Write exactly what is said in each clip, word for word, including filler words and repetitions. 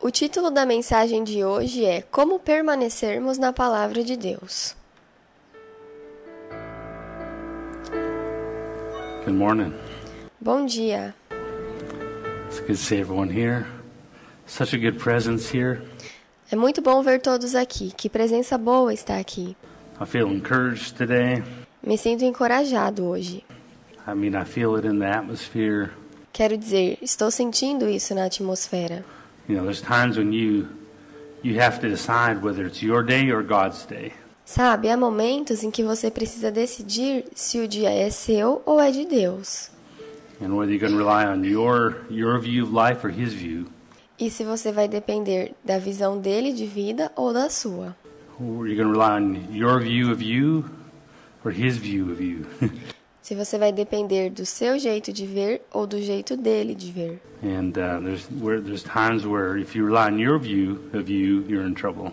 O título da mensagem de hoje é Como permanecermos na Palavra de Deus. Good morning. Bom dia. It's good to see everyone here. Such a good presence here. É muito bom ver todos aqui. Que presença boa está aqui. I feel encouraged today. Me sinto encorajado hoje. I mean, I feel it in the atmosphere. Quero dizer, estou sentindo isso na atmosfera. You know, there's times when you you have to decide whether it's your day or God's day. Sabe, há momentos em que você precisa decidir se o dia é seu ou é de Deus. And whether you're going to rely on your your view of life or his view. E se você vai depender da visão dele de vida ou da sua. Or you're going to rely on your view of you or his view of you. Se você vai depender do seu jeito de ver ou do jeito dele de ver. And uh, there's where there's times where if you rely on your view of you, you're in trouble.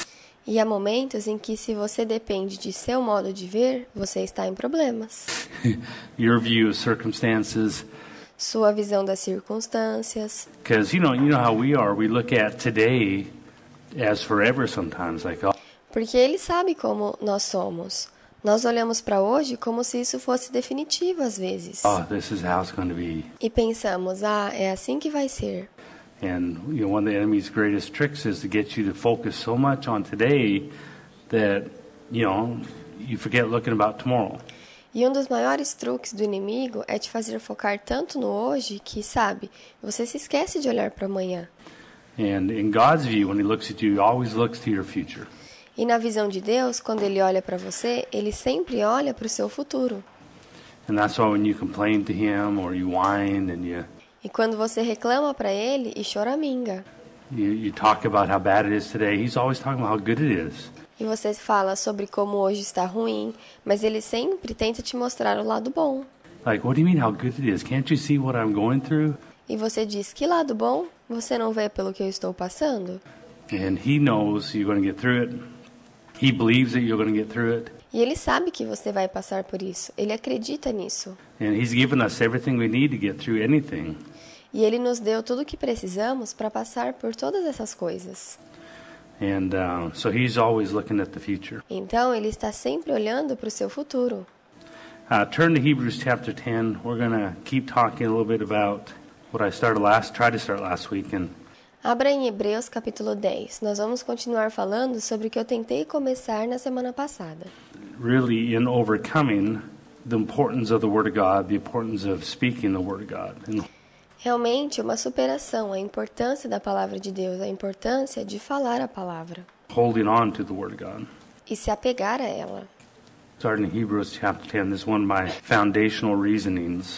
E há momentos em que se você depende de seu modo de ver, você está em problemas. Your view of circumstances. Sua visão das circunstâncias. Because you know, you know how we are. We look at today as forever sometimes, like oh. Porque ele sabe como nós somos. Nós olhamos para hoje como se isso fosse definitivo às vezes. Oh, this is how it's going to be. E pensamos, ah, é assim que vai ser. And you know, one of the enemy's greatest tricks is to get you to focus so much on today that, you know, you forget looking about tomorrow. E um dos maiores truques do inimigo é te fazer focar tanto no hoje que, sabe, você se esquece de olhar para amanhã. And in God's view, when he looks at you, he always looks to your future. E na visão de Deus, quando ele olha para você, ele sempre olha para o seu futuro. And that's why when you complain to him or you whine and you E quando você reclama para ele e choraminga. You, you talk about how bad it is today. He's always talking about how good it is. E você fala sobre como hoje está ruim, mas ele sempre tenta te mostrar o lado bom. Like, what do you mean how good it is? Can't you see what I'm going through? E você diz, que lado bom? Você não vê pelo que eu estou passando? And he knows you're going to get through it. He believes that you're going to get through it. E ele sabe que você vai passar por isso. Ele acredita nisso. And he's given us everything we need to get through anything. E ele nos deu tudo o que precisamos para passar por todas essas coisas. And uh, so he's always looking at the future. Então, ele está sempre olhando para o seu futuro. Uh, turn to Hebrews chapter ten. We're going to keep talking a little bit about what I started last, tried to start last week. And Abra em Hebreus capítulo dez. Nós vamos continuar falando sobre o que eu tentei começar na semana passada. really in overcoming the importance of the Word of God, the importance of speaking the Word of God. And Realmente, uma superação, a importância da palavra de Deus, a importância de falar a palavra holding on to the Word of God. e se apegar a ela. Starting in Hebrews chapter ten, this is one of my foundational reasonings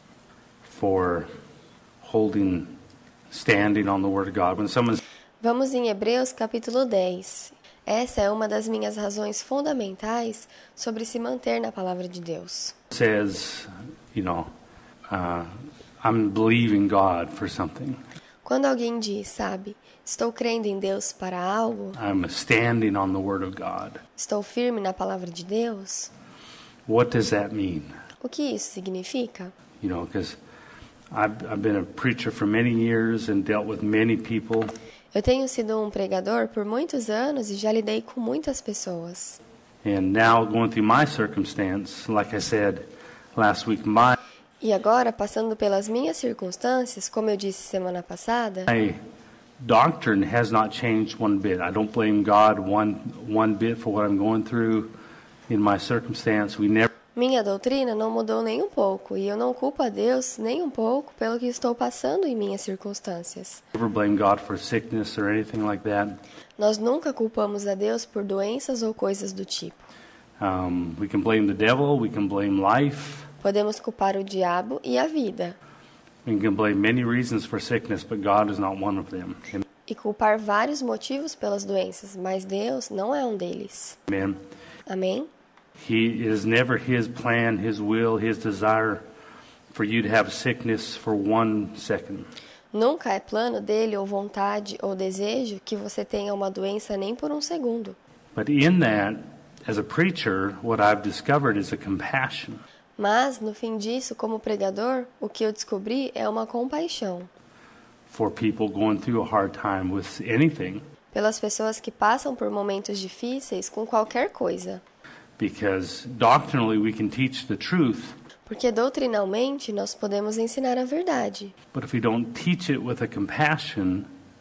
for holding, standing on the Word of God. When someone Vamos em Hebreus capítulo dez. Essa é uma das minhas razões fundamentais sobre se manter na palavra de Deus. says, you know, uh, I'm believing God for something. Quando alguém diz, sabe, estou crendo em Deus para algo, I'm standing on the Word of God. estou firme na palavra de Deus, What does that mean? o que isso significa? You know, because I've, I've been a preacher for many years and dealt with many people. Eu tenho sido um pregador por muitos anos e já lidei com muitas pessoas. And now going through my circumstance, like I said last week, my E agora, passando pelas minhas circunstâncias, como eu disse semana passada, my doctrine has not changed one bit. I don't blame God one one bit for what I'm going through in my circumstance. We never minha doutrina não mudou nem um pouco, e eu não culpo a Deus nem um pouco pelo que estou passando em minhas circunstâncias. never blame God for sickness or anything like that. Nós nunca culpamos a Deus por doenças ou coisas do tipo. Um, we can blame the devil. We can blame life. Podemos culpar o diabo e a vida, We can blame many reasons for sickness, but God is not one of them. e culpar vários motivos pelas doenças, mas Deus não é um deles. Amen. Amém? He it is never His plan, His will, His desire for you to have sickness for one second. Nunca é plano dele ou vontade ou desejo que você tenha uma doença nem por um segundo. But in that, as a preacher, what I've discovered is a compassion. Mas, no fim disso, como pregador, o que eu descobri é uma compaixão. for people going through a hard time with anything. Pelas pessoas que passam por momentos difíceis com qualquer coisa. Because doctrinally we can teach the truth. Porque doutrinalmente nós podemos ensinar a verdade. But if we don't teach it with a compassion,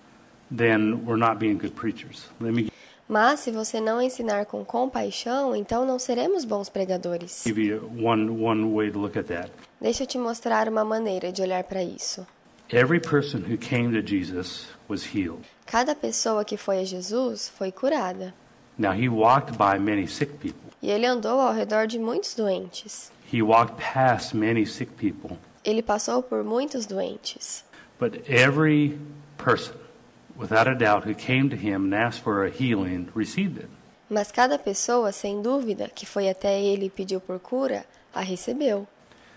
then we're not being good preachers. Let me Mas se você não ensinar com compaixão, então não seremos bons pregadores. give you one one way to look at that. Deixa eu te mostrar uma maneira de olhar para isso. Every person who came to Jesus was healed. Cada pessoa que foi a Jesus foi curada. Now he walked by many sick people. E ele andou ao redor de muitos doentes. He walked past many sick people. Ele passou por muitos doentes. But every person, without a doubt, who came to him and asked for a healing, received it. Mas cada pessoa, sem dúvida, que foi até ele e pediu por cura, a recebeu.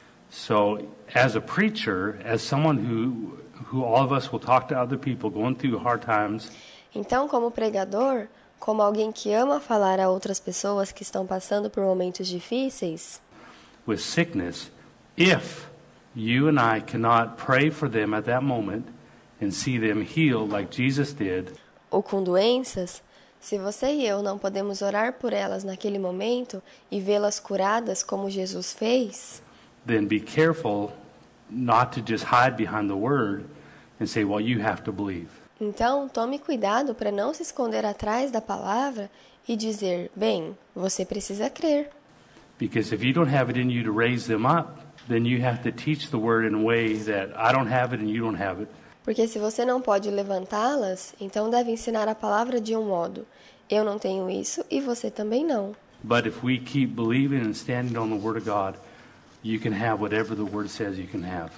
So, as a preacher, as someone who who all of us will talk to other people going through hard times, Então, como pregador, como alguém que ama falar a outras pessoas que estão passando por momentos difíceis, with sickness, if you and I cannot pray for them at that moment and see them healed like Jesus did, ou com doenças, se você e eu não podemos orar por elas naquele momento e vê-las curadas como Jesus fez, then be careful not to just hide behind the word and say, well, you have to believe. então tome cuidado para não se esconder atrás da palavra e dizer, bem, você precisa crer. Because if you don't have it in you to raise them up, then you have to teach the word in a way that I don't have it and you don't have it. Porque se você não pode levantá-las, então deve ensinar a palavra de um modo. Eu não tenho isso e você também não. But if we keep believing and standing on the word of God, you can have whatever the word says you can have.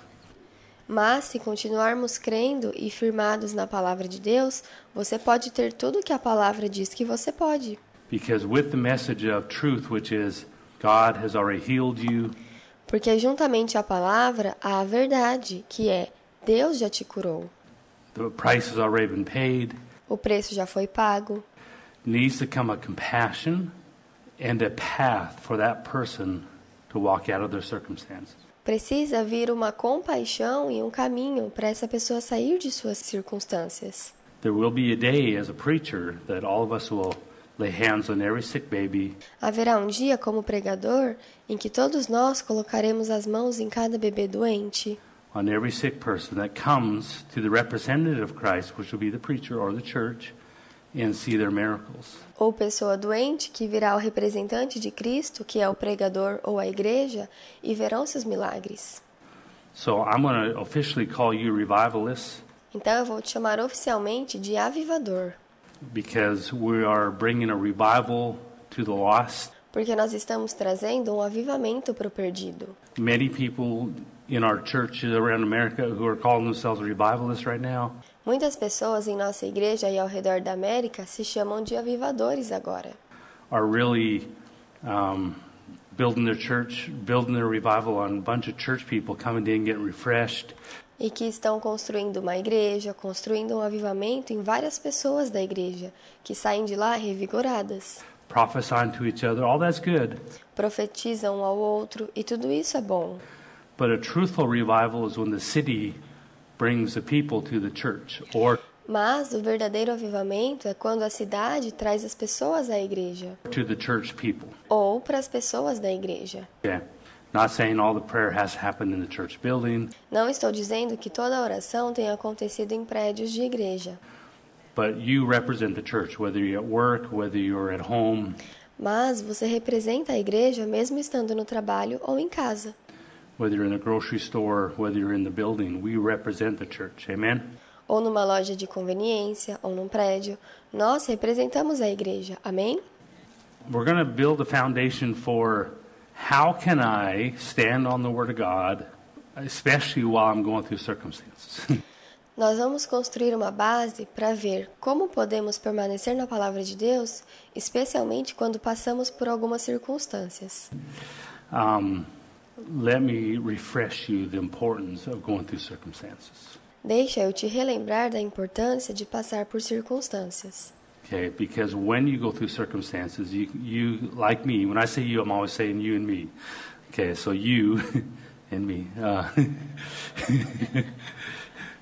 Mas, se continuarmos crendo e firmados na palavra de Deus, você pode ter tudo o que a palavra diz que você pode. Because with the message of truth, which is God has already healed you, Porque juntamente à palavra há a verdade, que é Deus já te curou. the price has already been paid, O preço já foi pago. needs to come a compassion and a path for that person to walk out of their circumstances. Precisa vir uma compaixão e um caminho para essa pessoa sair de suas circunstâncias. There will be a day as a preacher that all of us will lay hands on every sick baby, Haverá um dia, como pregador, em que todos nós colocaremos as mãos em cada bebê doente, on every sick person that comes to the representative of Christ, which will be the preacher or the church, and see their miracles. ou pessoa doente que virá ao representante de Cristo, que é o pregador ou a igreja, e verão seus milagres. So I'm going to officially call you revivalists Então eu vou te chamar oficialmente de avivador, because we are bringing a revival to the lost. porque nós estamos trazendo um avivamento para o perdido. Many people in our churches around America who are calling themselves revivalists right now, Muitas pessoas em nossa igreja e ao redor da América se chamam de avivadores agora. are really um, building their church, building their revival on a bunch of church people coming in, getting refreshed, E que estão construindo uma igreja, construindo um avivamento em várias pessoas da igreja, que saem de lá revigoradas. prophesying to each other. All that's good. Profetizam um ao outro, e tudo isso é bom. But a truthful revival is when the city brings the people to the church, or Mas o verdadeiro avivamento é quando a cidade traz as pessoas à igreja, to the church people. ou para as pessoas da igreja. Okay. Not saying all the prayer has to happen in the church building, Não estou dizendo que toda a oração tenha acontecido em prédios de igreja, but you represent the church, whether you're at work, whether you're at home, mas você representa a igreja mesmo estando no trabalho ou em casa. whether you're in the grocery store, whether you're in the building. We represent the church. Amen? Ou numa loja de conveniência, ou num prédio, nós representamos a igreja. Amém? We're going to build a foundation for how can I stand on the Word of God, especially while I'm going through circumstances. Nós vamos construir uma base para ver como podemos permanecer na palavra de Deus, especialmente quando passamos por algumas circunstâncias. um, let me refresh you the importance of going through circumstances. Deixa eu te relembrar da importância de passar por circunstâncias. Okay, because when you go through circumstances, you, you like me. When I say you, I'm always saying you and me. Okay, so you and me. Uh,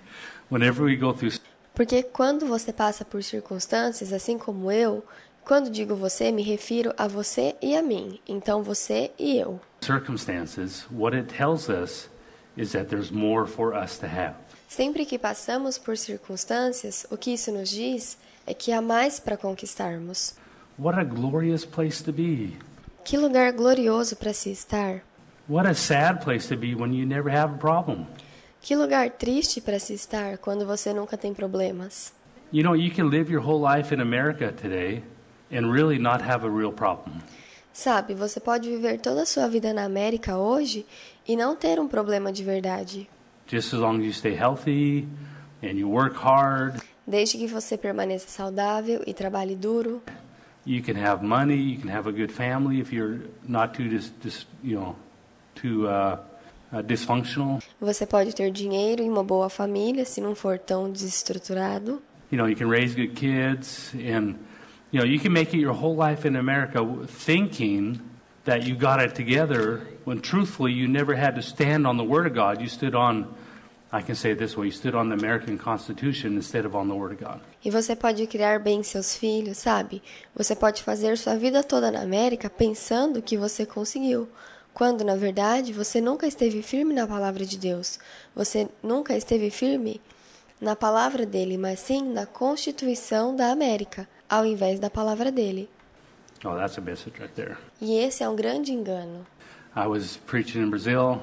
Whenever we go through Porque quando você passa por circunstâncias, assim como eu, quando digo você, me refiro a você e a mim. Então você e eu. circumstances, what it tells us is that there's more for us to have. Sempre que passamos por circunstâncias, o que isso nos diz é que há mais para conquistarmos. What a glorious place to be. Que lugar glorioso para se estar. What a sad place to be when you never have a problem. Que lugar triste para se estar quando você nunca tem problemas. You know, you can live your whole life in America today and really not have a real problem. Sabe, você pode viver toda a sua vida na América hoje e não ter um problema de verdade. Just as long as you stay healthy and you work hard. Desde que você permaneça saudável e trabalhe duro. You can have money, you can have a good family if you're not too dis, dis, you know, too uh, uh, dysfunctional. Você pode ter dinheiro e uma boa família se não for tão desestruturado. You know, you can raise good kids and you know, you can make it your whole life in America thinking that you got it together when truthfully you never had to stand on the Word of God. You stood on, I can say it this way, you stood on the American Constitution instead of on the Word of God. E você pode criar bem seus filhos, sabe? Você pode fazer sua vida toda na América pensando que você conseguiu, quando na verdade você nunca esteve firme na palavra de Deus. Você nunca esteve firme na palavra dele, mas sim na Constituição da América, ao invés da palavra dele. Oh, that's a message right there. E esse é um grande engano. I was preaching in Brazil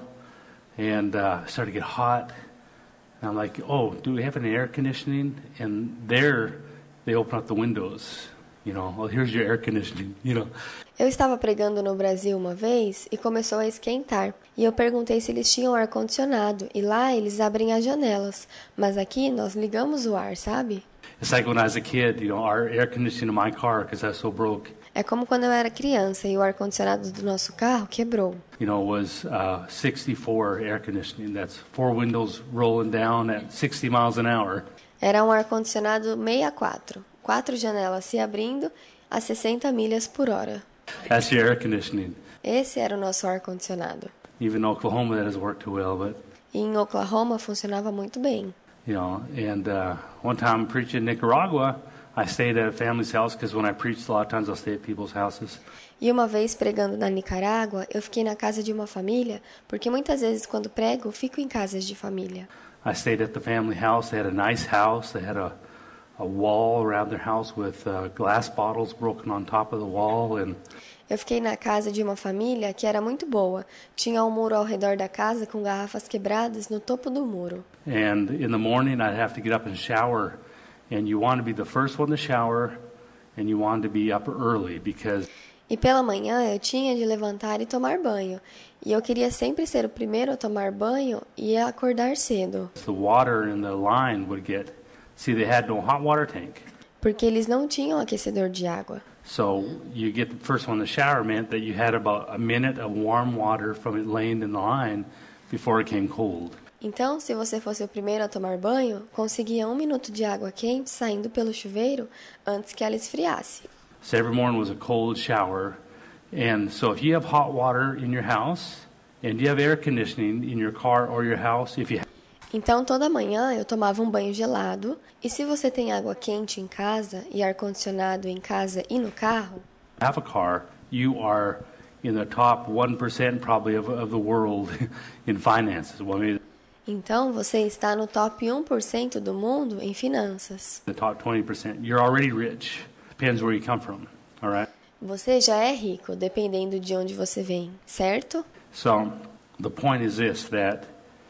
and uh, it started to get hot. And I'm like, oh, do we have an air conditioning? And there they open up the windows. You know, well, here's your air conditioning, you know. Eu estava pregando no Brasil uma vez e começou a esquentar. E eu perguntei se eles tinham ar-condicionado. E lá eles abrem as janelas. Mas aqui nós ligamos o ar, sabe? It's like when I was a kid, you know, our air conditioning in my car, because I was so broke, É como quando eu era criança e o ar-condicionado do nosso carro quebrou. you know, was uh, sixty-four air conditioning. That's four windows rolling down at sixty miles an hour. Era um ar-condicionado sessenta e quatro. Quatro janelas se abrindo a sessenta milhas por hora. That's your air conditioning. Esse era o nosso ar-condicionado. Even in Oklahoma, that doesn't work too well, but, E em Oklahoma funcionava muito bem. you know, and uh, one time preaching in Nicaragua, I stayed at a family's house because when I preached, a lot of times I'll stay at people's houses. E uma vez pregando na Nicarágua, eu fiquei na casa de uma família, porque muitas vezes quando prego, fico em casas de família. I stayed at the family house. They had a nice house. They had a, a wall around their house with uh, glass bottles broken on top of the wall. And Eu fiquei na casa de uma família que era muito boa. Tinha um muro ao redor da casa com garrafas quebradas no topo do muro. And in the morning, I'd have to get up and shower. And you want to be the first one to shower, and you want to be up early because E pela manhã eu tinha de levantar e tomar banho. E eu queria sempre ser o primeiro a tomar banho e a acordar cedo. the water in the line would get, see, they had no hot water tank. Porque eles não tinham aquecedor de água. So you get the first one to shower meant that you had about a minute of warm water from it laying in the line before it came cold. Então, se você fosse o primeiro a tomar banho, conseguia um minuto de água quente saindo pelo chuveiro antes que ela esfriasse. So every morning was a cold shower. And so if you have hot water in your house and you have air conditioning in your car or your house, if you Então, toda manhã eu tomava um banho gelado, e se você tem água quente em casa e ar-condicionado em casa e no carro, have a car, you are in the top one percent probably of, of the world in finances. Well, maybe então você está no top um por cento do mundo em finanças. the top twenty percent. You're already rich. Depends where you come from, all right? Você já é rico, dependendo de onde você vem, certo? So the point is this, that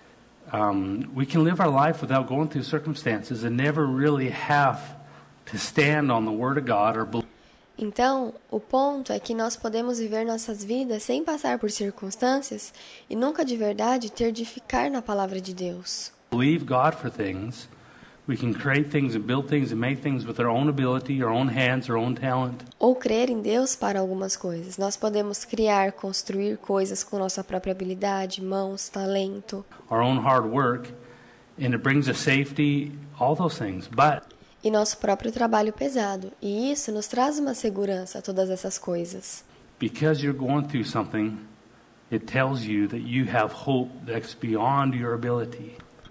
um, we can live our life without going through circumstances and never really have to stand on the Word of God or believe. Então, o ponto é que nós podemos viver nossas vidas sem passar por circunstâncias e nunca de verdade ter de ficar na palavra de Deus. believe God for things. We can create things and build things and make things with our own ability, our own hands, our own talent. Ou crer em Deus para algumas coisas. Nós podemos criar, construir coisas com nossa própria habilidade, mãos, talento, our own hard work, and it brings us safety, all those things. But e nosso próprio trabalho pesado. E isso nos traz uma segurança, todas essas coisas. because you're going through something, it tells you that you have hope that's beyond your ability.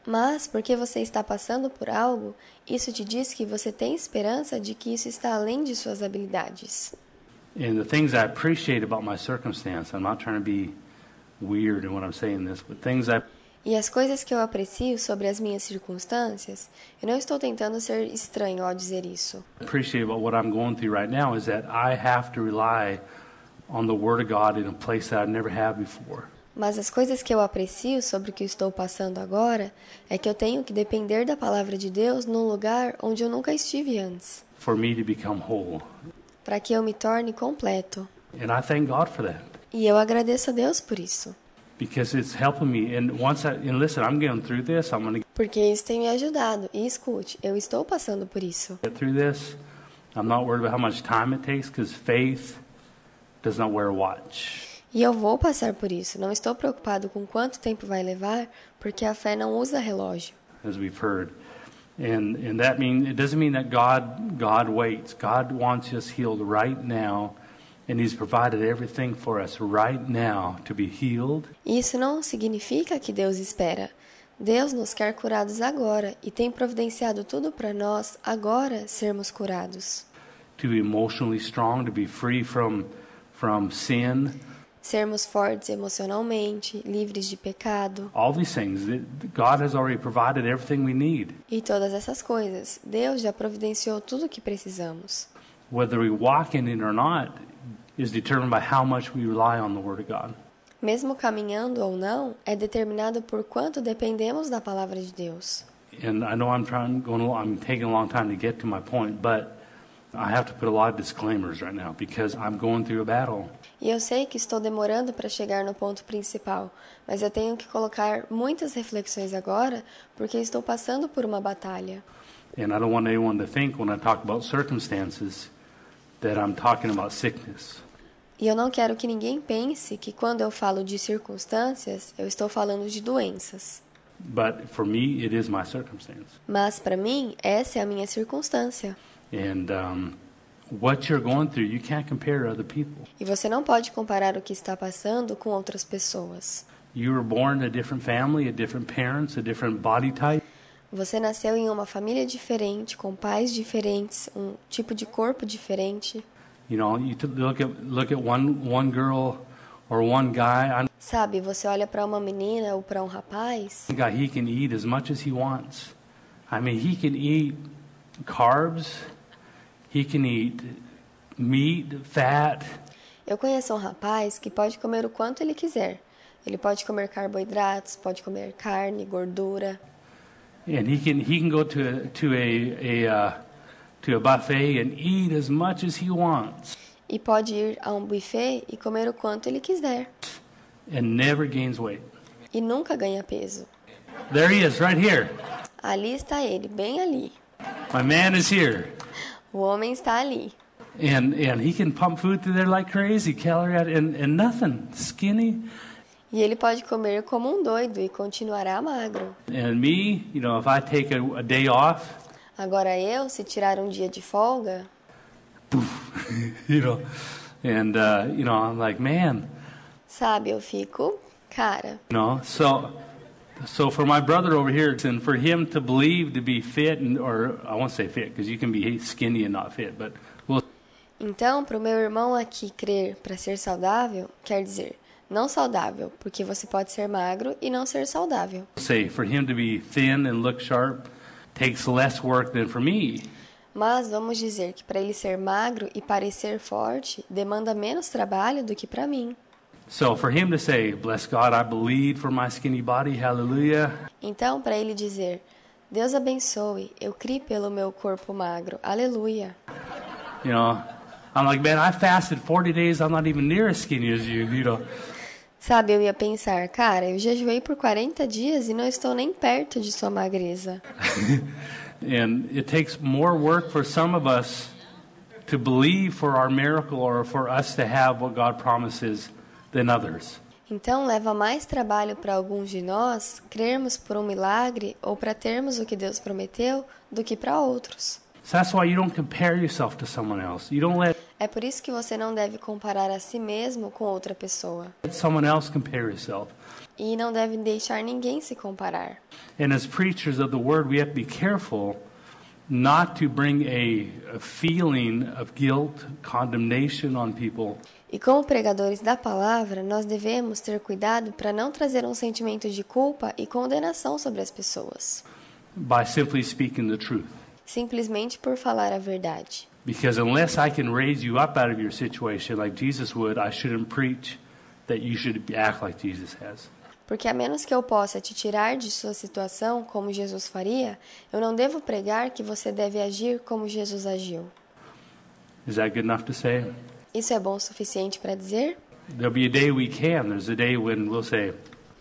Mas, porque você está passando por algo, isso te diz que você tem esperança de que isso está além de suas habilidades. And the things I appreciate about my circumstance, I'm not trying to be weird in what I'm saying this, but things I E as coisas que eu aprecio sobre as minhas circunstâncias, eu não estou tentando ser estranho ao dizer isso. appreciate about what I'm going through right now is that I have to rely on the Word of God in a place that I've never had before. Mas as coisas que eu aprecio sobre o que estou passando agora é que eu tenho que depender da palavra de Deus num lugar onde eu nunca estive antes, For me to become whole. para que eu me torne completo. And I thank God for that. E eu agradeço a Deus por isso, Because it's helping me. And once I, and listen, I'm going through this. I'm going to porque isso tem me ajudado. E escute, eu estou passando por isso. get through this. I'm not worried about how much time it takes because faith does not wear a watch. E eu vou passar por isso. Não estou preocupado com quanto tempo vai levar, porque a fé não usa relógio. As we've heard. And and that mean it doesn't mean that God God waits. God wants us healed right now, and He's provided everything for us right now to be healed. Isso não significa que Deus espera. Deus nos quer curados agora e tem providenciado tudo para nós agora sermos curados. To be emotionally strong, to be free from from sin. Sermos fortes emocionalmente, livres de pecado. All these things. that God has already provided everything we need. E todas essas coisas. Deus já providenciou tudo o que precisamos. Whether we walk in it or not is determined by how much we rely on the Word of God. Mesmo caminhando ou não, é determinado por quanto dependemos da palavra de Deus. And I know I'm trying, going, I'm taking a long time to get to my point, but I have to put a lot of disclaimers right now because I'm going through a battle. E eu sei que estou demorando para chegar no ponto principal, mas eu tenho que colocar muitas reflexões agora porque estou passando por uma batalha. And I don't want anyone to think when I talk about circumstances that I'm talking about sickness. E eu não quero que ninguém pense que quando eu falo de circunstâncias, eu estou falando de doenças. But for me, it is my circumstance. Mas para mim, essa é a minha circunstância. And um, what you're going through, you can't compare to other people. E você não pode comparar o que está passando com outras pessoas. You were born in a different family, a different parents, a different body type. Você nasceu em uma família diferente, com pais diferentes, um tipo de corpo diferente. You know, you t- look at look at one one girl or one guy. I Sabe, você olha para uma menina ou para um rapaz, know a guy, he can eat as much as he wants. I mean, he can eat carbs. He can eat meat, fat. eu conheço um rapaz que pode comer o quanto ele quiser. Ele pode comer carboidratos, pode comer carne, gordura. And he can he can go to a, to a a uh, to a buffet and eat as much as he wants E pode ir a um buffet e comer o quanto ele quiser. and never gains weight. E nunca ganha peso. There he is, right here. Ali está ele, bem ali. My man is here, O homem está ali. and and he can pump food through there like crazy, calorie out, and and nothing, skinny. E ele pode comer como um doido e continuará magro. And me, you know, if I take a, a day off, Agora eu, se tirar um dia de folga, you know, and uh, you know, I'm like, man, sabe, eu fico, cara. you know, so so for my brother over here, and for him to believe to be fit, and or I won't say fit because you can be skinny and not fit, but we'll Então, para o meu irmão aqui crer para ser saudável, quer dizer, não saudável, porque você pode ser magro e não ser saudável. say for him to be thin and look sharp takes less work than for me. Mas vamos dizer que para ele ser magro e parecer forte, demanda menos trabalho do que para mim. So for him to say, "Bless God, I believe for my skinny body, hallelujah," Então, para ele dizer, Deus abençoe, eu criei pelo meu corpo magro, aleluia. you know, I'm like, man, I fasted forty days. I'm not even near as skinny as you, you know. Sabe, eu ia pensar, cara, eu jejuei por quarenta dias e não estou nem perto de sua magreza. And it takes more work for some of us to believe for our miracle or for us to have what God promises than others. Então, leva mais trabalho para alguns de nós crermos por um milagre ou para termos o que Deus prometeu do que para outros. So that's why you don't compare yourself to someone else. You don't let É por isso que você não deve comparar a si mesmo com outra pessoa. someone else compare yourself. e não deve deixar ninguém se comparar. And as preachers of the word, we have to be careful not to bring a, a feeling of guilt, condemnation on people. E como pregadores da palavra, nós devemos ter cuidado para não trazer um sentimento de culpa e condenação sobre as pessoas, By simply speaking the truth. simplesmente por falar a verdade. Because unless I can raise you up out of your situation like Jesus would, I shouldn't preach that you should act like Jesus has. Porque a menos que eu possa te tirar de sua situação, como Jesus faria, eu não devo pregar que você deve agir como Jesus agiu. Is that good enough to say? Isso é bom o suficiente para dizer? There'll be a day we can. There's a day when we'll say,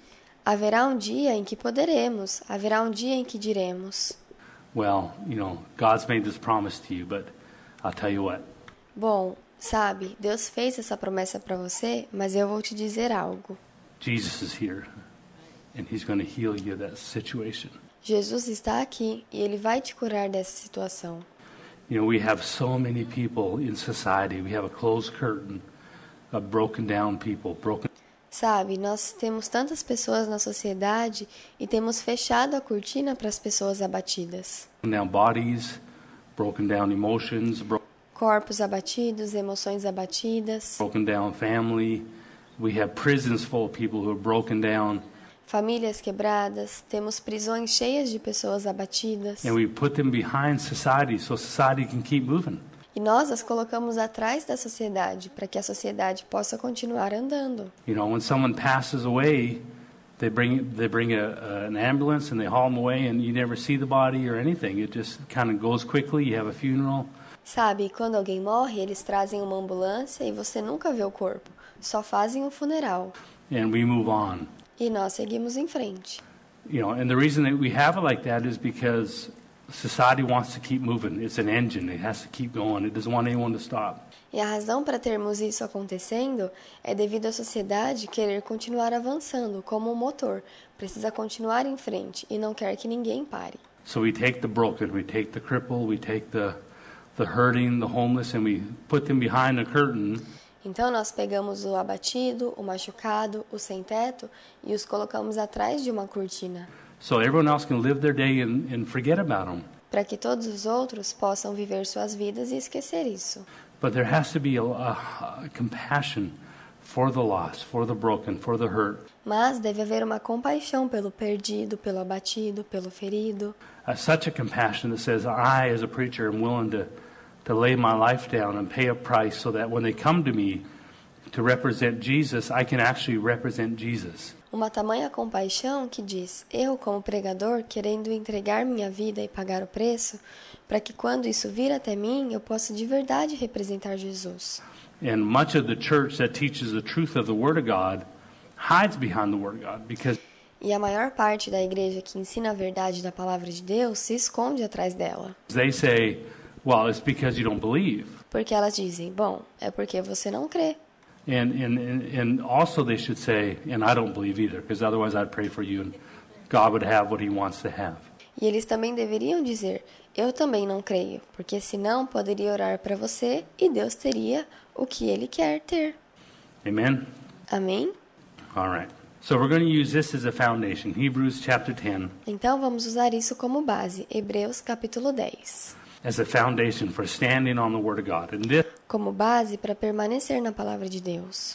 Haverá um dia em que poderemos, haverá um dia em que diremos: well, you know, God's made this promise to you, but I'll tell you what. bom, sabe, Deus fez essa promessa para você, mas eu vou te dizer algo. Jesus is here, and He's going to heal you of that situation. Jesus está aqui e Ele vai te curar dessa situação. You know, we have so many people in society. We have a closed curtain of broken down people, broken. Sabe, nós temos tantas pessoas na sociedade e temos fechado a cortina para as pessoas abatidas. down bodies, broken down emotions, bro- Corpos abatidos, emoções abatidas, broken down family. We have prisons full of people who are broken down, famílias quebradas, temos prisões cheias de pessoas abatidas. and we put them behind society so society can keep moving. E nós as colocamos atrás da sociedade para que a sociedade possa continuar andando. You know, when someone passes away, they bring they bring a, a, an ambulance and they haul them away, and you never see the body or anything. It just kind of goes quickly. You have a funeral. Sabe, quando alguém morre, eles trazem uma ambulância e você nunca vê o corpo. Só fazem um funeral. And we move on. E nós seguimos em frente. You know, and the reason that we have it like that is because society wants to keep moving. It's an engine. It has to keep going. It doesn't want anyone to stop. E a razão para termos isso acontecendo é devido à sociedade querer continuar avançando como um motor. Precisa continuar em frente e não quer que ninguém pare. So we take the broken, we take the crippled, we take the the hurting, the homeless, and we put them behind the curtain. Então nós pegamos o abatido, o machucado, o sem-teto e os colocamos atrás de uma cortina, So everyone else can live their day and, and forget about them. para que todos os outros possam viver suas vidas e esquecer isso. But there has to be a, a, a compassion for the lost, for the broken, for the hurt. Mas deve haver uma compaixão pelo perdido, pelo abatido, pelo ferido. Uh, such a compassion that says, I, as a preacher, am willing to, to lay my life down and pay a price so that when they come to me to represent Jesus, I can actually represent Jesus. Uma tamanha compaixão que diz: eu, como pregador, querendo entregar minha vida e pagar o preço, para que quando isso vir até mim, eu possa de verdade representar Jesus. And much of the church that teaches the truth of the Word of God hides behind the Word of God because E a maior parte da igreja que ensina a verdade da palavra de Deus se esconde atrás dela. they say, well, it's because you don't believe. Porque elas dizem: bom, é porque você não crê. And, and, and, and also they should say, and I don't believe either, because otherwise I'd pray for you and God would have what He wants to have. E eles também deveriam dizer: eu também não creio, porque senão poderia orar para você e Deus teria o que Ele quer ter. Amen? Amém? All right. So we're going to use this as a foundation. Hebrews chapter ten Então vamos usar isso como base. Hebreus capítulo dez. as a foundation for standing on the Word of God. And this Como base para permanecer na palavra de Deus.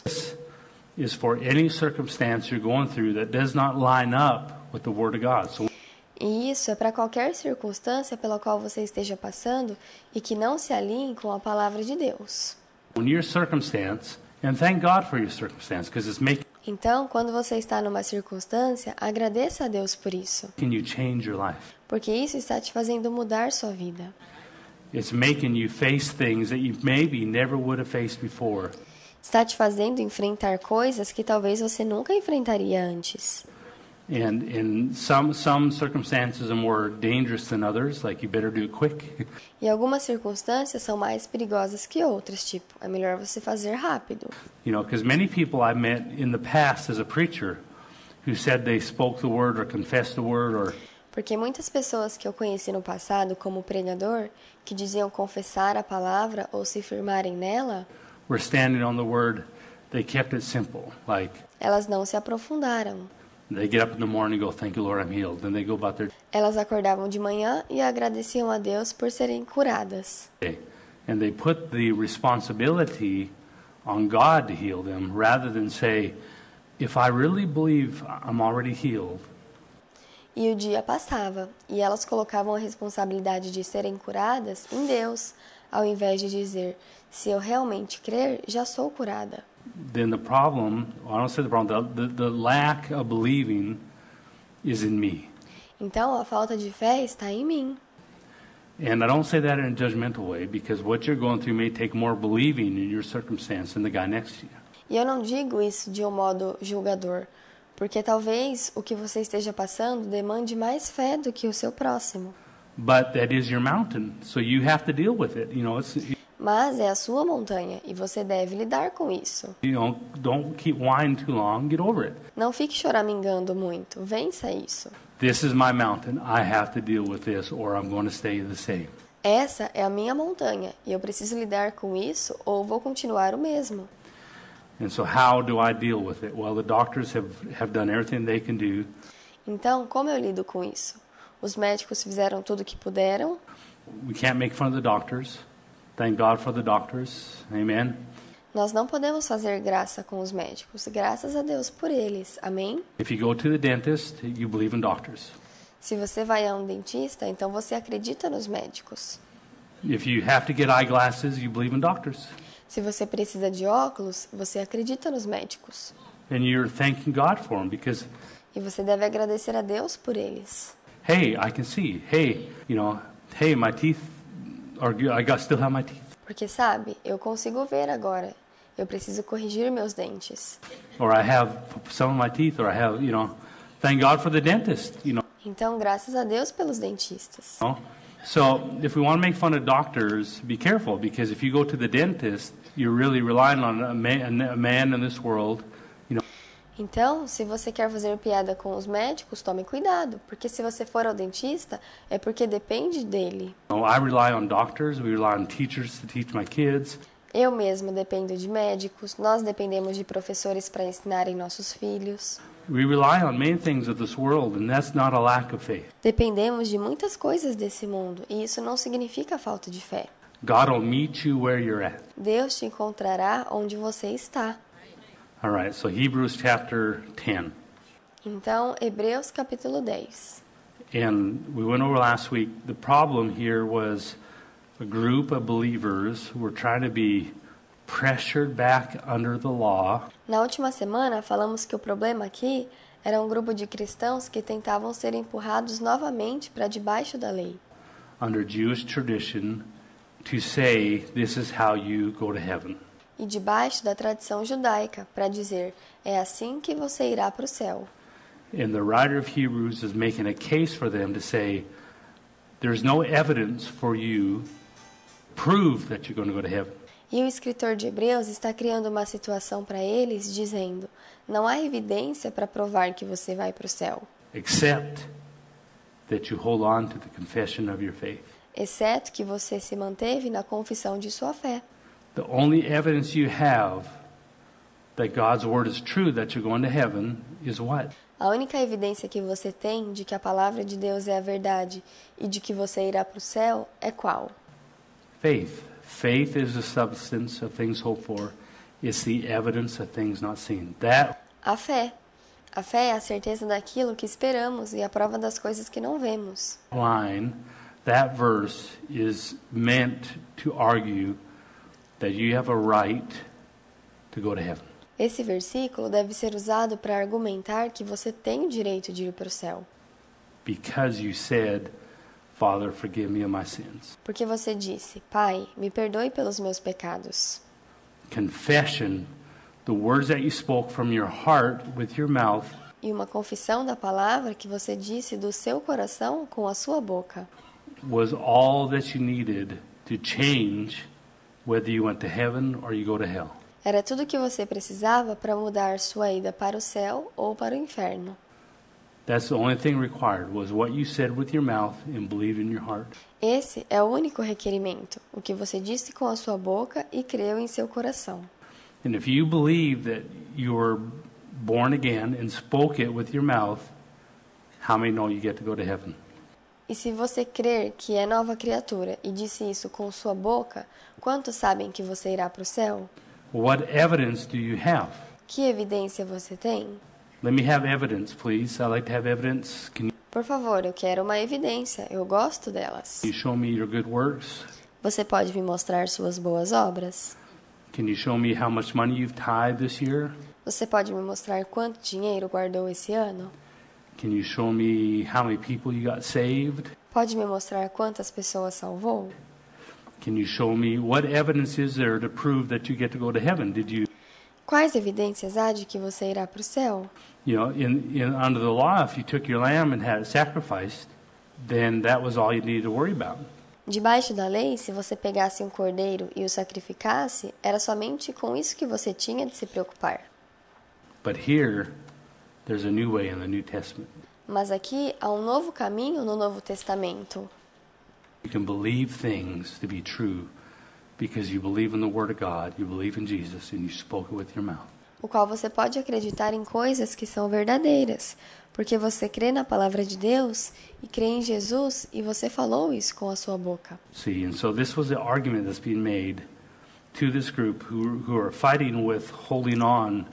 is for any circumstance you're going through that does not line up with the Word of God. So E isso é para qualquer circunstância pela qual você esteja passando e que não se alinhe com a palavra de Deus. when your circumstance, and thank God for your circumstance, because it's making Então, quando você está numa circunstância, agradeça a Deus por isso, you change your life. porque isso está te fazendo mudar sua vida. It's making you face things that you maybe never would have faced before. Está te fazendo enfrentar coisas que talvez você nunca enfrentaria antes. And in some some circumstances are more dangerous than others, like you better do it quick. E algumas circunstâncias são mais perigosas que outras, tipo, é melhor você fazer rápido. You know, because many people I met in the past as a preacher who said they spoke the word or confessed the word or Porque muitas pessoas que eu conheci no passado como pregador, que diziam confessar a palavra ou se firmarem nela, were standing on the word, they kept it simple, like elas não se aprofundaram. They get up in the morning and go, thank you, Lord, I'm healed. Then they go about their Elas acordavam de manhã e agradeciam a Deus por serem curadas. day. And they put the responsibility on God to heal them rather than say, if I really believe I'm already healed, E o dia passava, e elas colocavam a responsabilidade de serem curadas em Deus, ao invés de dizer, se eu realmente crer, já sou curada. then the problem, I don't say the problem, the, the, the lack of believing is in me. Então, a falta de fé está em mim. And I don't say that in a judgmental way because what you're going through may take more believing in your circumstance than the guy next to you. E eu não digo isso de um modo julgador, porque talvez o que você esteja passando demande mais fé do que o seu próximo. But that is your mountain, so you have to deal with it. You know, it's, Mas é a sua montanha e você deve lidar com isso. you know, don't keep whining too long. Get over it. Não fique choramingando muito, vença isso. This is my mountain. I have to deal with this, or I'm going to stay the same. Essa é a minha montanha e eu preciso lidar com isso ou vou continuar o mesmo. And so, how do I deal with it? Well, the doctors have, have done everything they can do. Então, como eu lido com isso? Os médicos fizeram tudo o que puderam. We can't make fun of the doctors. Thank God for the doctors. Amen. Nós não podemos fazer graça com os médicos, graças a Deus por eles. Amém? If you go to the dentist, you believe in doctors. Se você vai a um dentista, então você acredita nos médicos. If you have to get eyeglasses, you believe in doctors. Se você precisa de óculos, você acredita nos médicos. And you're thanking God for them because, E você deve agradecer a Deus por eles. hey, I can see. Hey, you know, hey, my teeth are good. I got still have my teeth. Porque, sabe, eu consigo ver agora. Eu preciso corrigir meus dentes. Or I have some of my teeth, or I have, you know, thank God for the dentist, you know. Então, graças a Deus pelos dentistas. You know? So if we want to make fun of doctors, be careful, because if you go to the dentist, you're really relying on a man, a man in this world, you know. Então, se você quer fazer piada com os médicos, tome cuidado, porque se você for ao dentista, é porque depende dele. I rely on doctors, we rely on teachers to teach my kids. Eu mesmo dependo de médicos, nós dependemos de professores para ensinarem nossos filhos. We rely on many things of this world, and that's not a lack of faith. Dependemos de muitas coisas desse mundo, e isso não significa falta de fé. God will meet you where you're at. Deus te encontrará onde você está. All right, so Hebrews chapter ten. Então, Hebreus capítulo dez. And we went over last week. The problem here was a group of believers who were trying to be pressured back under the law. Na última semana, falamos que o problema aqui era um grupo de cristãos que tentavam ser empurrados novamente para debaixo da lei. Under Jewish tradition to say this is how you go to heaven. E debaixo da tradição judaica para dizer, é assim que você irá para o céu. And the writer of Hebrews is making a case for them to say there's no evidence for you prove that you're going to go to heaven. E o escritor de Hebreus está criando uma situação para eles, dizendo, não há evidência para provar que você vai para o céu, Except that you hold on to the confession of your faith. exceto que você se manteve na confissão de sua fé. The only evidence you have that God's word is true, that you're going to heaven, is what? A única evidência que você tem de que a palavra de Deus é a verdade e de que você irá para o céu é qual? Faith. Faith is the substance of things hoped for. It's the evidence of things not seen. That A fé. A fé é a certeza daquilo que esperamos e a prova das coisas que não vemos. line, that verse is meant to argue that you have a right to go to heaven. Esse versículo deve ser usado para argumentar que você tem o direito de ir para o céu. Because you said, Father, forgive me of my sins. Porque você disse, Pai, me perdoe pelos meus pecados. Confession, the words that you spoke from your heart with your mouth, E uma confissão da palavra que você disse do seu coração com a sua boca. was all that you needed to change whether you went to heaven or you go to hell. Era tudo o que você precisava para mudar sua ida para o céu ou para o inferno. That's the only thing required, was what you said with your mouth and believed in your heart. Esse é o único requerimento, o que você disse com a sua boca e creu em seu coração. And if you believe that you're born again and spoke it with your mouth, how many know you get to go to heaven? E se você crer que é nova criatura e disse isso com sua boca, quantos sabem que você irá para o céu? What evidence do you have? Que evidência você tem? Let me have evidence, please. I like to have evidence. Can Por favor, eu quero uma evidência. Eu gosto delas. you show me your good works? Você pode me mostrar suas boas obras? Can you show me how much money you've tithed this year? Você pode me mostrar quanto dinheiro guardou esse ano? Can you show me how many people you got saved? Pode me mostrar quantas pessoas salvou? Can you show me what evidence is there to prove that you get to go to heaven? Did you, Quais evidências há de que você irá para o céu? you know, in, in under the law, if you took your lamb and had it sacrificed, then that was all you needed to worry about. Debaixo da lei, se você pegasse um cordeiro e o sacrificasse, era somente com isso que você tinha de se preocupar. But here, there's a new way in the New Testament. Mas aqui há um novo caminho no Novo Testamento. You can believe things to be true because you believe in the Word of God, you believe in Jesus, and you spoke it with your mouth. O qual você pode acreditar em coisas que são verdadeiras, porque você crê na palavra de Deus e crê em Jesus e você falou isso com a sua boca. See, and so this was the argument that's being made to this group who, who are fighting with holding on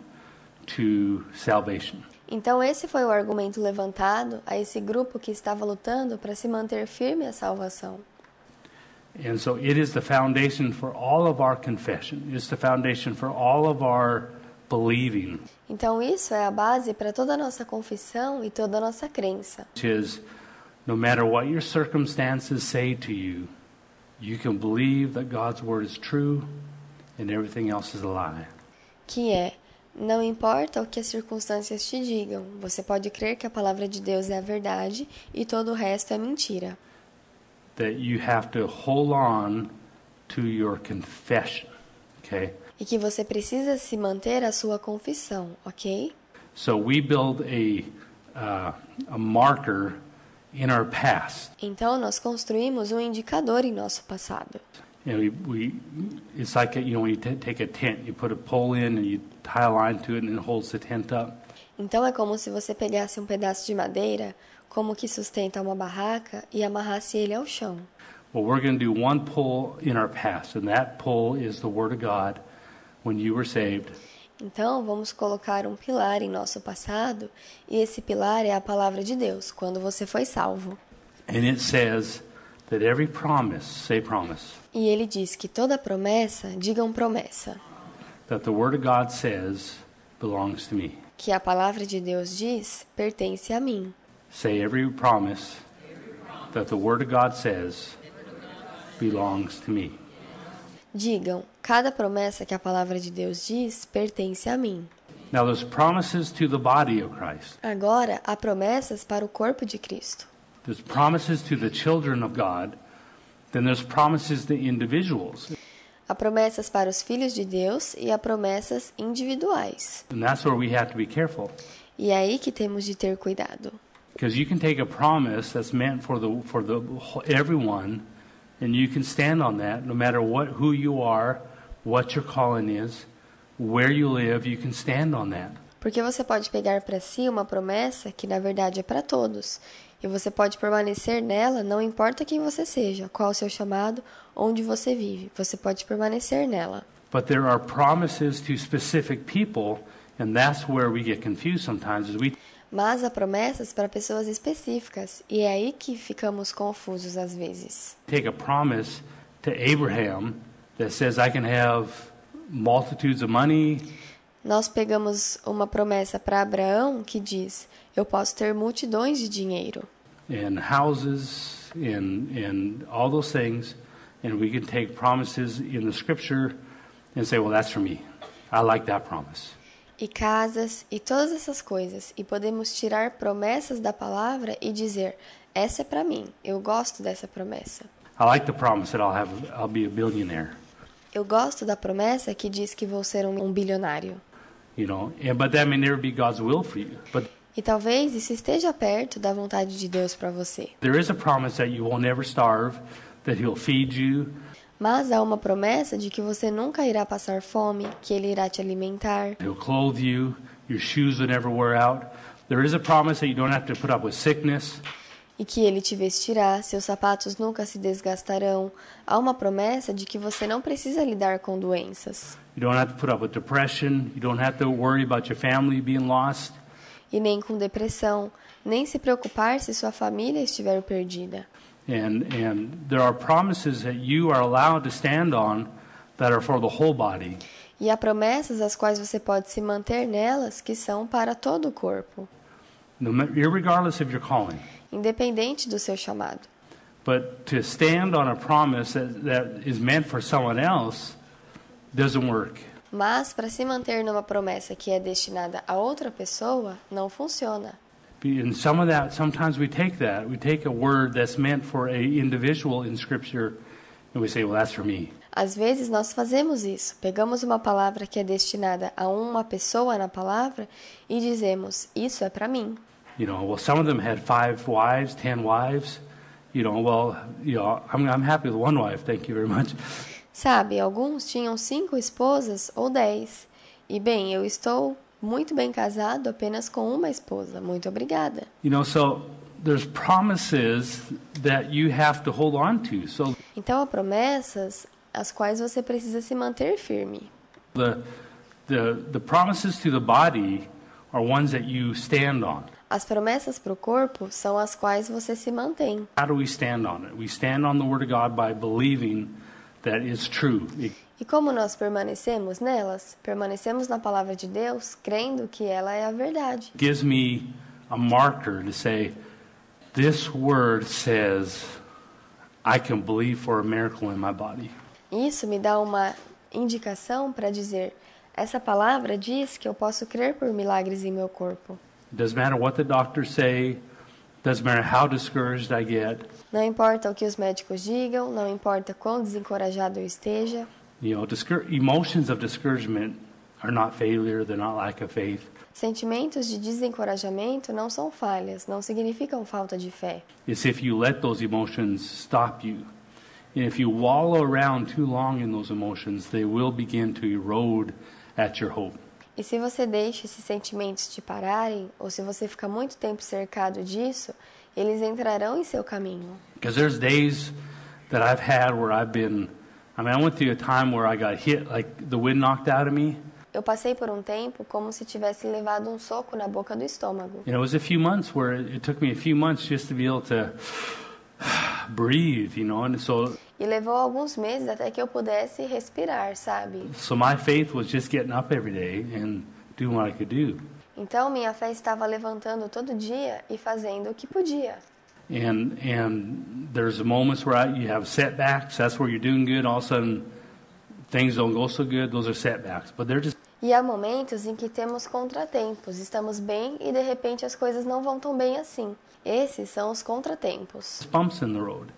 to salvation. Então esse foi o argumento levantado a esse grupo que estava lutando para se manter firme à salvação. And so it is the foundation for all of our confession. It's the foundation for all of our believing. Então isso é a base para toda a nossa confissão e toda a nossa crença. Which is, no matter what your circumstances say to you, you can believe that God's word is true and everything else is a lie. Que é, não importa o que as circunstâncias te digam, você pode crer que a palavra de Deus é a verdade e todo o resto é mentira. That you have to hold on to your confession, okay? E que você precisa se manter à sua confissão, ok? So we build a uh, a marker in our past. Então nós construímos um indicador em nosso passado. You know, we, we it's like a, you know when you t- take a tent, you put a pole in and you tie a line to it and it holds the tent up. Então é como se você pegasse um pedaço de madeira, como que sustenta uma barraca, e amarrasse ele ao chão. Well, we're going to do one pull in our past, and that pull is the Word of God when you were saved. Então vamos colocar um pilar em nosso passado, e esse pilar é a palavra de Deus, quando você foi salvo. And it says that every promise, say promise, E ele diz que toda promessa, digam promessa, that the Word of God says belongs to me. que a palavra de Deus diz, pertence a mim. Say every promise that the Word of God says belongs to me. Digam, cada promessa que a palavra de Deus diz, pertence a mim. Now there's promises to the body of Christ. Agora, há promessas para o corpo de Cristo. There's promises to the children of God. Then there's promises to individuals. Há promessas para os filhos de Deus e há promessas individuais. And that's where we have to be careful. E é aí que temos de ter cuidado. Because you can take a promise that's meant for the for the everyone, and you can stand on that no matter what who you are, what your calling is, where you live, you can stand on that. Porque você pode pegar para si uma promessa que na verdade é para todos, e você pode permanecer nela, não importa quem você seja, qual o seu chamado, onde você vive, você pode permanecer nela. But there are promises to specific people, and that's where we get confused sometimes is we Mas há promessas para pessoas específicas, e é aí que ficamos confusos às vezes. take a promise to Abraham that says I can have multitudes of money, Nós pegamos uma promessa para Abraão que diz, eu posso ter multidões de dinheiro, and houses and and all those things, and we can take promises in the scripture and say, well, that's for me. I like that promise. e casas, e todas essas coisas, e podemos tirar promessas da palavra e dizer, essa é para mim, eu gosto dessa promessa. I like the promise that I'll have I'll be a billionaire. Eu gosto da promessa que diz que vou ser um, um bilionário. You know, and but that may never be God's will for you. But E talvez isso esteja perto da vontade de Deus para você. there is a promise that you will never starve, that He'll feed you, Mas há uma promessa de que você nunca irá passar fome, que Ele irá te alimentar, He'll clothe you, your shoes would never wear out. There is a promise that you don't have to put up with sickness. E que ele te vestirá, seus sapatos nunca se desgastarão. Há uma promessa de que você não precisa lidar com doenças. You don't have to put up with depression. You don't have to worry about your family being lost. E nem com depressão, nem se preocupar se sua família estiver perdida. And and there are promises that you are allowed to stand on that are for the whole body. E há promessas às quais você pode se manter nelas que são para todo o corpo, No, ma- irregardless of your calling. independente do seu chamado. But to stand on a promise that, that is meant for someone else doesn't work. Mas para se manter numa promessa que é destinada a outra pessoa, não funciona. And some of that, sometimes we take that, we take a word that's meant for a individual in Scripture, and we say, well, that's for me. Às vezes nós fazemos isso. Pegamos uma palavra que é destinada a uma pessoa na palavra e dizemos, isso é para mim. You know, well, some of them had five wives, ten wives. You know, well, you know, I'm, I'm happy with one wife, thank you very much. Sabe, alguns tinham cinco esposas ou dez. E bem, eu estou muito bem casado apenas com uma esposa. Muito obrigada. You know, so there's promises that you have to hold on to. So Então há promessas às quais você precisa se manter firme. the the the promises to the body are ones that you stand on. As promessas para o corpo são as quais você se mantém. How do we stand on it? We stand on the Word of God by believing that it's true. It E como nós permanecemos nelas? Permanecemos na palavra de Deus, crendo que ela é a verdade. gives me a marker to say, this Word says I can believe for a miracle in my body. Isso me dá uma indicação para dizer, essa palavra diz que eu posso crer por milagres em meu corpo. It doesn't matter what the doctors say. Doesn't matter how discouraged I get. Não importa o que os médicos digam, não importa quão desencorajado eu esteja. You know, discour- emotions of discouragement are not failure. They're not lack of faith. Sentimentos de desencorajamento não são falhas, não significam falta de fé. It's if you let those emotions stop you. And if you wallow around too long in those emotions, they will begin to erode at your hope. E se você deixa esses sentimentos te pararem, ou se você fica muito tempo cercado disso, eles entrarão em seu caminho. Because there's days that I've had where I've been, I mean, I went through a time where I got hit, like the wind knocked out of me. Eu passei por um tempo como se tivesse levado um soco na boca do estômago. And it was a few months where it, it took me a few months just to be able to breathe, you know, and so E levou alguns meses até que eu pudesse respirar, sabe? so my faith was just getting up every day and doing what I could do. Então minha fé estava levantando todo dia e fazendo o que podia. And and there's moments where I, you have setbacks. That's where you're doing good. All of a sudden, things don't go so good. Those are setbacks, but they're just E há momentos em que temos contratempos, estamos bem e de repente as coisas não vão tão bem assim. Esses são os contratempos. bumps in the road.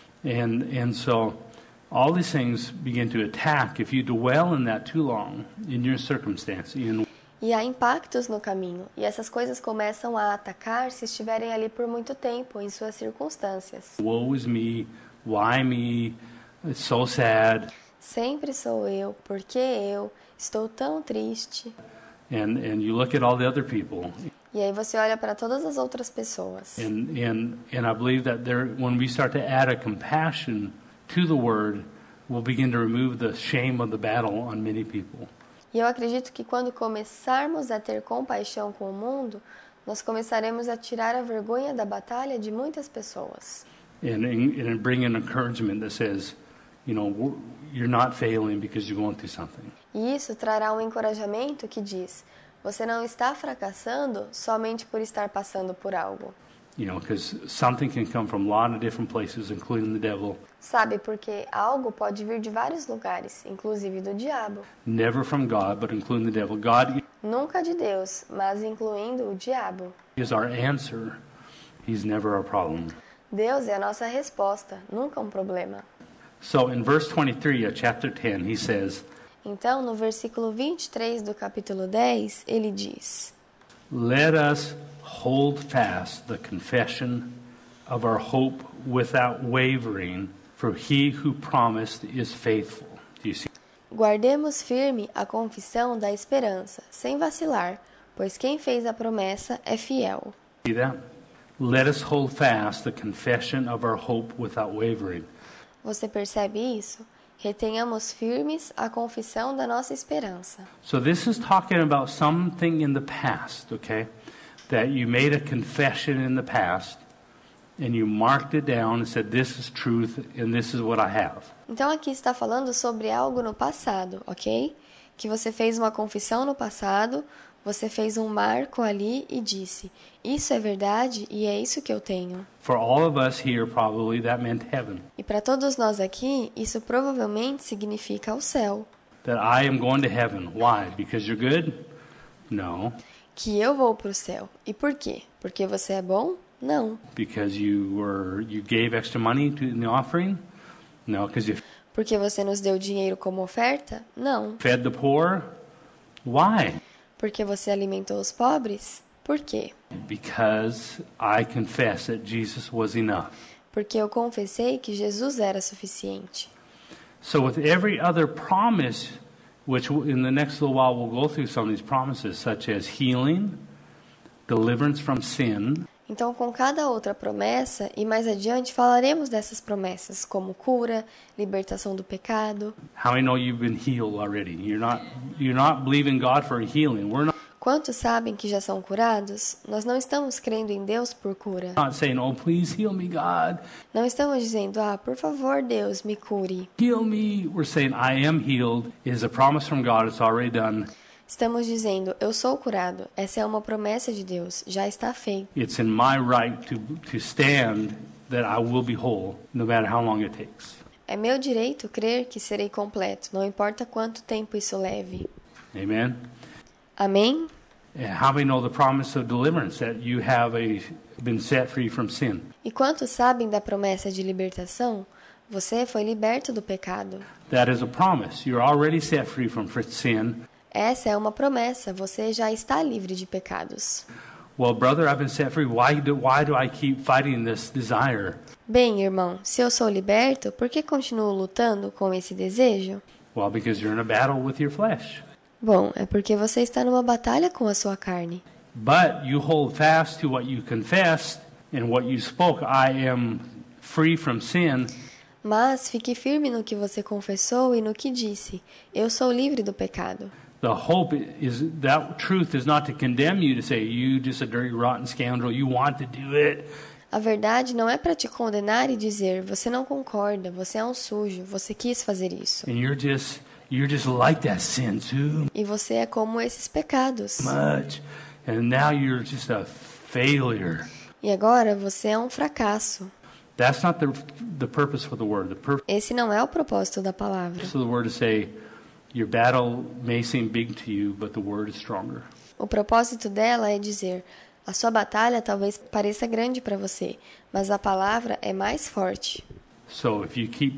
And and so all these things begin to attack if you dwell in that too long in your circumstance. In E há impactos no caminho, e essas coisas começam a atacar se estiverem ali por muito tempo, em suas circunstâncias. woe is me, why me? It's so sad. Sempre sou eu, porque eu, estou tão triste. And and you look at all the other people. E aí você olha para todas as outras pessoas. And and and I believe that there, when we start to add a compassion to the word, we'll begin to remove the shame of the battle on many people. E eu acredito que quando começarmos a ter compaixão com o mundo, nós começaremos a tirar a vergonha da batalha de muitas pessoas. And and, and bring an encouragement that says, you know, we're- you're not failing because you're going through something. E isso trará um encorajamento que diz: você não está fracassando somente por estar passando por algo. You know, because something can come from a lot of different places, including the devil. Sabe, porque algo pode vir de vários lugares, inclusive do diabo. Never from God, but including the devil. God Nunca de Deus, mas incluindo o diabo. is our answer. He's never our problem. Deus é a nossa resposta, nunca um problema. So in verse twenty-three of chapter ten, he says, Então, no versículo vinte e três do capítulo dez, ele diz: let us hold fast the confession of our hope without wavering, for he who promised is faithful. Do you see? Guardemos firme a confissão da esperança, sem vacilar, pois quem fez a promessa é fiel. See that? Let us hold fast the confession of our hope without wavering. Você percebe isso? Retenhamos firmes a confissão da nossa esperança. So this is talking about something in the past, okay? That you made a confession in the past and you marked it down and said this is truth and this is what I have. Então aqui está falando sobre algo no passado, ok? Que você fez uma confissão no passado, você fez um marco ali e disse, isso é verdade e é isso que eu tenho. For all of us here, probably that meant heaven. E para todos nós aqui, isso provavelmente significa o céu. That I am going to heaven. Why? Because you're good? No. Que eu vou para o céu. E por quê? Porque você é bom? Não. Because you were you gave extra money to, in the offering? No, because you Porque você nos deu dinheiro como oferta? Não. fed the poor? Why? Porque você alimentou os pobres? Por quê? Because I confess that Jesus was enough. Porque eu confessei que Jesus era suficiente. So with every other promise, which in the next little while we'll go through some of these promises, such as healing, deliverance from sin, Então, com cada outra promessa, e mais adiante falaremos dessas promessas, como cura, libertação do pecado. how many know you've been healed already? You're not you're not believing God for healing. We're not Quantos sabem que já são curados? Nós não estamos crendo em Deus por cura. not saying, "Oh, please heal me, God. Não estamos dizendo, ah, por favor, Deus, me cure. Heal me." We're saying, "I am healed." It is a promise from God. It's already done. Estamos dizendo, eu sou curado. Essa é uma promessa de Deus, já está feito. It's in my right to to stand that I will be whole, no matter how long it takes. É meu direito crer que serei completo, não importa quanto tempo isso leve. Amen. Amém? And how many know the promise of deliverance, that you have a, been set free from sin? E quantos sabem da promessa de libertação? Você foi liberto do pecado. That is a promise. You're already set free from fr- sin. Essa é uma promessa, você já está livre de pecados. Well, brother, I've been set free. Why do, why do I keep fighting this desire? Bem, irmão, se eu sou liberto, por que continuo lutando com esse desejo? Well, because you're in a battle with your flesh. Bom, é porque você está numa batalha com a sua carne. But you hold fast to what you confessed and what you spoke. I am free from sin. Mas fique firme no que você confessou e no que disse. Eu sou livre do pecado. The hope is that truth is not to condemn you, to say you just a dirty, rotten scoundrel. You want to do it. A verdade não é para te condenar e dizer, você não concorda, você é um sujo, você quis fazer isso. And you're just you're just like that sin too E você é como esses pecados. much. And now you're just a failure. E agora você é um fracasso. That's not the the purpose for the word. The purpose Esse não é o propósito da palavra. of the word is say your battle may seem big to you, but the word is stronger. O propósito dela é dizer, a sua batalha talvez pareça grande para você, mas a palavra é mais forte. So if you keep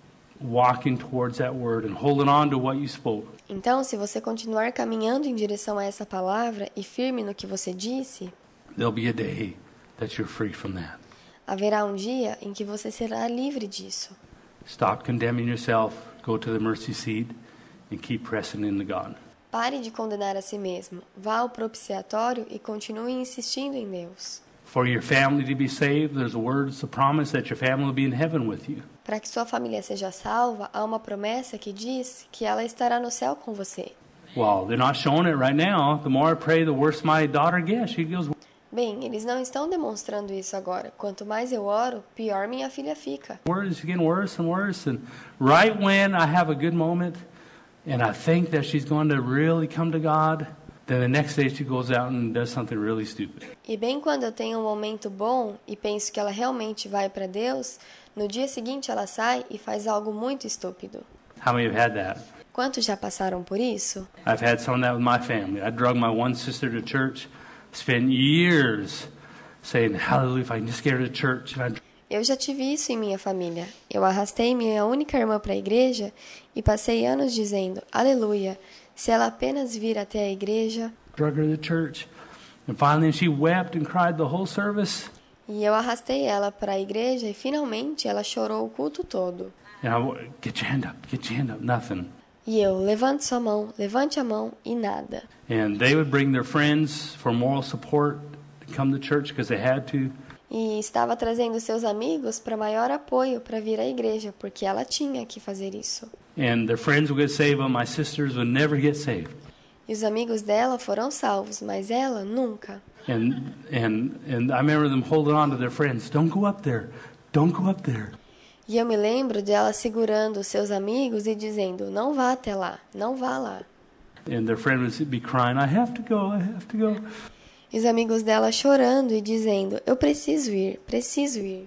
walking towards that word and holding on to what you spoke, Então, se você continuar caminhando em direção a essa palavra e firme no que você disse, there'll be a day that you're free from that. haverá um dia em que você será livre disso. Stop condemning yourself, go to the mercy seat, and keep pressing into God. Pare de condenar a si mesmo. Vá ao propiciatório e continue insistindo em Deus. For your family to be saved, there's words, a promise that your family will be in heaven with you. Para que sua família seja salva, há uma promessa que diz que ela estará no céu com você. Well, they're not showing it right now. The more I pray, the worse my daughter gets. She goes, Bem, eles não estão demonstrando isso agora. Quanto mais eu oro, pior minha filha fica. worse, getting worse and worse. And right when I have a good moment and I think that she's going to really come to God, then the next day she goes out and does something really stupid. E bem quando eu tenho um momento bom e penso que ela realmente vai para Deus, no dia seguinte ela sai e faz algo muito estúpido. How many have had that? Quantos já passaram por isso? I've had some of that with my family. I drug my one sister to church, spent years saying, hallelujah, if I can just get her to church. And I Eu já tive isso em minha família. Eu arrastei minha única irmã para a igreja e passei anos dizendo, aleluia, se ela apenas vir até a igreja. drug her to church. And finally she wept and cried the whole service. E eu arrastei ela para a igreja e finalmente ela chorou o culto todo. And I, get your hand up, get your hand up, nothing. E eu, levante sua mão, levante a mão, e nada. And they would bring their friends for moral support to come to church because they had to. E estava trazendo seus amigos para maior apoio para vir à igreja, porque ela tinha que fazer isso. And their friends would get saved, but my sisters would never get saved. E os amigos dela foram salvos, mas ela nunca. And and and I remember them holding on to their friends. Don't go up there. Don't go up there. E eu me lembro dela segurando os seus amigos e dizendo, não vá até lá, não vá lá. And their friend would be crying, I have to go, I have to go. E os amigos dela chorando e dizendo, eu preciso ir, preciso ir.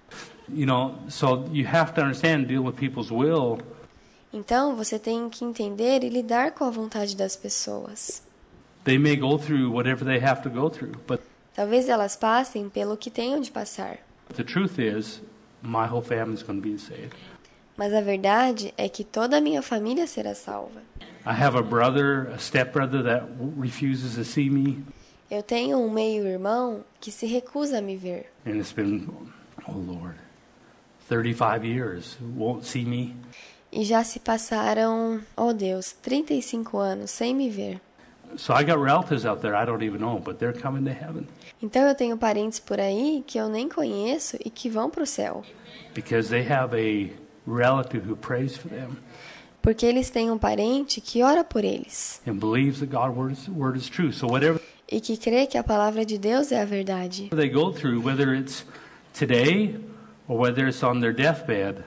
You know, so you have to understand, deal with people's will. Então, você tem que entender e lidar com a vontade das pessoas. They may go through whatever they have to go through, but Talvez elas passem pelo que tenham de passar. the truth is, my whole family is going to be saved. Mas a verdade é que toda a minha família será salva. I have a brother, a stepbrother that refuses to see me, Eu tenho um meio-irmão que se recusa a me ver. and it's been, oh Lord, thirty-five years, won't see me. E já se passaram, oh Deus, trinta e cinco anos sem me ver. So I got relatives out there I don't even know, but they're coming to heaven Então eu tenho parentes por aí que eu nem conheço e que vão para o céu. because they have a relative who prays for them Porque eles têm um parente que ora por eles. and believes that God's word is, word is true. So whatever E que crê que a palavra de Deus é a verdade. they go through, whether it's today or whether it's on their deathbed,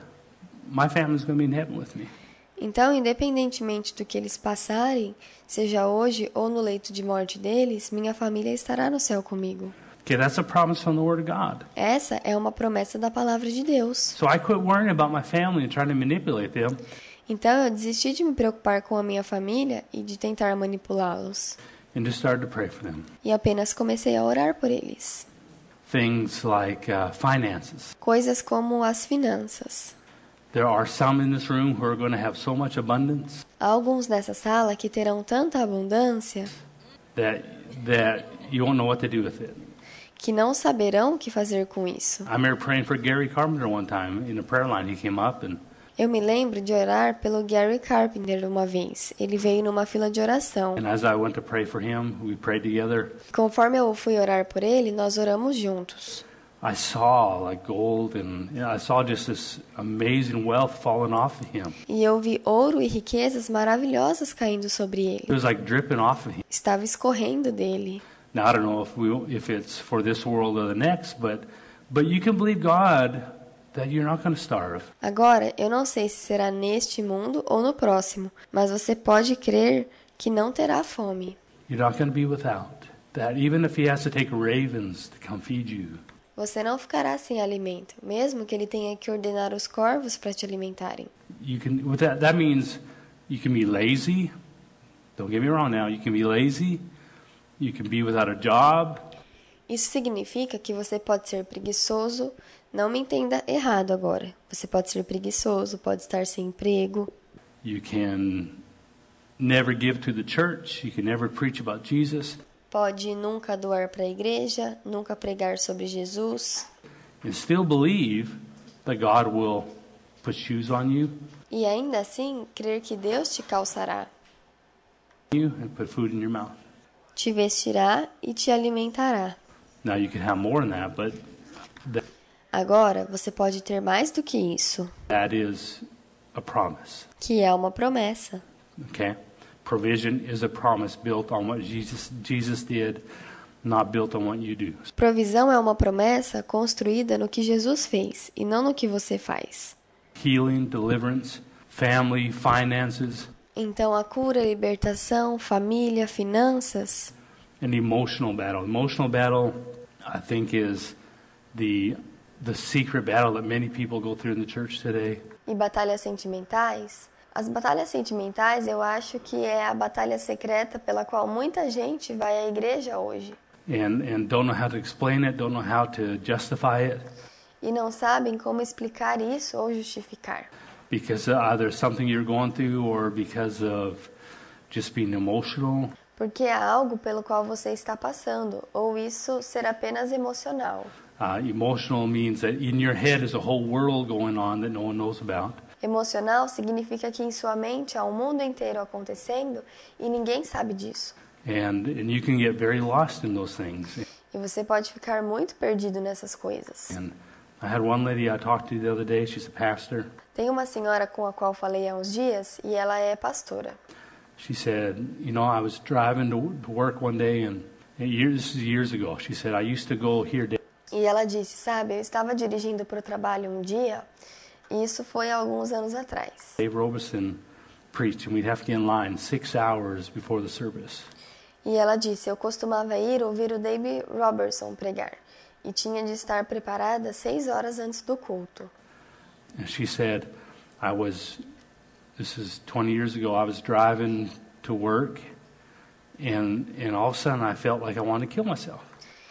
my family's going to be in heaven with me. Então, independentemente do que eles passarem, seja hoje ou no leito de morte deles, minha família estará no céu comigo. Okay, that's a promise from the Word of God. Essa é uma promessa da palavra de Deus. So I quit worrying about my family and trying to manipulate them, Então, eu desisti de me preocupar com a minha família e de tentar manipulá-los. and just started to pray for them. E apenas comecei a orar por eles. Things like uh, finances. Coisas como as finanças. There are some in this room who are going to have so much abundance Há alguns nessa sala que terão tanta abundância that that you won't know what to do with it. que não saberão o que fazer com isso. I remember praying for Gary Carpenter one time in a prayer line. He came up and Eu me lembro de orar pelo Gary Carpenter uma vez. Ele veio numa fila de oração. and as I went to pray for him, we prayed together. Conforme eu fui orar por ele, nós oramos juntos. I saw like gold and you know, I saw just this amazing wealth falling off of him. E eu vi ouro e riquezas maravilhosas caindo sobre It ele. was like dripping off of him. Estava escorrendo dele. Now I don't know if we if it's for this world or the next, but but you can believe God that you're not going to starve. Agora, eu não sei se será neste mundo ou no próximo, mas você pode crer que não terá fome. You're not going to be without. That even if he has to take ravens to come feed you, Você não ficará sem alimento, mesmo que ele tenha que ordenar os corvos para te alimentarem. you can. With that, that means you can be lazy. Don't get me wrong. Now you can be lazy. You can be without a job. Isso significa que você pode ser preguiçoso. Não me entenda errado agora. Você pode ser preguiçoso, pode estar sem emprego. You can never give to the church. You can never preach about Jesus. Pode nunca doar para a igreja, nunca pregar sobre Jesus. And still believe that God will put shoes on you, E ainda assim, crer que Deus te calçará, you and put food in your mouth. te vestirá e te alimentará. Now you can have more than that, but that, Agora, você pode ter mais do que isso, that is a promise. que é uma promessa. Okay? Provision is a promise built on what Jesus Jesus did, not built on what you do. Provisão é uma promessa construída no que Jesus fez e não no que você faz. Healing, deliverance, family, finances, Então, a cura, libertação, família, finanças, and emotional battle. Emotional battle, I think, is the the secret battle that many people go through in the church today. e batalhas sentimentais. As batalhas sentimentais, eu acho que é a batalha secreta pela qual muita gente vai à igreja hoje. And, and don't know how to explain it, don't know how to justify it, E não sabem como explicar isso ou justificar. because either something you're going through or because of just being emotional. Porque é algo pelo qual você está passando, ou isso ser apenas emocional. Uh, emotional means that in your head is a whole world going on that no one knows about. Emocional significa que em sua mente há um mundo inteiro acontecendo e ninguém sabe disso. And, and you can get very lost in those things. E você pode ficar muito perdido nessas coisas. And I had one lady I talked to the other day, she's a pastor. Tem uma senhora com a qual falei há uns dias e ela é pastora. She said, you know, I was driving to, to work one day, and, and years, this is years ago. She said, I used to go here. E ela disse, sabe, eu estava dirigindo para o trabalho um dia, e isso foi há alguns anos atrás. Dave Roberson preached, and we'd have to get in line six hours before the service. E ela disse, eu costumava ir ouvir o Dave Roberson pregar, e tinha de estar preparada seis horas antes do culto. And she said, I was, this is twenty years ago, I was driving to work, and, and all of a sudden I felt like I wanted to kill myself.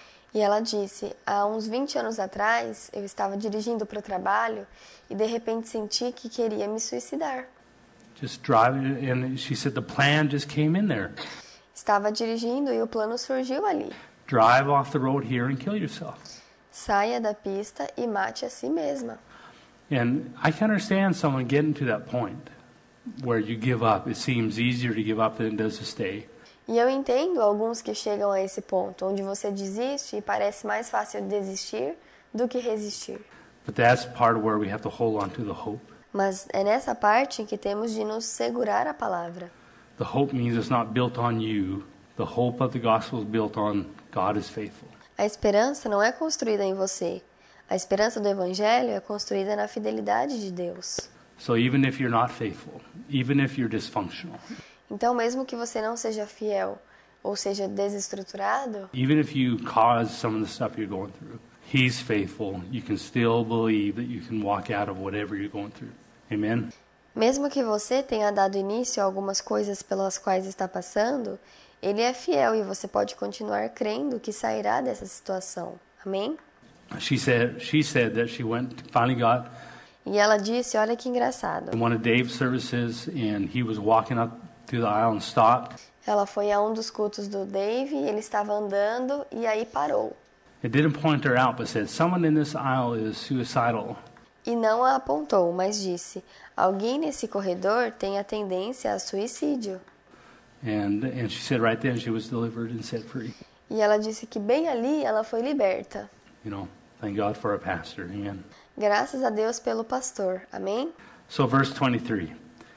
E ela disse, há uns vinte anos atrás, eu estava dirigindo para o trabalho e de repente senti que queria me suicidar. Just driving, and she said the plan just came in there. Estava dirigindo e o plano surgiu ali. Drive off the road here and kill yourself. Saia da pista e mate a si mesma. And I can understand someone getting to that point where you give up. It seems easier to give up than it does to stay. E eu entendo alguns que chegam a esse ponto, onde você desiste e parece mais fácil desistir do que resistir. But that's part of where we have to hold on to the hope. Mas é nessa parte que temos de nos segurar a palavra. The hope means it's not built on you. The hope of the gospel is built on God is faithful. A esperança não é construída em você. A esperança do evangelho é construída na fidelidade de Deus. So even if you're not faithful, even if you're dysfunctional, Então, mesmo que você não seja fiel ou seja desestruturado, even if you cause some of the stuff you're going through, He's faithful. You can still believe that you can walk out of whatever you're going through. Amen? mesmo que você tenha dado início a algumas coisas pelas quais está passando, Ele é fiel e você pode continuar crendo que sairá dessa situação. Amém? She said, she said that she went, finally got E ela disse, olha que engraçado. in one of Dave's services, and he was walking up through the aisle and stopped. Ela foi a um dos cultos do Dave, ele estava andando e aí parou. It didn't point her out, but said, someone in this aisle is suicidal. E não a apontou, mas disse, alguém nesse corredor tem a tendência a suicídio. And, and she said right then she was delivered and set free. E ela disse que bem ali ela foi liberta. You know, thank God for a pastor. Amen. Graças a Deus pelo pastor. Amém? So verse twenty-three.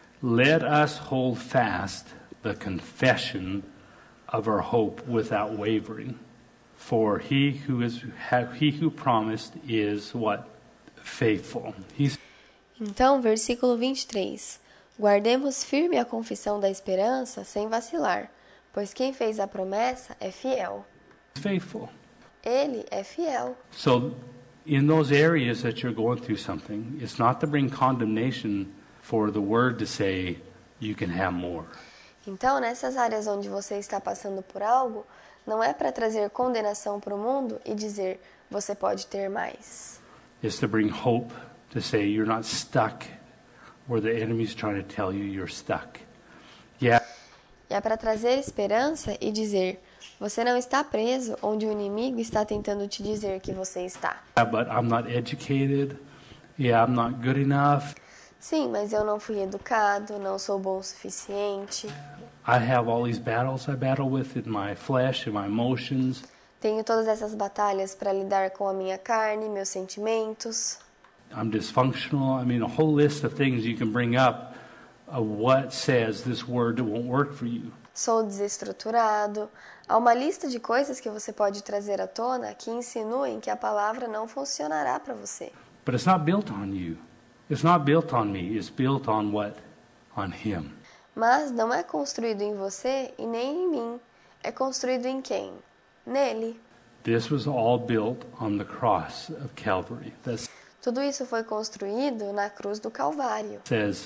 Let us hold fast the confession of our hope without wavering. For he who is he who promised is what? Faithful. He's Então, versículo vinte e três. Guardemos firme a confissão da esperança sem vacilar, pois quem fez a promessa é fiel. faithful. Ele é fiel. So in those areas that you're going through something, it's not to bring condemnation for the word to say you can have more. Então, nessas áreas onde você está passando por algo, não é para trazer condenação para o mundo e dizer você pode ter mais. It's to bring hope, to say you're not stuck where the enemy's trying to tell you you're stuck. Yeah, E é para trazer esperança e dizer você não está preso onde o inimigo está tentando te dizer que você está. but I'm not educated. Yeah, I'm not good enough. Sim, mas eu não fui educado, não sou bom o suficiente. I have all these battles I battle with in my flesh and my emotions. Tenho todas essas batalhas para lidar com a minha carne, meus sentimentos. I'm dysfunctional. I mean, a whole list of things you can bring up of what says this word won't work for you. Sou desestruturado. Há uma lista de coisas que você pode trazer à tona que insinuem que a palavra não funcionará para você. But it's not built on you. It's not built on me. It's built on what? On Him. Mas não é construído em você e nem em mim. É construído em quem? Nele. This was all built on the cross of Calvary. That Tudo isso foi construído na cruz do Calvário, says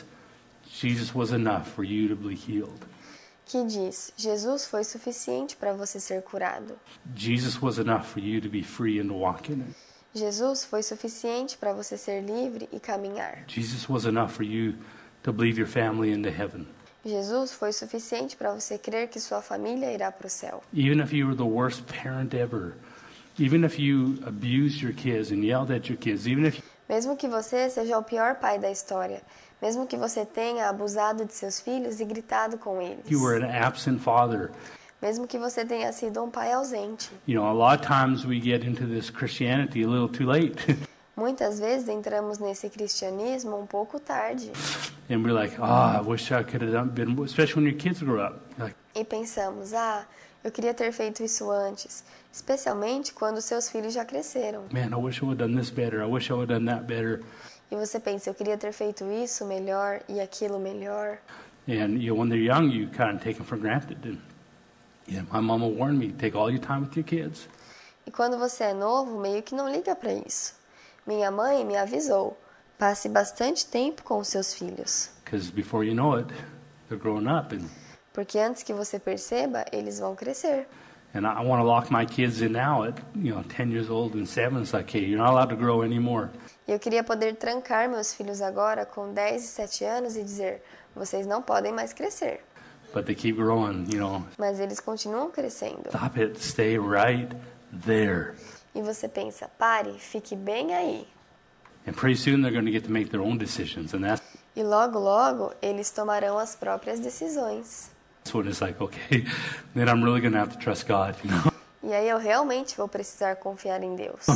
Jesus was enough for you to be healed. que diz, Jesus foi suficiente para você ser curado. Jesus was enough for you to be free and to walk in it. Jesus foi suficiente para você ser livre e caminhar. Jesus was enough for you to believe your family into heaven. Jesus foi suficiente para você crer que sua família irá para o céu. Even if you were the worst parent ever, even if you abused your kids and yelled at your kids, even if Mesmo que você seja o pior pai da história, mesmo que você tenha abusado de seus filhos e gritado com eles, You were an absent father. mesmo que você tenha sido um pai ausente. You know, a lot of times we get into this Christianity a little too late. Muitas vezes entramos nesse cristianismo um pouco tarde And we're like, oh, I wish I could have done, been, especially when your kids grow up. Like, e pensamos, ah, eu queria ter feito isso antes, especialmente quando seus filhos já cresceram. man, I wish I would have done this better. I wish I would have done that better. E você pensa, eu queria ter feito isso melhor e aquilo melhor. And you know, when they're young, you kind of take them for granted. And yeah, my mama warned me, take all your time with your kids. E quando você é novo, meio que não liga para isso. Minha mãe me avisou, passe bastante tempo com os seus filhos. Because before you know it, they're growing up. And, Porque antes que você perceba, eles vão crescer. and I want to lock my kids in now at, you know, ten years old and seven. It's like, hey, you're not allowed to grow anymore. E eu queria poder trancar meus filhos agora com dez e sete anos e dizer, vocês não podem mais crescer. But they keep growing, you know. Mas eles continuam crescendo. Stop it. Stay right there. E você pensa, pare, fique bem aí. And pretty soon they're going to get to make their own decisions. And that's E logo, logo, eles tomarão as próprias decisões. when it's like, okay, then I'm really going to have to trust God, you know. E aí eu realmente vou precisar confiar em Deus.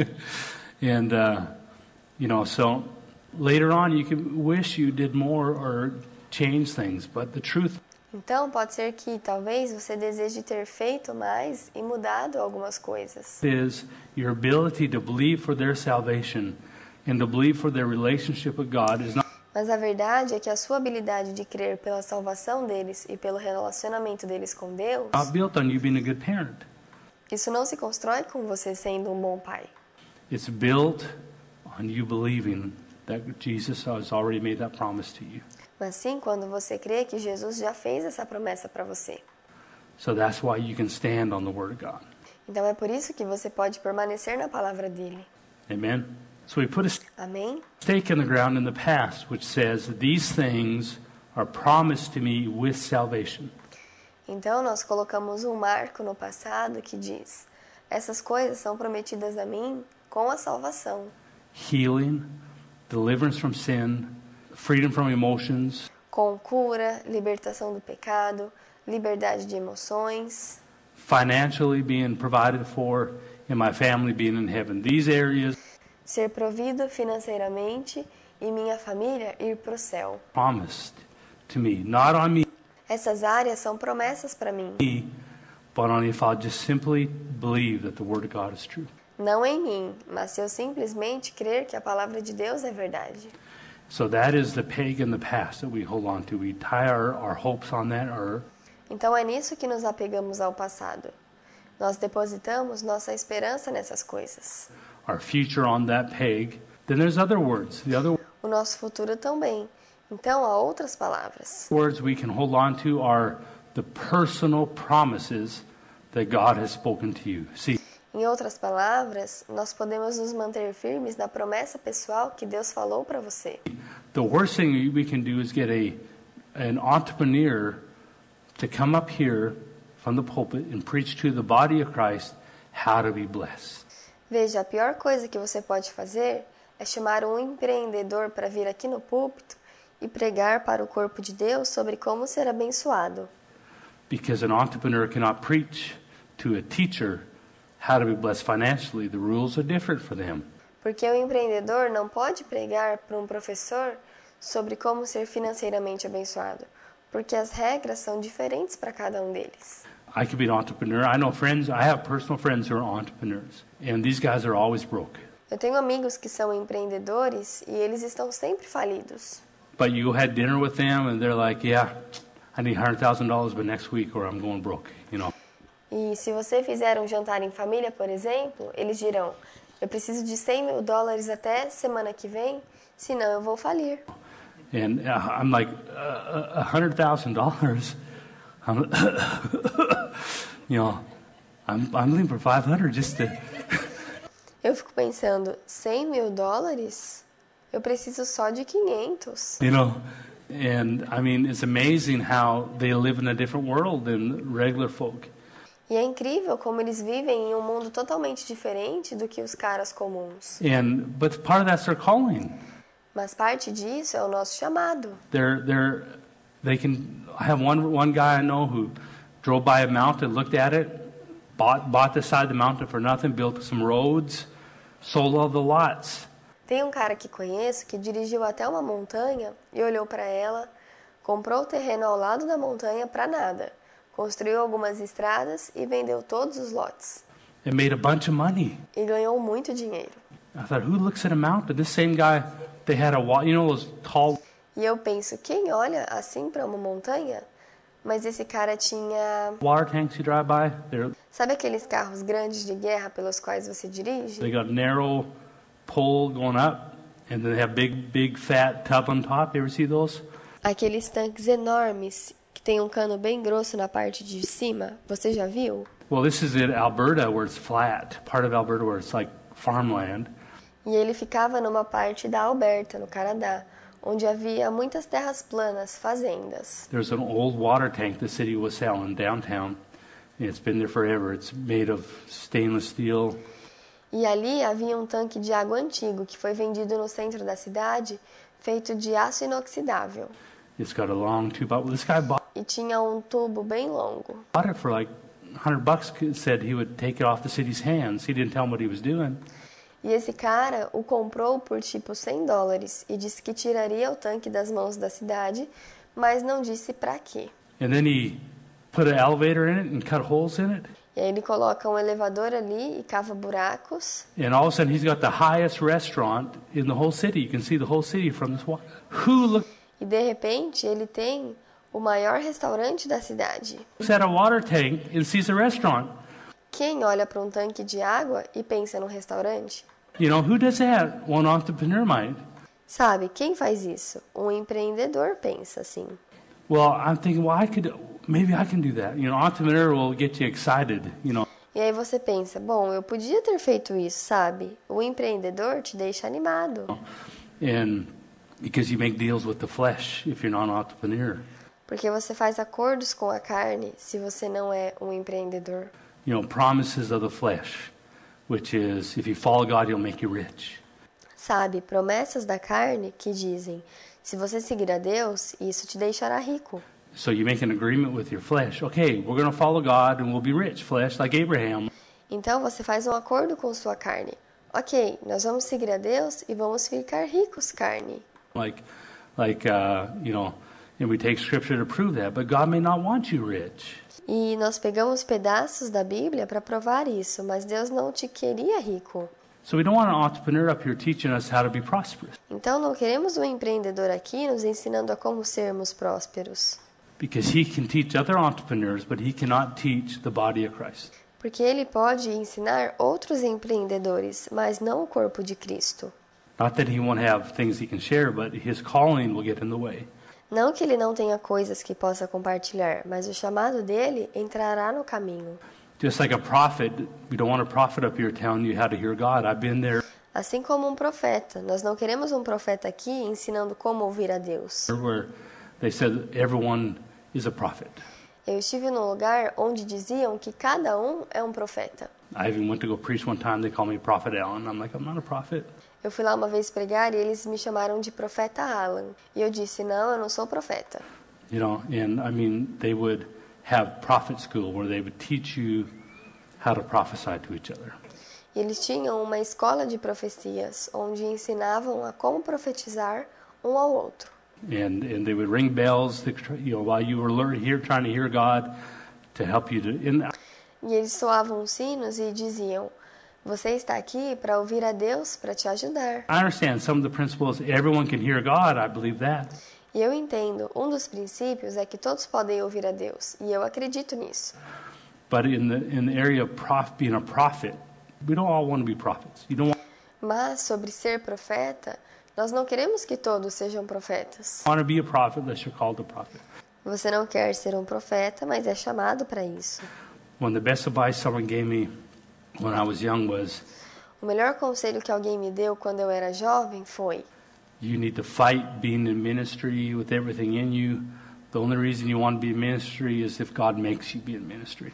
And, uh, you know, so later on you can wish you did more or change things. But the truth Então, pode ser que talvez você deseje ter feito mais e mudado algumas coisas. is your ability to believe for their salvation and to believe for their relationship with God is not Mas a verdade é que a sua habilidade de crer pela salvação deles e pelo relacionamento deles com Deus, not built on you being a good parent. isso não se constrói com você sendo um bom pai. It's built on you believing that Jesus has already made that promise to you. Mas sim quando você crê que Jesus já fez essa promessa para você. So that's why you can stand on the Word of God. Então é por isso que você pode permanecer na palavra dele. Amen? So we put a Amém? stake in the ground in the past which says, these things are promised to me with salvation. Então nós colocamos um marco no passado que diz: essas coisas são prometidas a mim com a salvação. Healing, deliverance from sin, freedom from emotions, Com cura, libertação do pecado, liberdade de emoções, financially being provided for, and my family being in heaven. These areas ser provido financeiramente e minha família ir para o céu. promised to me, not on me, Essas áreas são promessas para mim, but on if I'll just simply believe that the Word of God is true. não em mim, mas se eu simplesmente crer que a palavra de Deus é verdade. So that is the peg in the past that we hold on to. We tie our, our hopes on that, or Então é nisso que nos apegamos ao passado. Nós depositamos nossa esperança nessas coisas. our future on that peg. Then there's other words. The other O nosso futuro também. Então há outras palavras. words we can hold on to are the personal promises that God has spoken to you. See, Em outras palavras, nós podemos nos manter firmes na promessa pessoal que Deus falou para você. the worst thing we can do is get a an entrepreneur to come up here from the pulpit and preach to the body of Christ how to be blessed. Veja, a pior coisa que você pode fazer é chamar um empreendedor para vir aqui no púlpito e pregar para o corpo de Deus sobre como ser abençoado. Because an entrepreneur cannot preach to a teacher how to be blessed financially. The rules are different for them. Porque o empreendedor não pode pregar para um professor sobre como ser financeiramente abençoado, porque as regras são diferentes para cada um deles. I could be an entrepreneur. I know friends, I have personal friends who are entrepreneurs, and these guys are always broke. Eu tenho amigos que são empreendedores e eles estão sempre falidos. But you had dinner with them, and they're like, yeah, I need one hundred thousand dollars by next week or I'm going broke, you know. E se você fizer um jantar em família, por exemplo, eles dirão, eu preciso de cem mil dólares até semana que vem, senão eu vou falir. And uh, I'm like, uh, one hundred thousand dollars? You know, I'm, I'm looking for five hundred just to... Eu fico pensando, cem mil dólares? Eu preciso só de quinhentos. You know, and I mean, it's amazing how they live in a different world than regular folk. E é incrível como eles vivem em um mundo totalmente diferente do que os caras comuns. And but part of that's their calling. Mas parte disso é o nosso chamado. They're they're they can. I have one one guy I know who drove by a mountain, looked at it, bought bought the side of the mountain for nothing, built some roads, sold all the lots. Tem um cara que conheço que dirigiu até uma montanha e olhou para ela, comprou o terreno ao lado da montanha para nada, construiu algumas estradas e vendeu todos os lotes. And made a bunch of money. E ganhou muito dinheiro. I thought, who looks at a mountain? This same guy, they had a wall, you know, those tall. E eu penso, quem olha assim para uma montanha? Mas esse cara tinha... Water tanks you drive by. They're, Sabe aqueles carros grandes de guerra pelos quais você dirige? they got narrow pole going up, and then they have big, big fat tub on top. You ever see those? Aqueles tanques enormes que tem um cano bem grosso na parte de cima. Você já viu? Well, this is in Alberta where it's flat. Part of Alberta where it's like farmland. E ele ficava numa parte da Alberta, no Canadá, onde havia muitas terras planas, fazendas. There's an old water tank the city was selling downtown. It's been there forever. It's made of stainless steel. E ali havia um tanque de água antigo que foi vendido no centro da cidade, feito de aço inoxidável. It's got a long tube. But this guy bought E tinha um tubo bem longo. it for like one hundred bucks. Said he would take it off the city's hands. He didn't tell them what he was doing. E esse cara o comprou por tipo cem dólares e disse que tiraria o tanque das mãos da cidade, mas não disse pra quê. And then he put an elevator in it and cut holes in it. E aí ele coloca um elevador ali e cava buracos. And all of a sudden, he's got the highest restaurant in the whole city. You can see the whole city from this water. Who looks E de repente ele tem o maior restaurante da cidade. at a water tank and sees a restaurant? Quem olha para um tanque de água e pensa num restaurante? You know, who does that? One entrepreneur might. Sabe, quem faz isso? Um empreendedor pensa assim. Well, I'm thinking, well, I could, maybe I can do that. You know, entrepreneur will get you excited, you know. E aí você pensa, bom, eu podia ter feito isso, sabe? O empreendedor te deixa animado. And because you make deals with the flesh if you're not an entrepreneur. Porque você faz acordos com a carne se você não é um empreendedor. You know, promises of the flesh, which is if you follow God, he'll make you rich. Sabe, promessas da carne que dizem, se você seguir a Deus, isso te deixará rico. So you make an agreement with your flesh. Okay, we're going to follow God and we'll be rich, flesh, like Abraham. Então você faz um acordo com sua carne. Ok, nós vamos seguir a Deus e vamos ficar ricos, carne. Like, like uh, you know, and we take scripture to prove that. But God may not want you rich. E nós pegamos pedaços da Bíblia para provar isso, mas Deus não te queria rico. So we don't want an entrepreneur up here teaching us how to be prosperous. Então não queremos um empreendedor aqui nos ensinando a como sermos prósperos. Because he can teach other entrepreneurs, but he cannot teach the body of Christ. Porque ele pode ensinar outros empreendedores, mas não o corpo de Cristo. Not that he won't have things he can share, but his calling will get in the way. Não que ele não tenha coisas que possa compartilhar, mas o chamado dele entrará no caminho. Just like a prophet, we don't want a prophet up here telling you how to hear God. I've been there Assim como um profeta, nós não queremos um profeta aqui ensinando como ouvir a Deus. where they said everyone is a prophet. Eu estive num lugar onde diziam que cada um é um profeta. I even went to go preach one time. They call me Prophet Alan. I'm like, I'm not a prophet. Eu fui lá uma vez pregar e eles me chamaram de profeta Alan. E eu disse, não, eu não sou profeta. You know, and I mean, they would have prophet school where they would teach you how to prophesy to each other. E eles tinham uma escola de profecias, onde ensinavam a como profetizar um ao outro. And and they would ring bells, to, you know, while you were learning, here trying to hear God, to help you to. And E eles soavam sinos e diziam, você está aqui para ouvir a Deus, para te ajudar. I understand some of the principles. Everyone can hear God. I believe that. E eu entendo, um dos princípios é que todos podem ouvir a Deus, e eu acredito nisso. But in the in the area of prof, being a prophet, we don't all want to be prophets. You don't Mas sobre ser profeta, nós não queremos que todos sejam profetas. want to be a prophet unless you're called a prophet. Você não quer ser um profeta, mas é chamado para isso. One of the best advice someone gave me when I was young was, O melhor conselho que alguém me deu quando eu era jovem foi: you need to fight being in ministry with everything in you. The only reason you want to be in ministry is if God makes you be in ministry.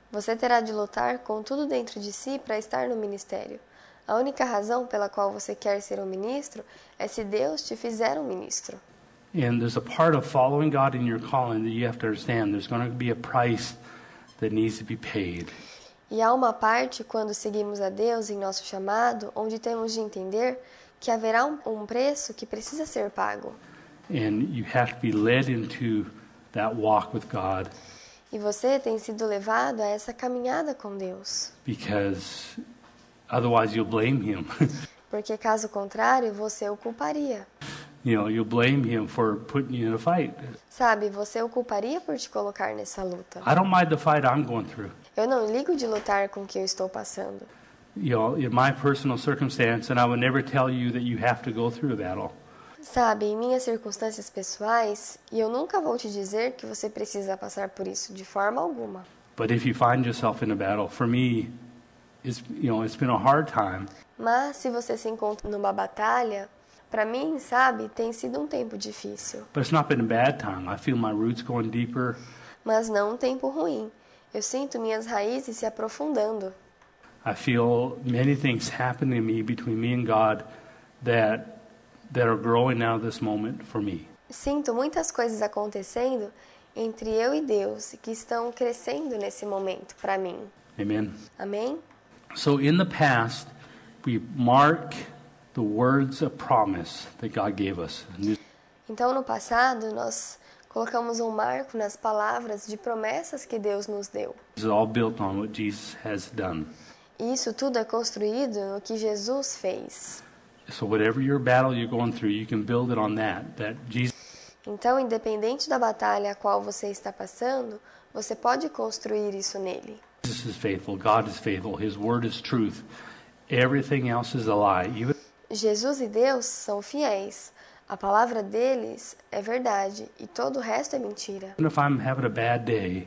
Você terá de lutar com tudo dentro de si para estar no ministério. A única razão pela qual você quer ser um ministro é se Deus te fizer um ministro. And there's a part of following God in your calling that you have to understand. There's going to be a price that needs to be paid. E há uma parte, quando seguimos a Deus em nosso chamado, onde temos de entender que haverá um, um preço que precisa ser pago. And you have to be led into that walk with God. E você tem sido levado a essa caminhada com Deus. Because otherwise you'll blame him. Porque caso contrário, você o culparia. You know, you'll blame him for putting you in a fight. Sabe, você o culparia por te colocar nessa luta. I don't mind the fight I'm going through. Eu não ligo de lutar com o que eu estou passando. You know, in my personal circumstance, and I would never tell you that you have to go through a battle. Sabe, em minhas circunstâncias pessoais, e eu nunca vou te dizer que você precisa passar por isso de forma alguma. But if you find yourself in a battle, for me, it's, you know, it's been a hard time. Mas se você se encontra numa batalha, para mim, sabe, tem sido um tempo difícil. But it's not been a bad time. I feel my roots going deeper. Mas não um tempo ruim. Eu sinto minhas raízes se aprofundando. I feel many things happening to me between me and God that that are growing now this moment for me. Sinto muitas coisas acontecendo entre eu e Deus que estão crescendo nesse momento para mim. Amen. Amém? So in the past, we mark the words of promise that God gave us. Então no passado nós colocamos um marco nas palavras de promessas que Deus nos deu. This is all built on what Jesus has done. E isso tudo é construído no que Jesus fez. So whatever your battle you're going through, you can build it on that. That Jesus. Então, independente da batalha a qual você está passando, você pode construir isso nele. Jesus is faithful. God is faithful. His word is truth. Everything else is a lie. Even Jesus e Deus são fiéis. A palavra deles é verdade e todo o resto é mentira. if I'm having a bad day,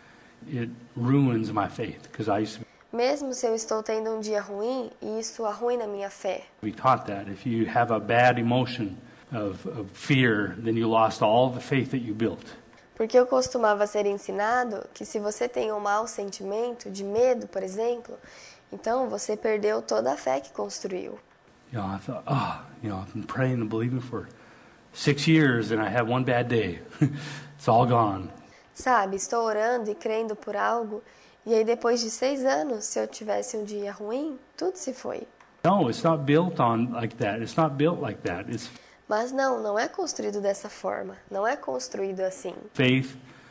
it ruins my faith because I used to Mesmo se eu estou tendo um dia ruim, e isso arruina a minha fé. be taught that if you have a bad emotion of, of fear, then you lost all the faith that you built. Porque eu costumava ser ensinado que se você tem um mau sentimento de medo, por exemplo, então você perdeu toda a fé que construiu. You know, I thought, oh, you know, I've been praying and believing for six years and I have one bad day. It's all gone. Sabe, estou orando e crendo por algo, e aí depois de seis anos, se eu tivesse um dia ruim, tudo se foi. No, it's not built on like that. It's not built like that. It's Mas não, não é construído dessa forma. Não é construído assim. faith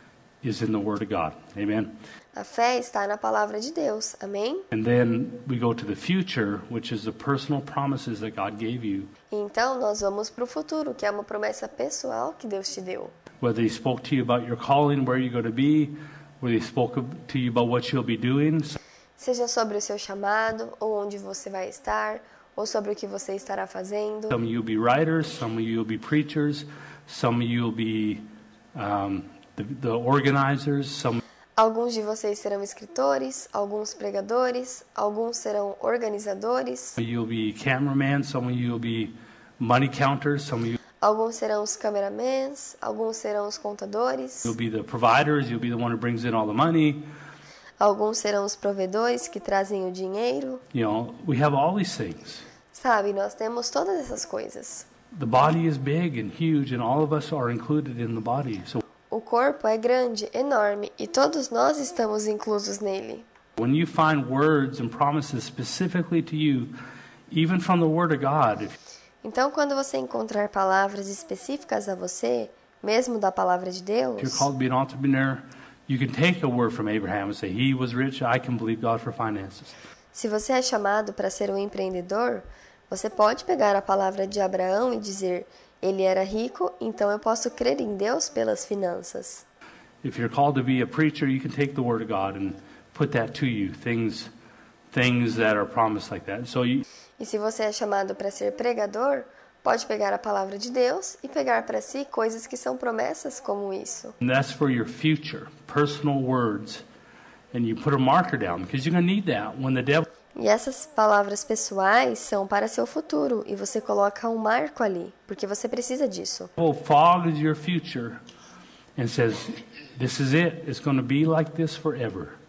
is in the Word of God. Amen. A fé está na palavra de Deus. Amém? And then we go to the future, which is the personal promises that God gave you. E então nós vamos para o futuro, que é uma promessa pessoal que Deus te deu. Whether He spoke to you about your calling, where you're going to be, whether He spoke to you about what you'll be doing. Seja sobre o seu chamado, ou onde você vai estar, ou sobre o que você estará fazendo. Some of you will be writers, some of you will be preachers, some of you will be um, the, the organizers, some Alguns de vocês serão escritores, alguns pregadores, alguns serão organizadores, of you will be cameramen, some of you will be money counters, some of you alguns serão os cameramans, alguns serão os contadores, will be the providers, you'll be the one who brings in all the money. alguns serão os provedores que trazem o dinheiro. You know, we have all these things. Sabe, nós temos todas essas coisas. The body is big and huge, and all of us are included in the body. So O corpo é grande, enorme, e todos nós estamos inclusos nele. when you find words and promises specifically to you, even from the Word of God, if Então, quando você encontrar palavras específicas a você, mesmo da palavra de you're Deus, called to be an entrepreneur, you can take a word from Abraham and say, he was rich, I can believe God for finances. se você é chamado para ser um empreendedor, você pode pegar a palavra de Abraão e dizer, ele era rico, então eu posso crer em Deus pelas finanças. If you're called to be a preacher, you can take the Word of God and put that to you, things things that are promised like that. So you, E se você é chamado para ser pregador, pode pegar a palavra de Deus e pegar para si coisas que são promessas como isso. and that's for your future, personal words. And you put a marker down because you're going to need that when the devil E essas palavras pessoais são para seu futuro, e você coloca um marco ali, porque você precisa disso. fogs your future and says, this is it. It's going to be like this forever.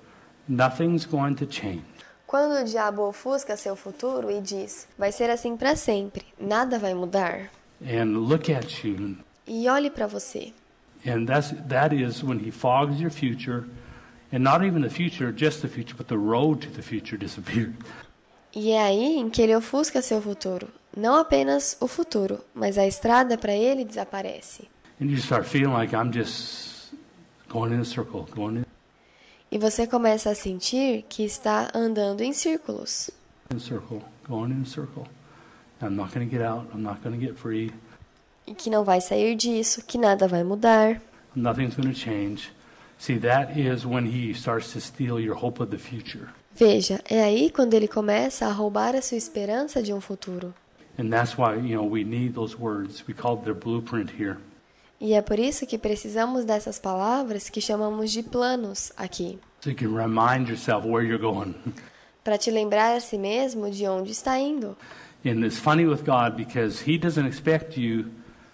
nothing's going to change. Quando o diabo ofusca seu futuro e diz, vai ser assim para sempre, nada vai mudar. And look at you. E olhe para você. And that's, that is when he fogs your future, and not even the future, just the future, but the road to the future disappears. E é aí em que ele ofusca seu futuro. Não apenas o futuro, mas a estrada para ele desaparece. And you start feeling like I'm just going in a circle, going in E você começa a sentir que está andando em círculos. a circle, going in a circle. I'm not going to get out. I'm not going to get free. E que não vai sair disso, que nada vai mudar. Nothing's going to change. See, that is when he starts to steal your hope of the future. Veja, é aí quando ele começa a roubar a sua esperança de um futuro. And that's why, you know, we need those words. We call it their blueprint here. E é por isso que precisamos dessas palavras que chamamos de planos aqui. So you can remind yourself where you're going. Para te lembrar a si mesmo de onde está indo. And it's funny with God because he doesn't expect you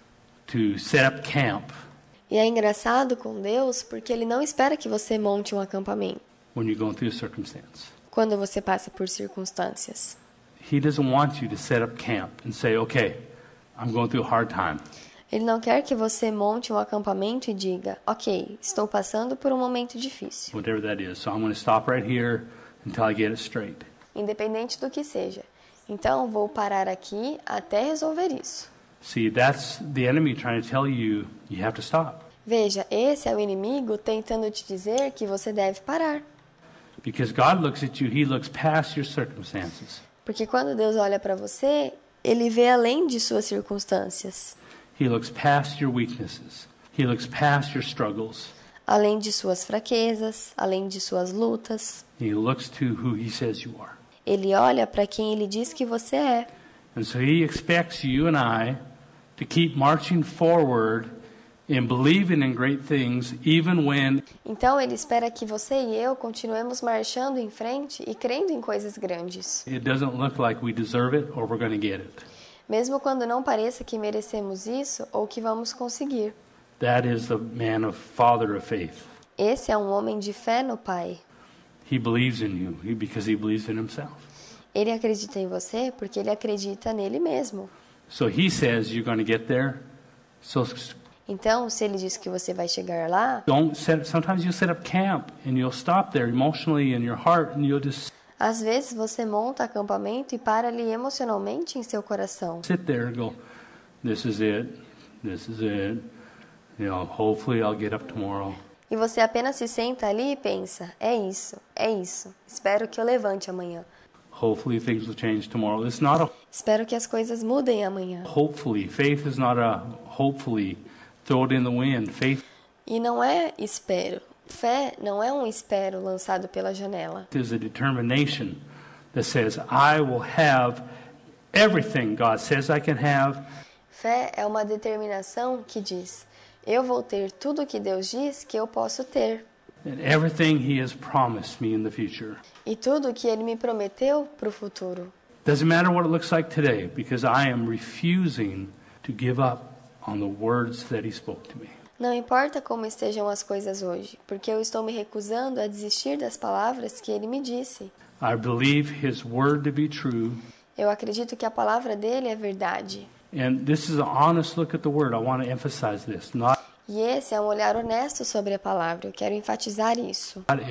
to set up camp E é engraçado com Deus porque ele não espera que você monte um acampamento when you're going through a circumstance. quando você passa por circunstâncias. He doesn't want you to set up camp and say, okay, I'm going through a hard time. Ele não quer que você monte um acampamento e diga, ok, estou passando por um momento difícil, Whatever that is. So I'm going to stop right here until I get it straight. independente do que seja. Então, vou parar aqui até resolver isso. See, that's the enemy trying to tell you you have to stop. Veja, esse é o inimigo tentando te dizer que você deve parar. Because God looks at you, he looks past your circumstances. Porque quando Deus olha para você, ele vê além de suas circunstâncias, He looks past your weaknesses. He looks past your struggles. além de suas fraquezas, além de suas lutas. He looks to who he says you are. Ele olha para quem ele diz que você é. And so he expects you and I to keep marching forward and believing in great things even when Então ele espera que você e eu continuemos marchando em frente e crendo em coisas grandes, it doesn't look like we deserve it or we're going to get it. mesmo quando não pareça que merecemos isso ou que vamos conseguir. That is the man of father of faith. Esse é um homem de fé no Pai. He believes in you he- because he believes in himself. Ele acredita em você porque ele acredita nele mesmo. So he says you're going to get there. So Então, se ele diz que você vai chegar lá, don't set, sometimes you'll set up camp and you'll stop there emotionally in your heart and you'll just às vezes você monta acampamento e para ali emocionalmente em seu coração. sit there and go, this is it, this is it. You know, hopefully I'll get up tomorrow. E você apenas se senta ali e pensa, é isso, é isso. Espero que eu levante amanhã. Hopefully things will change tomorrow. It's not a Espero que as coisas mudem amanhã. hopefully. Faith is not a hopefully. Throw it in the wind. Faith E não é espero. Fé não é um espero lançado pela janela. is a determination that says, I will have everything God says I can have. Fé é uma determinação que diz, eu vou ter tudo o que Deus diz que eu posso ter. And everything he has promised me in the future. E tudo o que Ele me prometeu para o futuro. Doesn't matter what it looks like today because I am refusing to give up on the words that he spoke to me. Não importa como estejam as coisas hoje, porque eu estou me recusando a desistir das palavras que Ele me disse. I believe his word to be true. Eu acredito que a palavra dele é verdade. And this is an honest look at the word. I want to emphasize this. Not E esse é um olhar honesto sobre a palavra. Eu quero enfatizar isso. a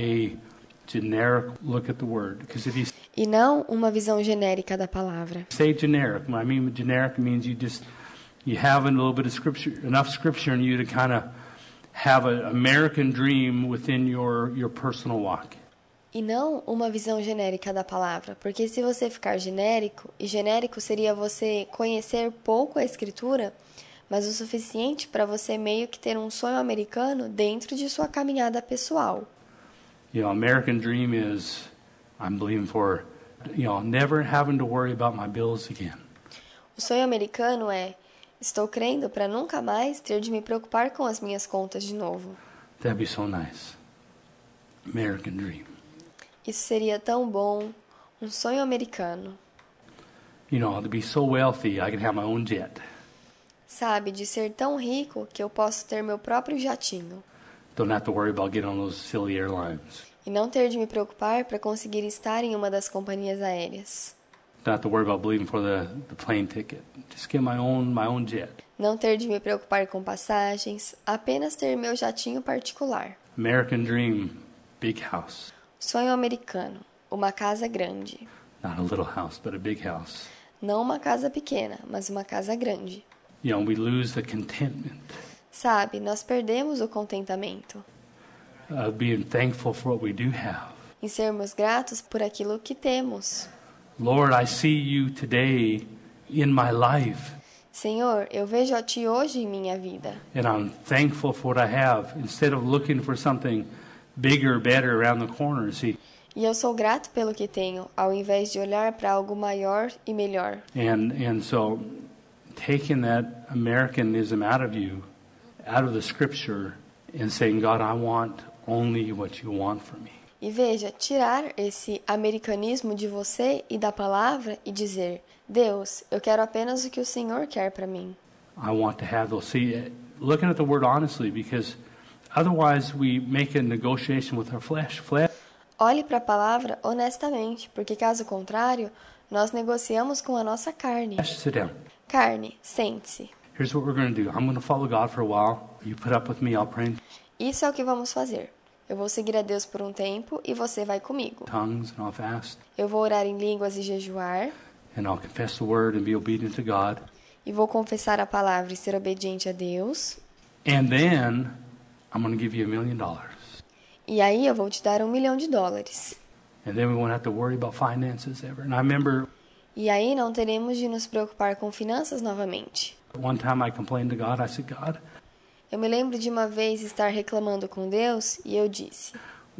generic look at the word. Because if you E não uma visão genérica da palavra. say generic, when I mean generic means you just you have a little bit of scripture, enough scripture in you to kind of have an American dream within your your personal walk. E não uma visão genérica da palavra. Porque se você ficar genérico, e genérico seria você conhecer pouco a Escritura, mas o suficiente para você meio que ter um sonho americano dentro de sua caminhada pessoal. You know, American dream is I'm believing for, you know, never having to worry about my bills again. O sonho americano é, estou crendo para nunca mais ter de me preocupar com as minhas contas de novo. That'd be so nice. American dream. Isso seria tão bom, um sonho americano. You know, to be so wealthy, I can have my own jet. Sabe, de ser tão rico que eu posso ter meu próprio jatinho. Don't have to worry about getting on those silly airlines. E não ter de me preocupar para conseguir estar em uma das companhias aéreas. Not to worry about believing for the, the plane ticket. Just get my own my own jet. Não ter de me preocupar com passagens, apenas ter meu jatinho particular. American dream, big house. Sonho americano, uma casa grande. Not a little house, but a big house. Não uma casa pequena, mas uma casa grande. You know, we lose the contentment. Sabe, nós perdemos o contentamento. Uh, being thankful for what we do have. Em sermos gratos por aquilo que temos. Lord, I see you today in my life. Senhor, eu vejo a Ti hoje em minha vida. And I'm thankful for what I have. Instead of looking for something bigger, better around the corner, see. E eu sou grato pelo que tenho, ao invés de olhar para algo maior e melhor. And and so taking that Americanism out of you, out of the scripture, and saying, God, I want only what you want for me. E veja, tirar esse americanismo de você e da palavra e dizer, Deus, eu quero apenas o que o Senhor quer para mim. I want to have those. See, looking at the word honestly, because otherwise we make a negotiation with our flesh. Flesh. Olhe para a palavra honestamente, porque caso contrário, nós negociamos com a nossa carne. Sit down. Carne, sente-se. Here's what we're going to do. I'm going to follow God for a while. You put up with me. I'll pray in Isso é o que vamos fazer. Eu vou seguir a Deus por um tempo e você vai comigo. tongues and I'll fast. Eu vou orar em línguas e jejuar. And I'll confess the word and be obedient to God. E vou confessar a palavra e ser obediente a Deus. And then I'm going to give you a million dollars. E aí eu vou te dar um milhão de dólares. And then we won't have to worry about finances ever. And I remember E aí não teremos de nos preocupar com finanças novamente. one time I complained to God. I said, God, Eu me lembro de uma vez estar reclamando com Deus e eu disse,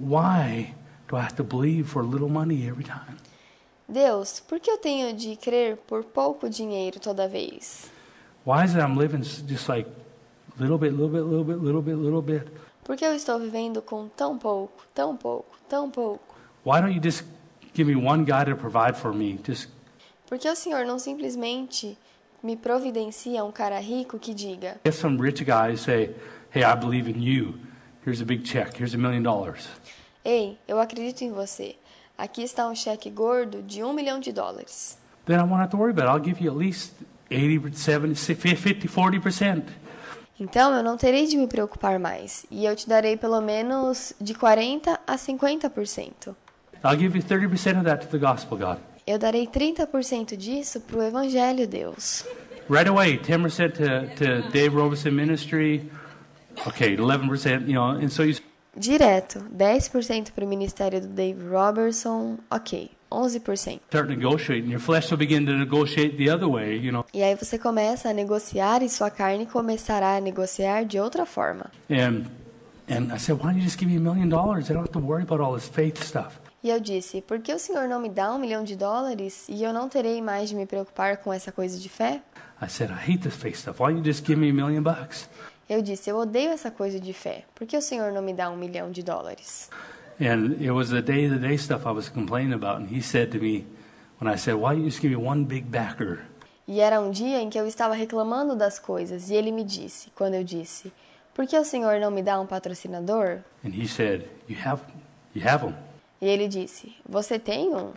why do I have to believe for little money every time? Deus, por que eu tenho de crer por pouco dinheiro toda vez? Why is it I'm living just like little bit, little bit, little bit, little bit, little bit? Por que eu estou vivendo com tão pouco, tão pouco, tão pouco? Why don't you just give me one guy to provide for me? Just Por que o Senhor não simplesmente me providencia um cara rico que diga, get some rich guy say, hey, I believe in you. Here's a big check. Here's a million dollars. ei, eu acredito em você. Aqui está um cheque gordo de um milhão de dólares. Then I won't have to worry about it. I'll give you at least eighty, seventy, fifty, forty percent. Então eu não terei de me preocupar mais, e eu te darei pelo menos de quarenta a cinquenta por cento. I'll give you thirty percent of that to the gospel, God. Eu darei trinta por cento disso para o Evangelho, Deus. Right away, ten percent to, to Dave Robeson Ministry. Okay, eleven percent, you know, and so you Direto, dez por cento para o ministério do Dave Robertson, ok, onze por cento. start negotiating. Your flesh will begin to negotiate the other way, you know. E aí você começa a negociar e sua carne começará a negociar de outra forma. And and I said, why don't you just give me a million dollars? I don't have to worry about all this faith stuff. E eu disse, por que o Senhor não me dá um milhão de dólares e eu não terei mais de me preocupar com essa coisa de fé? I said, I hate this faith stuff. Why don't you just give me a million bucks? Eu disse, eu odeio essa coisa de fé. Por que o Senhor não me dá um milhão de dólares? And it was the day-to-day stuff I was complaining about. And he said to me, when I said, why don't you just give me one big backer? E era um dia em que eu estava reclamando das coisas e ele me disse, quando eu disse, por que o Senhor não me dá um patrocinador? And he said, you have, you have them. E ele disse, você tem um?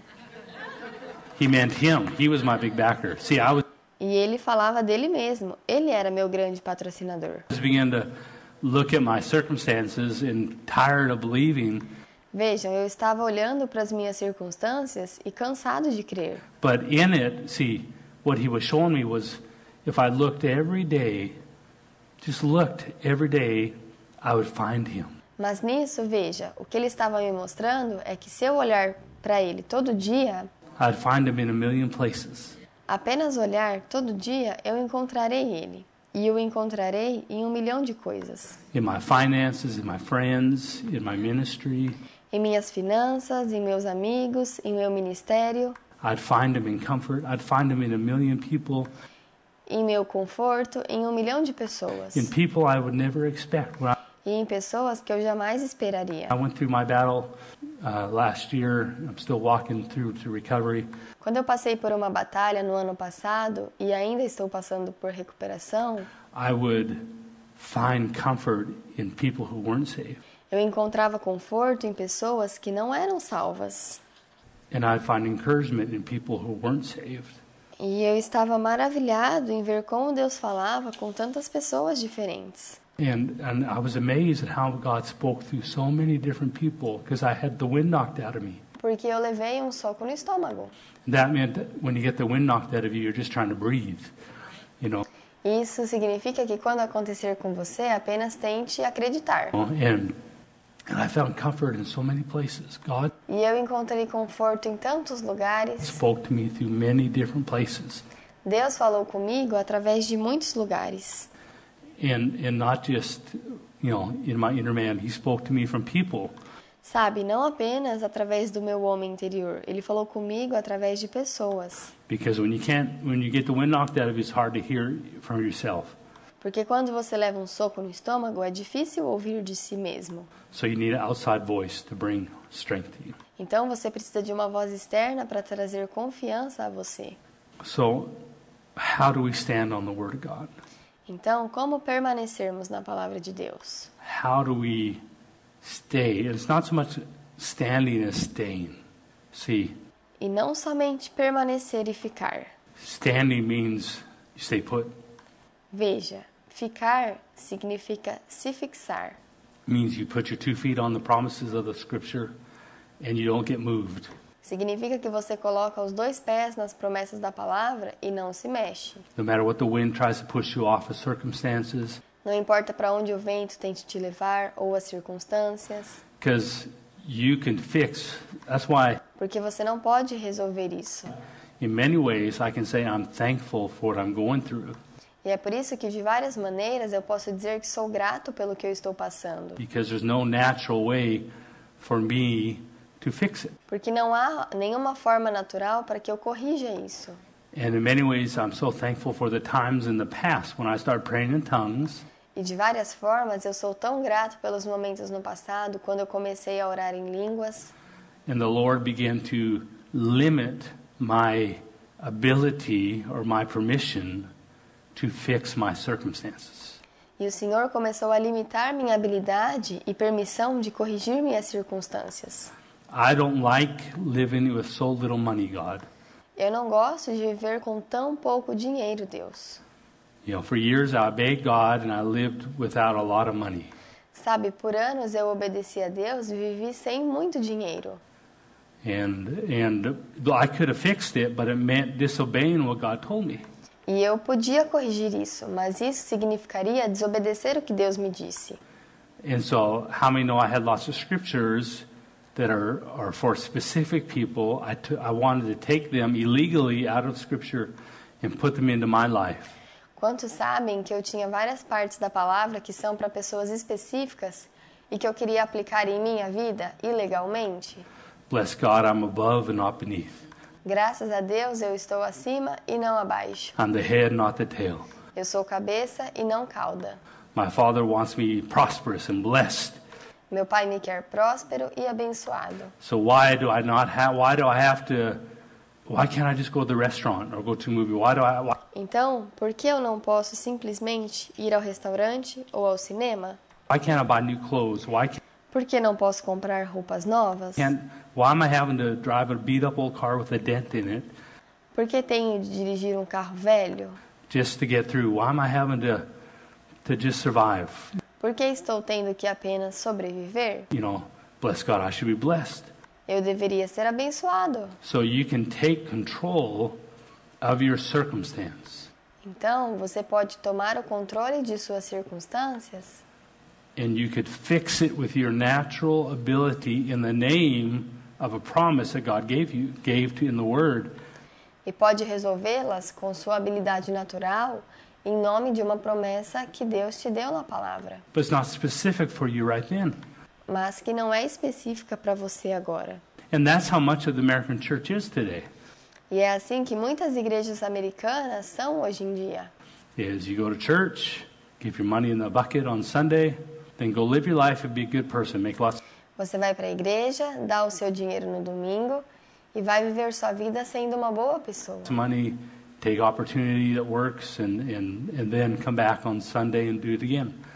He meant him. He was my big backer. See, I was E ele falava dele mesmo. Ele era meu grande patrocinador. began to look at my circumstances and tired of believing. Vejam, eu estava olhando para as minhas circunstâncias e cansado de crer. But in it, see, what he was showing me was if I looked every day, just looked every day, I would find him. Mas nisso, veja, o que ele estava me mostrando é que se eu olhar para ele todo dia, I'd find him in a million places. apenas olhar todo dia, eu encontrarei ele. E o encontrarei em um milhão de coisas. In my finances, in my friends, in my ministry. Em minhas finanças, em meus amigos, em meu ministério, I'd find him in comfort. I'd find him in a million people. em meu conforto, em um milhão de pessoas. In people I would never expect. When I, E em pessoas que eu jamais esperaria. I went through my battle uh, last year. I'm still walking through to recovery. Quando eu passei por uma batalha no ano passado e ainda estou passando por recuperação, I would find comfort in people who weren't saved. Eu encontrava conforto em pessoas que não eram salvas. And I'd find encouragement in people who weren't saved. E eu estava maravilhado em ver como Deus falava com tantas pessoas diferentes. And, and I was amazed at how God spoke through so many different people because I had the wind knocked out of me. Porque eu levei um soco no estômago. That meant that when you get the wind knocked out of you, you're just trying to breathe, you know. Isso significa que quando acontecer com você, apenas tente acreditar. And, and I found comfort in so many places. God E eu encontrei conforto em tantos lugares. spoke to me through many different places. Deus falou comigo através de muitos lugares. And, and not just, you know, in my inner man. He spoke to me from people. Sabe, não apenas através do meu homem interior. Ele falou comigo através de pessoas. Because when you can't, when you get the wind knocked out of you, it's hard to hear from yourself. Porque quando você leva um soco no estômago, é difícil ouvir de si mesmo. So you need an outside voice to bring strength to you. Então você precisa de uma voz externa para trazer confiança a você. So how do we stand on the Word of God? Então, como permanecermos na palavra de Deus? How do we stay? It's not so much standing as staying. See, E não somente permanecer e ficar. standing means you stay put. Veja, ficar significa se fixar. Means you put your two feet on the promises of the Scripture and you don't get moved. Significa que você coloca os dois pés nas promessas da palavra e não se mexe. No matter what the wind tries to push you off of circumstances, Não importa para onde o vento tente te levar ou as circunstâncias, because you can fix. That's why, porque você não pode resolver isso. in many ways, I can say I'm thankful for what I'm going through. E é por isso que de várias maneiras eu posso dizer que sou grato pelo que eu estou passando. Because there's no natural way for me to fix it. Porque não há nenhuma forma natural para que eu corrija isso. And in many ways, I'm so thankful for the times in the past when I started praying in tongues. E de várias formas eu sou tão grato pelos momentos no passado, quando eu comecei a orar em línguas. And the Lord began to limit my ability or my permission to fix my circumstances. E o Senhor começou a limitar minha habilidade e permissão de corrigir minhas circunstâncias. I don't like living with so little money, God. Eu não gosto de viver com tão pouco dinheiro, Deus. You know, for years I begged God and I lived without a lot of money. Sabe, por anos eu obedeci a Deus e vivi sem muito dinheiro. And and I could have fixed it, but it meant disobeying what God told me. E eu podia corrigir isso, mas isso significaria desobedecer o que Deus me disse. And so, how many know I had lots of scriptures that are, are for specific people? I, t- I wanted to take them illegally out of Scripture and put them into my life. Quantos sabem que eu tinha várias partes da palavra que são para pessoas específicas e que eu queria aplicar em minha vida ilegalmente? Bless God, I'm above and not beneath. Graças a Deus eu estou acima e não abaixo. I'm the head, not the tail. Eu sou cabeça e não cauda. My Father wants me prosperous and blessed. Meu Pai me quer próspero e abençoado. So why do I not have? Why do I have to? Why can't I just go to the restaurant or go to a movie? Why do I? Why? Então, por que eu não posso simplesmente ir ao restaurante ou ao cinema? Why can't I buy new clothes? Why can't? Por que não posso comprar roupas novas? can't why am I having to drive a beat up old car with a dent in it Por que tenho de dirigir um carro velho? just to get through? Why am I having to to just survive? Por que estou tendo que apenas sobreviver? You know, bless God, I should be blessed. Eu deveria ser abençoado. So you can take control of your circumstance Então, você pode tomar o controle de suas circunstâncias and you could fix it with your natural ability in the name of a promise that God gave you, gave to in the Word. e pode resolvê-las com sua habilidade natural em nome de uma promessa que Deus te deu na palavra, But it's not specific for you right then. mas que não é específica para você agora. And that's how much of the American church is today. E é assim que muitas igrejas americanas são hoje em dia. Is you go to church, give your money in the bucket on Sunday, then go live your life and be a good person, make lots. Você vai para a igreja, dá o seu dinheiro no domingo e vai viver sua vida sendo uma boa pessoa. of money, take opportunity that works, and, and, and then come back on Sunday and do it again.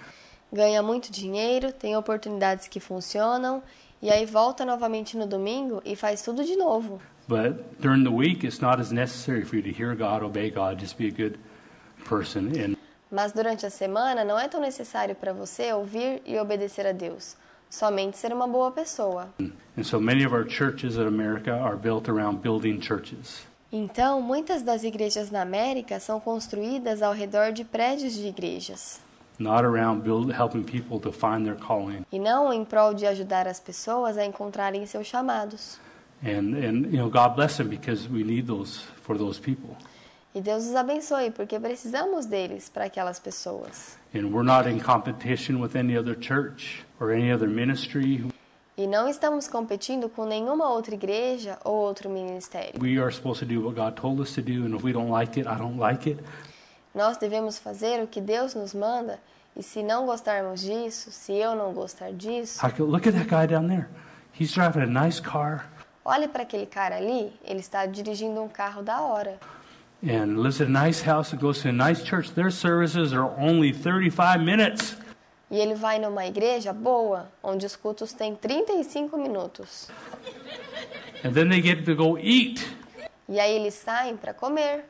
ganha muito dinheiro, tem oportunidades que funcionam, e aí volta novamente no domingo e faz tudo de novo. But during the week, it's not as necessary for you to hear God, obey God, just be a good person. And Mas durante a semana não é tão necessário para você ouvir e obedecer a Deus, somente ser uma boa pessoa. and so many of our churches in America are built around building churches. Então, muitas das igrejas na América são construídas ao redor de prédios de igrejas, Not around build, helping people to find their calling. e não em prol de ajudar as pessoas a encontrarem seus chamados. And, and you know, God bless them because we need those for those people. E Deus os abençoe, porque precisamos deles para aquelas pessoas. And we're not in competition with any other church or any other ministry. E não estamos competindo com nenhuma outra igreja ou outro ministério. We are supposed to do what God told us to do, and if we don't like it, I don't like it. Nós devemos fazer o que Deus nos manda, e se não gostarmos disso, se eu não gostar disso, I could, look at that guy down there. He's driving a nice car olhe para aquele cara ali, ele está dirigindo um carro da hora. and lives in a nice house and goes to a nice church. Their services are only thirty-five minutes. E ele vai numa igreja boa, onde os cultos têm trinta e cinco minutos. And then they get to go eat. E aí eles saem para comer.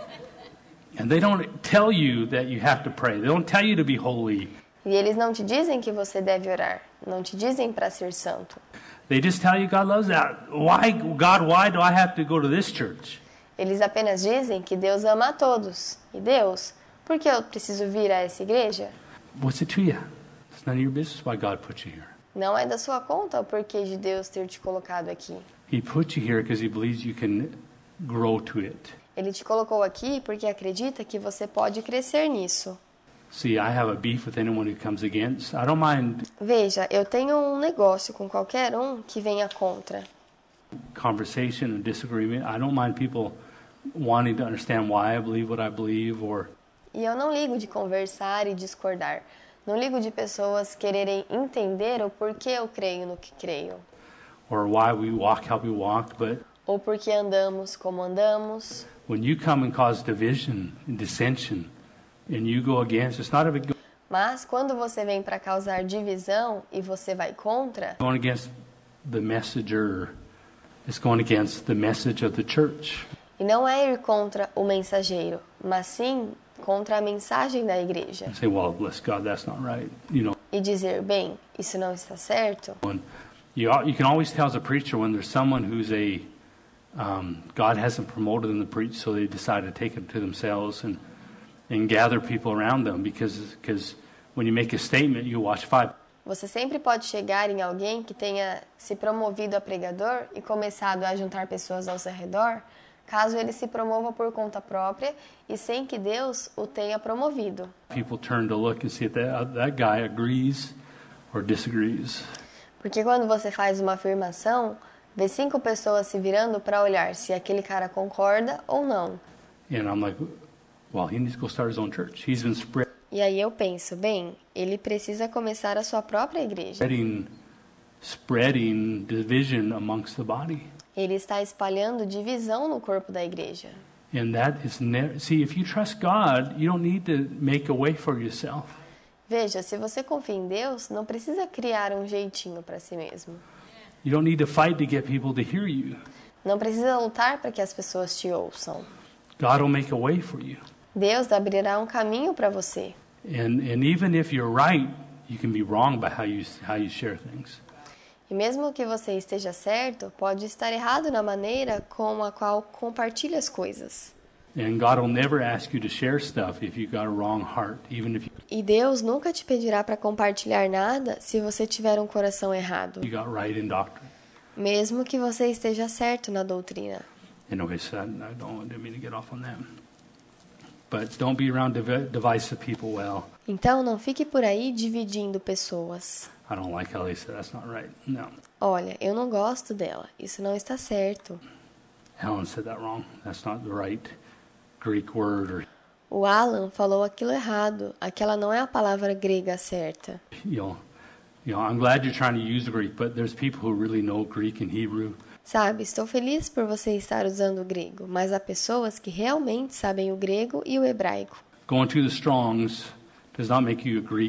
And they don't tell you that you have to pray. They don't tell you to be holy. E eles não te dizem que você deve orar, não te dizem para ser santo. They just tell you God loves that. Why, God, why do I have to go to this church? Eles apenas dizem que Deus ama a todos. E Deus, por que eu preciso vir a essa igreja? What's it to you? It's none of your business why God put you here. Não é da sua conta o porquê de Deus ter te colocado aqui. He put you here because he believes you can grow to it. Ele te colocou aqui porque acredita que você pode crescer nisso. See, I have a beef with anyone who comes against. I don't mind Veja, eu tenho um negócio com qualquer um que venha contra. conversation and disagreement. I don't mind people wanting to understand why I believe what I believe or E eu não ligo de conversar e discordar. Não ligo de pessoas quererem entender o porquê eu creio no que creio. or why we walk how we walk, but Ou porque andamos como andamos. when you come and cause division and dissension and you go against, it's not a big Mas quando você vem para causar divisão e você vai contra, going against the messenger. It's going against the message of the church. e não é ir contra o mensageiro, mas sim contra a mensagem da igreja. You say, well, bless God, that's not right. You know, E dizer, bem, isso não está certo. when you al- you can always tell as a preacher when there's someone who's a um, God hasn't promoted them to preach, so they decide to take it to themselves and and gather people around them because because when you make a statement, you watch five. Você sempre pode chegar em alguém que tenha se promovido a pregador e começado a juntar pessoas ao seu redor, caso ele se promova por conta própria e sem que Deus o tenha promovido. People turn to look and see if that that guy agrees or disagrees. Porque quando você faz uma afirmação, vê cinco pessoas se virando para olhar se aquele cara concorda ou não. And I'm like, well, he needs to go start his own church. He's been spread. E aí eu penso, bem, ele precisa começar a sua própria igreja. spreading, spreading division amongst the body. Ele está espalhando divisão no corpo da igreja. And that is never, see, if you trust God, you don't need to make a way for yourself. Veja, se você confia em Deus, não precisa criar um jeitinho para si mesmo. You don't need to fight to get people to hear you. Não precisa lutar para que as pessoas te ouçam. God will make a way for you. Deus abrirá um caminho para você. And and even if you're right, you can be wrong by how you how you share things. E mesmo que você esteja certo, pode estar errado na maneira com a qual compartilha as coisas. And God will never ask you to share stuff if you got a wrong heart, even if E Deus nunca te pedirá para compartilhar nada se você tiver um coração errado, you got right in doctrine. mesmo que você esteja certo na doutrina. Anyway, so I I don't want me to get off on that. But don't be around div- divisive people well. Então não fique por aí dividindo pessoas. I don't like how they said that's not right. No. Olha, eu não gosto dela, isso não está certo. Helen said that wrong. That's not the right Greek word. Or, O Alan falou aquilo errado, aquela não é a palavra grega certa. you know, you know, I'm glad you're trying to use Greek, but there's people who really know Greek and Hebrew. Sabe, estou feliz por você estar usando o grego, mas há pessoas que realmente sabem o grego e o hebraico. Going to the Strongs does not make you a Greek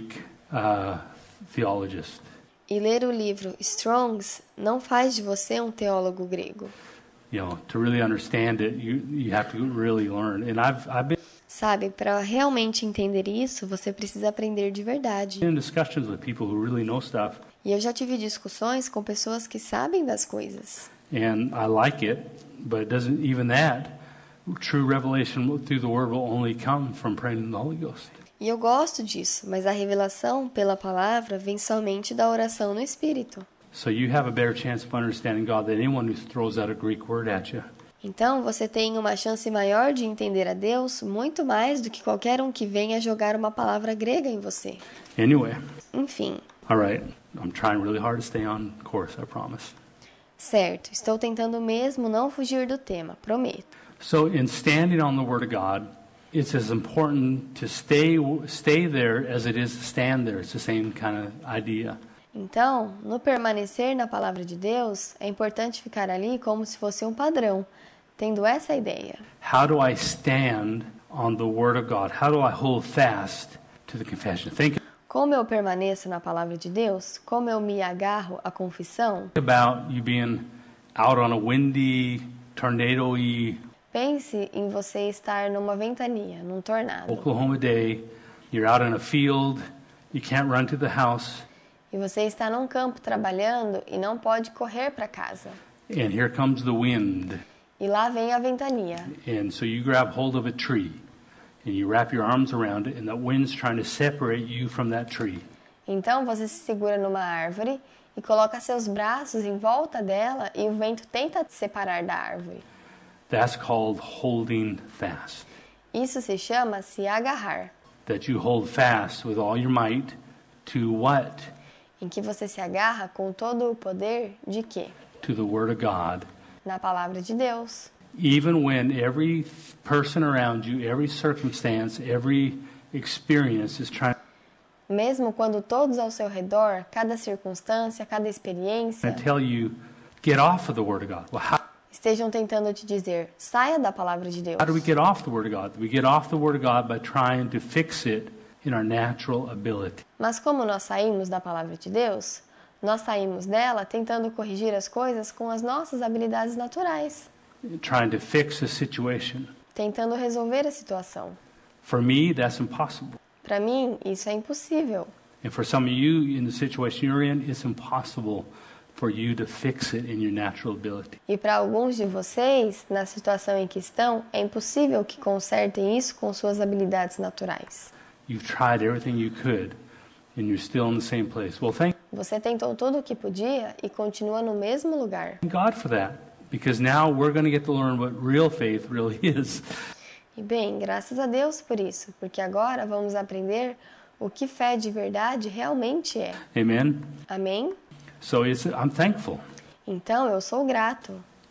uh, theologist. E ler o livro Strong's não faz de você um teólogo grego. You know, to really understand it, you you have to really learn. And I've I've been Sabe, para realmente entender isso, você precisa aprender de verdade. in discussions with people who really know stuff, E eu já tive discussões com pessoas que sabem das coisas. and I like it, but it doesn't even that. True revelation through the Word will only come from praying in the Holy Ghost. E eu gosto disso, mas a revelação pela palavra vem somente da oração no Espírito. So you have a better chance of understanding God than anyone who throws out a Greek word at you. Então, você tem uma chance maior de entender a Deus muito mais do que qualquer um que venha jogar uma palavra grega em você. Anyway, Enfim, all right. I'm trying really hard to stay on course, I promise. certo, estou tentando mesmo não fugir do tema, prometo. So in standing on the Word of God, it's as important to stay stay there as it is to stand there. It's the same kind of idea. Então, no permanecer na palavra de Deus, é importante ficar ali como se fosse um padrão, tendo essa ideia. How do I stand on the Word of God? How do I hold fast to the confession? Think Como eu permaneço na palavra de Deus, como eu me agarro à confissão, about you being out on a windy, tornado-y pense em você estar numa ventania, num tornado, Oklahoma day. You're out in a field. You can't run to the house. e você está num campo trabalhando e não pode correr para casa. And here comes the wind. E lá vem a ventania. And so you grab hold of a tree. And you wrap your arms around it. And that wind's trying to separate you from that tree. Então você se segura numa árvore e coloca seus braços em volta dela e o vento tenta te separar da árvore. That's called holding fast. Isso se chama se agarrar, That you hold fast with all your might to what? em que você se agarra com todo o poder de quê? To the Word of God. Na palavra de Deus. Even when every person around you, every circumstance, every experience is trying Mesmo quando todos ao seu redor, cada circunstância, cada experiência, to tell you, get off of the Word of God. Well, how, estejam tentando te dizer, saia da palavra de Deus. how do we get off the Word of God? We get off the Word of God by trying to fix it in our natural ability. Mas como nós saímos da palavra de Deus, nós saímos dela tentando corrigir as coisas com as nossas habilidades naturais, Trying to fix a situation. tentando resolver a situação. For me, that's impossible. Para mim, isso é impossível. And for some of you in the situation you're in, it's impossible for you to fix it in your natural ability. E para alguns de vocês, na situação em que estão, é impossível que consertem isso com suas habilidades naturais. You've tried everything you could, and you're still in the same place. Well, thank Você tentou tudo o que podia e continua no mesmo lugar. God for that, because now we're going to get to learn what real faith really is. E bem, graças a Deus por isso, porque agora vamos aprender o que fé de verdade realmente é. Amen? Amém? So it's, I'm thankful. Então eu sou grato.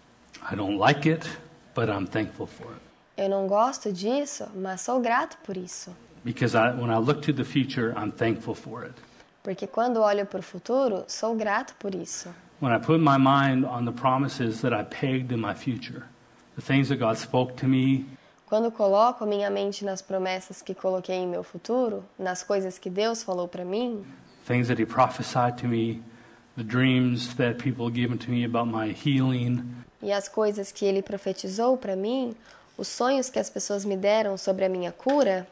I don't like it, but I'm thankful for it. Eu não gosto disso, mas sou grato por isso. Because I, when I look to the future, I'm thankful for it. Porque quando olho para o futuro, sou grato por isso. When I put my mind on the promises that I pegged in my future, the things that God spoke to me, Quando coloco a minha mente nas promessas que coloquei em meu futuro, nas coisas que Deus falou para mim, things that He prophesied to me, the dreams that people have given to me about my healing, e as coisas que Ele profetizou para mim, os sonhos que as pessoas me deram sobre a minha cura,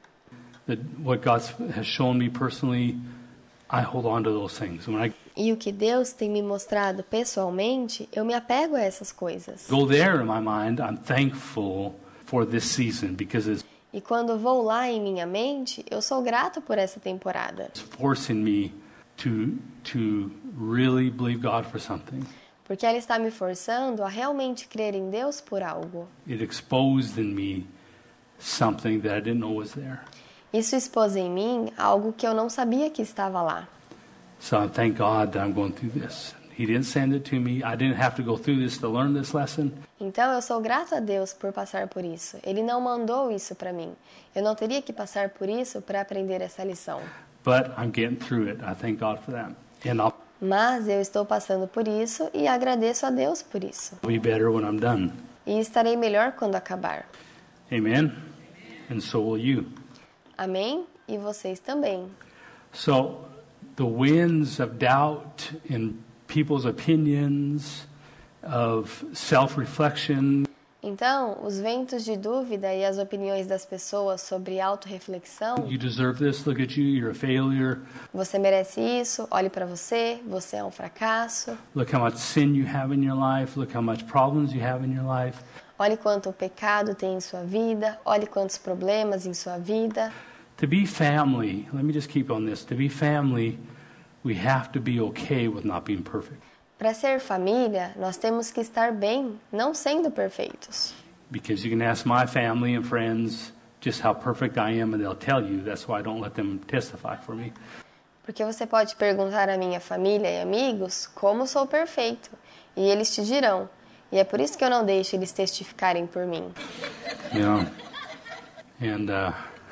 that what God has shown me personally, I hold on to those things. When I e o que Deus tem me mostrado pessoalmente, eu me apego a essas coisas. go there in my mind, I'm thankful for this season because it's E quando vou lá em minha mente, eu sou grato por essa temporada, forcing me to to really believe God for something. porque ela está me forçando a realmente crer em Deus por algo. It exposed in me something that I didn't know was there. Isso expôs em mim algo que eu não sabia que estava lá. So I thank God that I'm going through this. He didn't send it to me. I didn't have to go through this to learn this lesson. Então eu sou grato a Deus por passar por isso. Ele não mandou isso para mim. Eu não teria que passar por isso para aprender essa lição. But I'm getting through it. I thank God for that. And I'll Mas eu estou passando por isso e agradeço a Deus por isso. be better when I'm done. E estarei melhor quando acabar. Amen? And so will you. Amém? E vocês também. So the winds of doubt and people's opinions, of self-reflection. Então, os ventos de dúvida e as opiniões das pessoas sobre autorreflexão. You deserve this, look at you, you're a failure. Você merece isso, olhe para você, você é um fracasso. Look how much sin you have in your life, look how much problems you have in your life. Olhe quanto pecado tem em sua vida, olhe quantos problemas em sua vida. To be family, let me just keep on this. To be family, we have to be okay with not being perfect. Para ser família, nós temos que estar bem, não sendo perfeitos. Because you can ask my family and friends just how perfect I am and they'll tell you. That's why I don't let them testify for me. Porque você pode perguntar à minha família e amigos como sou perfeito, e eles te dirão. E é por isso que eu não deixo eles testificarem por mim. You know, and uh,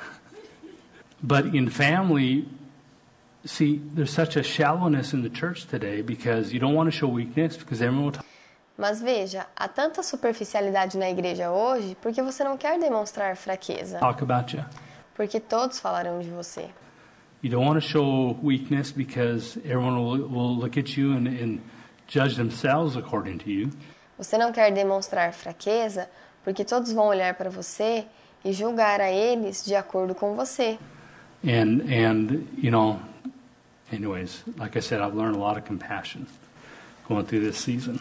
but in family, see, there's such a shallowness in the church today because you don't want to show weakness because everyone will talk. Mas veja, há tanta superficialidade na igreja hoje porque você não quer demonstrar fraqueza. Talk about you. Porque todos falarão de você. You don't want to show weakness because everyone will, will look at you and, and judge themselves according to you. Você não quer demonstrar fraqueza porque todos vão olhar para você e julgar a eles de acordo com você. And and you know, anyways, like I said, I've learned a lot of compassion going through this season.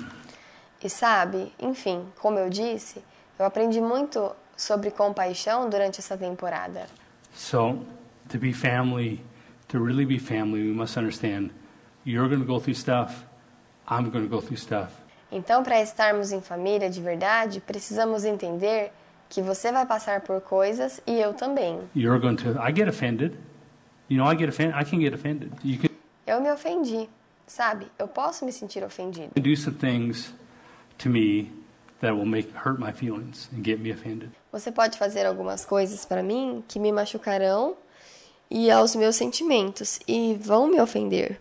E sabe, enfim, como eu disse, eu aprendi muito sobre compaixão durante essa temporada. So, to be family, to really be family, we must understand you're going to go through stuff, I'm going to go through stuff. Então, para estarmos em família de verdade, precisamos entender que você vai passar por coisas e eu também. You're going to I get offended. You know, I get offended. I can get offended. You can Eu me ofendi, sabe? Eu posso me sentir ofendido. do some things to me that will make hurt my feelings and get me offended. Você pode fazer algumas coisas para mim que me machucarão e aos meus sentimentos e vão me ofender.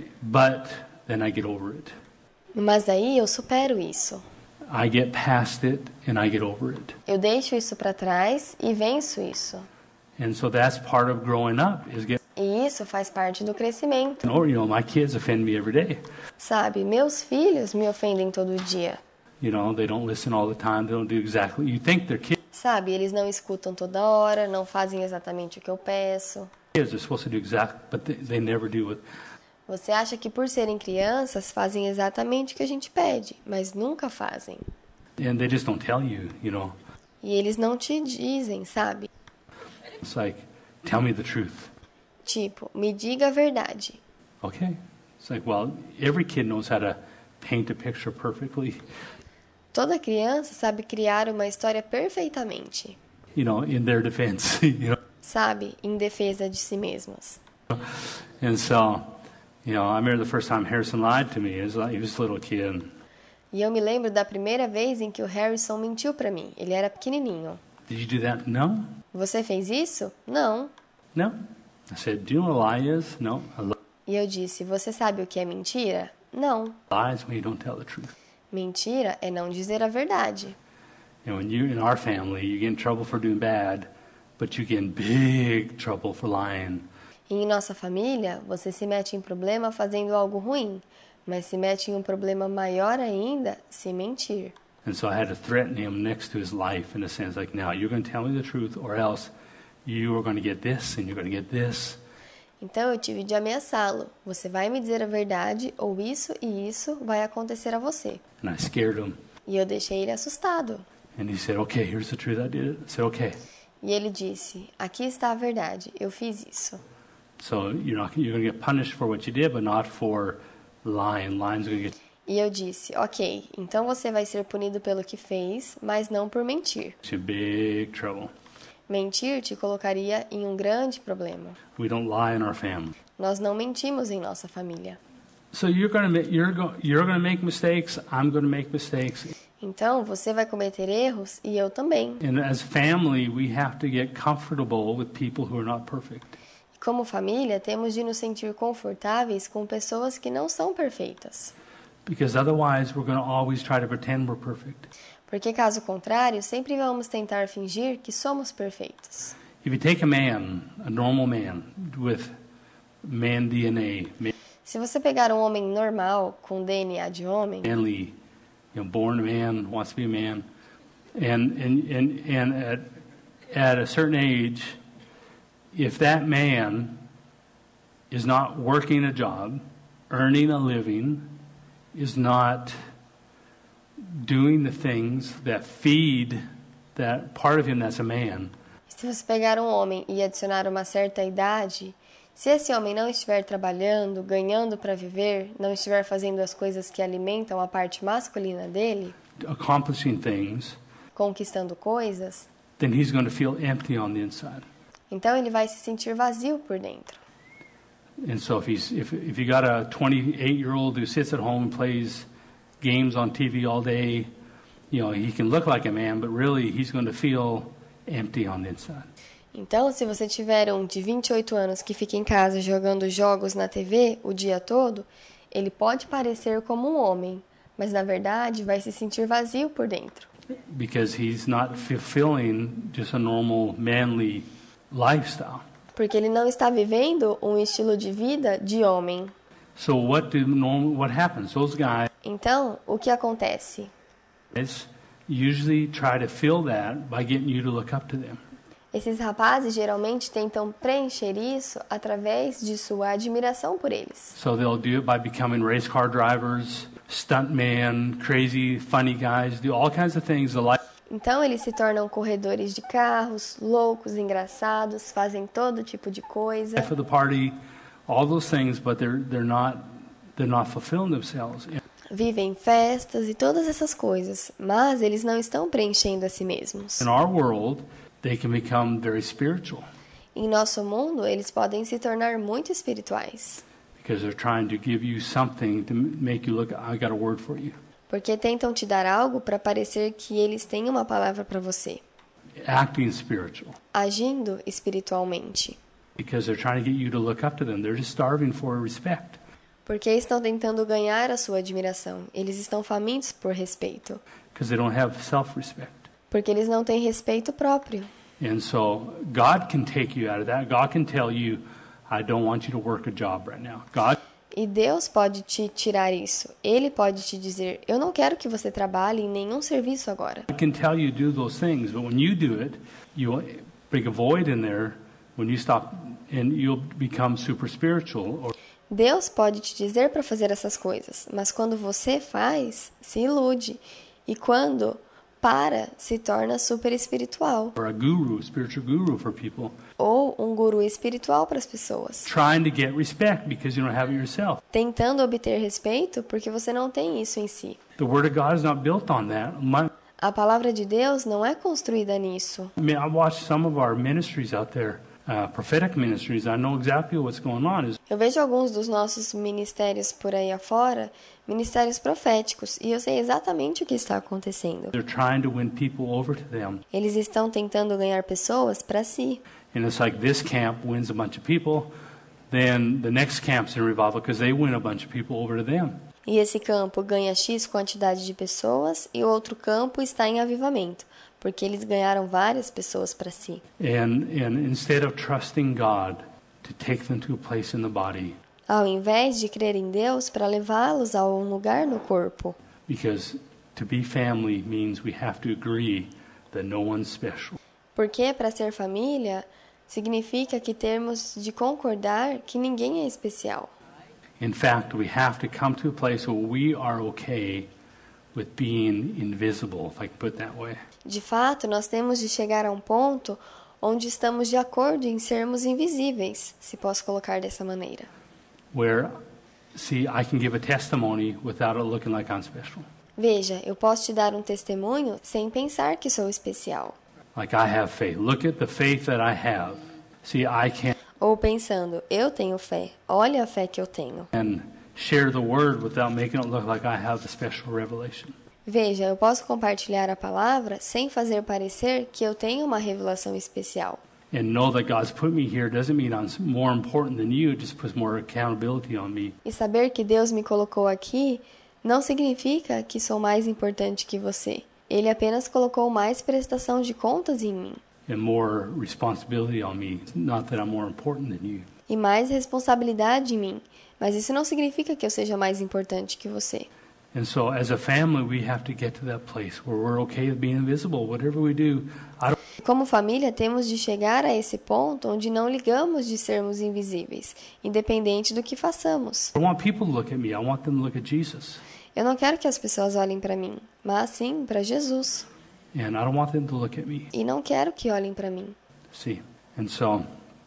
But then I get over it. Mas aí eu supero isso. I get past it and I get over it. Eu deixo isso para trás e venço isso. And so that's part of growing up is getting E isso faz parte do crescimento. or you know, my kids offend me every day. Sabe, meus filhos me ofendem todo dia. You know, they don't listen all the time. They don't do exactly. You think they're kids. Sabe, eles não escutam toda hora, não fazem exatamente o que eu peço. They're supposed to do exact, but they, they never do it. Você acha que por serem crianças fazem exatamente o que a gente pede, mas nunca fazem. And they just don't tell you, you know. E eles não te dizem, sabe? It's like, tell me the truth. Tipo, me diga a verdade. Okay. It's like, well, every kid knows how to paint a picture perfectly, Toda criança sabe criar uma história perfeitamente, you know, in their defense, you know. sabe? Em defesa de si mesmas. And so, you know, I remember the first time Harrison lied to me. He was, like, he was a little kid. E eu me lembro da primeira vez em que o Harrison mentiu pra mim. Ele era pequenininho. Did you do that? No. Você fez isso? Não. No. I said, do you know what a lie is? No. A lie E eu disse, você sabe o que é mentira? Não. is when you don't tell the truth. Mentira é não dizer a verdade. And when you, in our family, you get in trouble for doing bad, but you get in big trouble for lying. E em nossa família, você se mete em problema fazendo algo ruim, mas se mete em um problema maior ainda se mentir. And so I had to threaten him next to his life in a sense, like, now you're going to tell me the truth or else you are going to get this and you're going to get this. Então eu tive de ameaçá-lo. Você vai me dizer a verdade ou isso e isso vai acontecer a você. And I scared him. E eu deixei ele assustado. And he said, okay, here's the truth. I did it. I said, okay. E ele disse, aqui está a verdade, eu fiz isso. So you're not you're going to get punished for what you did, but not for lying. Lying's going to get E eu disse, ok, então você vai ser punido pelo que fez, mas não por mentir. you in big trouble. Mentir te colocaria em um grande problema. We don't lie in our family. Nós não mentimos em nossa família. So you're going to you're go, you're going to make mistakes. I'm going to make mistakes. Então, você vai cometer erros e eu também. And as family, we have to get comfortable with people who are not perfect. Como família, temos de nos sentir confortáveis com pessoas que não são perfeitas. Because otherwise, we're going to always try to pretend we're perfect. Porque, caso contrário, sempre vamos tentar fingir que somos perfeitos. If you take a man, a normal man, with man D N A, Se você pegar um homem normal, com D N A de homem, manly, you know, born a man, wants to be a man, and and and and at at a certain age, if that man is not working a job, earning a living, is not doing the things that feed that part of him that's a man, se você pegar um homem e adicionar uma certa idade, se esse homem não estiver trabalhando, ganhando para viver, não estiver fazendo as coisas que alimentam a parte masculina dele, accomplishing things, conquistando coisas, then he's going to feel empty on the inside. então ele vai se sentir vazio por dentro. And so if he's if if you got a twenty-eight-year-old who sits at home and plays games on T V all day, you know, he can look like a man, but really he's going to feel empty on the inside. Então, se você tiver um de vinte e oito anos que fica em casa jogando jogos na T V o dia todo, ele pode parecer como um homem, mas na verdade vai se sentir vazio por dentro. Because he's not fulfilling just a normal manly lifestyle. Porque ele não está vivendo um estilo de vida de homem. So what do normal what happens? Those guys Então, o que acontece? usually try to fill that by getting you to look up to them. Esses rapazes geralmente tentam preencher isso através de sua admiração por eles. So they'll do it by becoming race car drivers, stuntmen, crazy, funny guys, do all kinds of things. Então eles se tornam corredores de carros, loucos, engraçados, fazem todo tipo de coisa. For the party, all those things, but they're they're not they're not fulfilling themselves. Vivem festas e todas essas coisas, mas eles não estão preenchendo a si mesmos. In our world, they can become very spiritual. Em nosso mundo, eles podem se tornar muito espirituais. Because they're trying to give you something to make you look, I got a word for you. Porque tentam te dar algo para parecer que eles têm uma palavra para você. Acting spiritual. Agindo espiritualmente. Because they're trying to get you to look up to them. They're just starving for respect. Porque estão tentando ganhar a sua admiração. Eles estão famintos por respeito. Because they don't have self-respect. Porque eles não têm respeito próprio. And so God can take you out of that. God can tell you, I don't want you to work a job right now. God E Deus pode te tirar isso. Ele pode te dizer, eu não quero que você trabalhe em nenhum serviço agora. can tell you to do those things, but when you do it, you bring a void in there when you stop and you'll become super spiritual. Or Deus pode te dizer para fazer essas coisas, mas quando você faz, se ilude. E quando para, se torna super espiritual. or a guru, spiritual guru for people, Ou um guru espiritual para as pessoas. trying to get respect because you don't have it yourself. Tentando obter respeito porque você não tem isso em si. The Word of God is not built on that. My, A palavra de Deus não é construída nisso. I mean, I watched some of our ministries out there, uh, prophetic ministries. I know exactly what's going on. Is Eu vejo alguns dos nossos ministérios por aí afora, ministérios proféticos, e eu sei exatamente o que está acontecendo. they're trying to win people over to them. Eles estão tentando ganhar pessoas para si. And it's like this camp wins a bunch of people, then the next camp's in revival because they win a bunch of people over to them. E esse campo ganha X quantidade de pessoas e o outro campo está em avivamento, porque eles ganharam várias pessoas para si. And, and instead of trusting God to take them to a place in the body, Ao invés de crer em Deus para levá-los a um lugar no corpo. because to be family means we have to agree that no one's special. Porque para ser família significa que temos de concordar que ninguém é especial. In fact, we have to come to a place where we are okay with being invisible, if I can put it that way. De fato, nós temos de chegar a um ponto onde estamos de acordo em sermos invisíveis, se posso colocar dessa maneira. Where, see, I can give a testimony without it looking like I'm special. Veja, eu posso te dar um testemunho sem pensar que sou especial. Like I have faith. Look at the faith that I have. See, I can Ou pensando, eu tenho fé, olha a fé que eu tenho. share the word without making it look like I have the special revelation. Veja, eu posso compartilhar a palavra sem fazer parecer que eu tenho uma revelação especial. And know that God's put me here doesn't mean I'm more important than you, it just puts more accountability on me. E saber que Deus me colocou aqui não significa que sou mais importante que você. Ele apenas colocou mais prestação de contas em mim. And more responsibility on me. It's not that I'm more important than you. E e mais responsabilidade em mim, mas isso não significa que eu seja mais importante que você. And so as a family, we have to get to that place where we're okay with being invisible. Whatever we do, I don't Como família, temos de chegar a esse ponto onde não ligamos de sermos invisíveis, independente do que façamos. I want people to look at me. I want them to look at Jesus. Eu não quero que as pessoas olhem para mim, mas sim para Jesus. And I don't want them to look at me. E não quero que olhem para mim. See? And so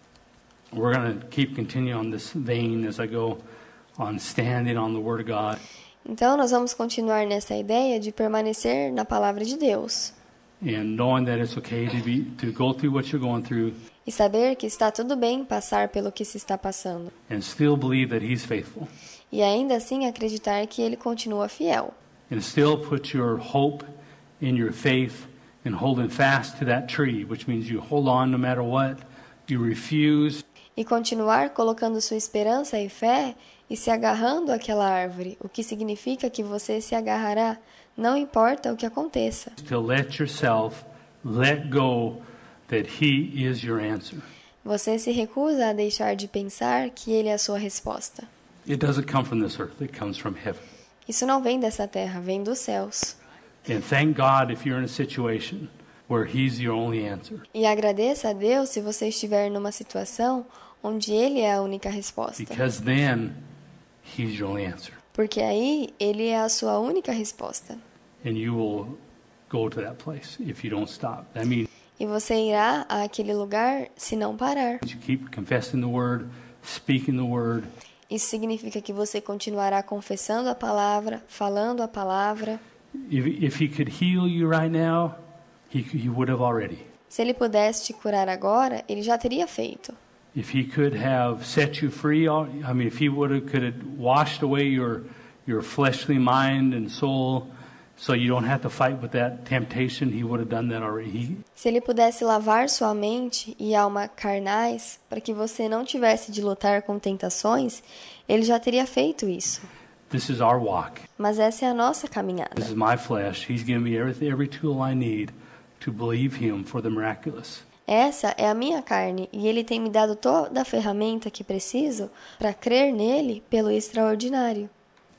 we're going to keep continuing on this vein as I go on standing on the Word of God. Então, nós vamos continuar nessa ideia de permanecer na palavra de Deus. And knowing that it's okay to be to go through what you're going through E saber que está tudo bem passar pelo que se está passando. and still believe that He's faithful. E ainda assim acreditar que Ele continua fiel. And still put your hope in your faith and holding fast to that tree, which means you hold on no matter what. You refuse E continuar colocando sua esperança e fé e se agarrando àquela árvore, o que significa que você se agarrará, não importa o que aconteça. to let yourself let go that He is your answer. Você se recusa a deixar de pensar que Ele é a sua resposta. It doesn't come from this earth, it comes from heaven. Isso não vem dessa terra, vem dos céus. And thank God if you're in a situation where He's your only answer. E agradeça a Deus se você estiver numa situação onde Ele é a única resposta. Because then He's your only answer. Porque aí Ele é a sua única resposta. And you will go to that place if you don't stop. That means E você irá àquele lugar se não parar. you keep confessing the Word, speaking the Word. Isso significa que você continuará confessando a palavra, falando a palavra. If, if He could heal you right now, He, he would have already. Se Ele pudesse te curar agora, Ele já teria feito. If He could have set you free, I mean, if He would have could have washed away your your fleshly mind and soul, so you don't have to fight with that temptation, He would have done that already. He, Se Ele pudesse lavar sua mente e alma carnais, para que você não tivesse de lutar com tentações, Ele já teria feito isso. this is our walk. Mas essa é a nossa caminhada. This is my flesh. He's given me every every tool I need to believe Him for the miraculous. Essa é a minha carne e Ele tem me dado toda a ferramenta que preciso para crer nele pelo extraordinário.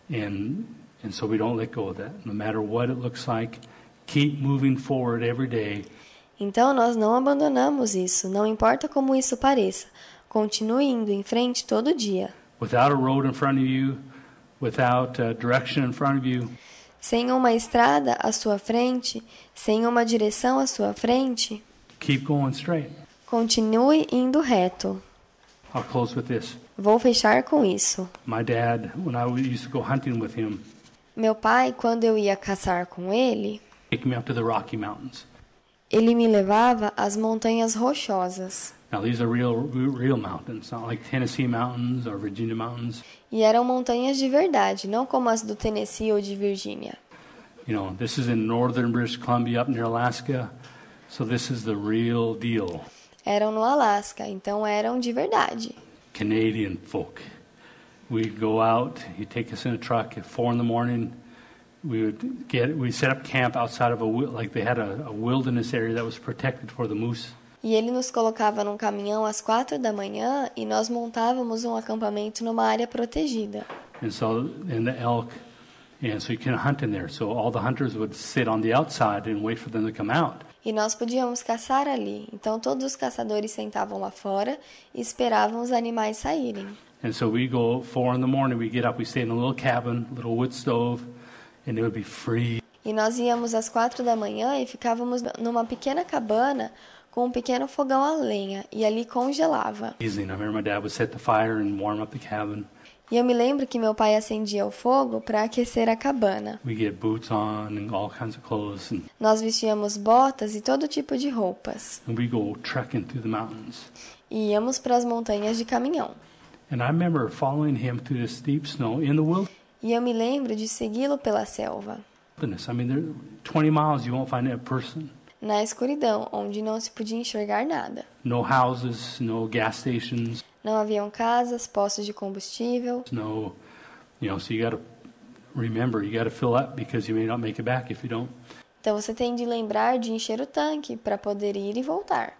And and so we don't let go of that. No matter what it looks like, keep moving forward every day. Então nós não abandonamos isso, não importa como isso pareça. Continue indo em frente todo dia. Without a road in front of you, without a direction in front of you, Sem uma estrada à sua frente, sem uma direção à sua frente, keep going straight. continue indo reto. I'll close with this. Vou fechar com isso. My dad, when I used to go hunting with him, Meu pai, quando eu ia caçar com ele, take me up to the Rocky Mountains. ele me levava às montanhas rochosas. Now these are real, real mountains, not like Tennessee mountains or Virginia mountains. E eram montanhas de verdade, não como as do Tennessee ou de Virgínia. You know, this is in northern British Columbia, up near Alaska. So this is the real deal. Eram no Alasca, então eram de verdade. Canadian folk. We'd go out. He'd take us in a truck at four in the morning. We would get. We set up camp outside of a wi- like they had a, a wilderness area that was protected for the moose. E ele nos colocava num caminhão às quatro da manhã e nós montávamos um acampamento numa área protegida. And so and the elk, and so you can hunt in there. So all the hunters would sit on the outside and wait for them to come out. E nós podíamos caçar ali. Então todos os caçadores sentavam lá fora e esperavam os animais saírem. And so we go four in the morning. We get up. We stay in a little cabin, little wood stove, and it would be free. E nós íamos às quatro da manhã e ficávamos numa pequena cabana com um pequeno fogão a lenha e ali congelava. Easy. And I remember my dad would set the fire and warm up the cabin. E eu me lembro que meu pai acendia o fogo para aquecer a cabana. We get boots on and all kinds of clothes, and, Nós vestíamos botas e todo tipo de roupas. and we go trekking through the mountains. E íamos para as montanhas de caminhão. And I remember following him through this deep snow in the E eu me lembro de segui-lo pela selva, wilderness. I mean, there twenty miles you won't find a person. na escuridão, onde não se podia enxergar nada. No houses, no gas stations, Não haviam casas, postos de combustível. no, you know. So you got to remember, you got to fill up because you may not make it back if you don't. Então você tem de lembrar de encher o tanque para poder ir e voltar.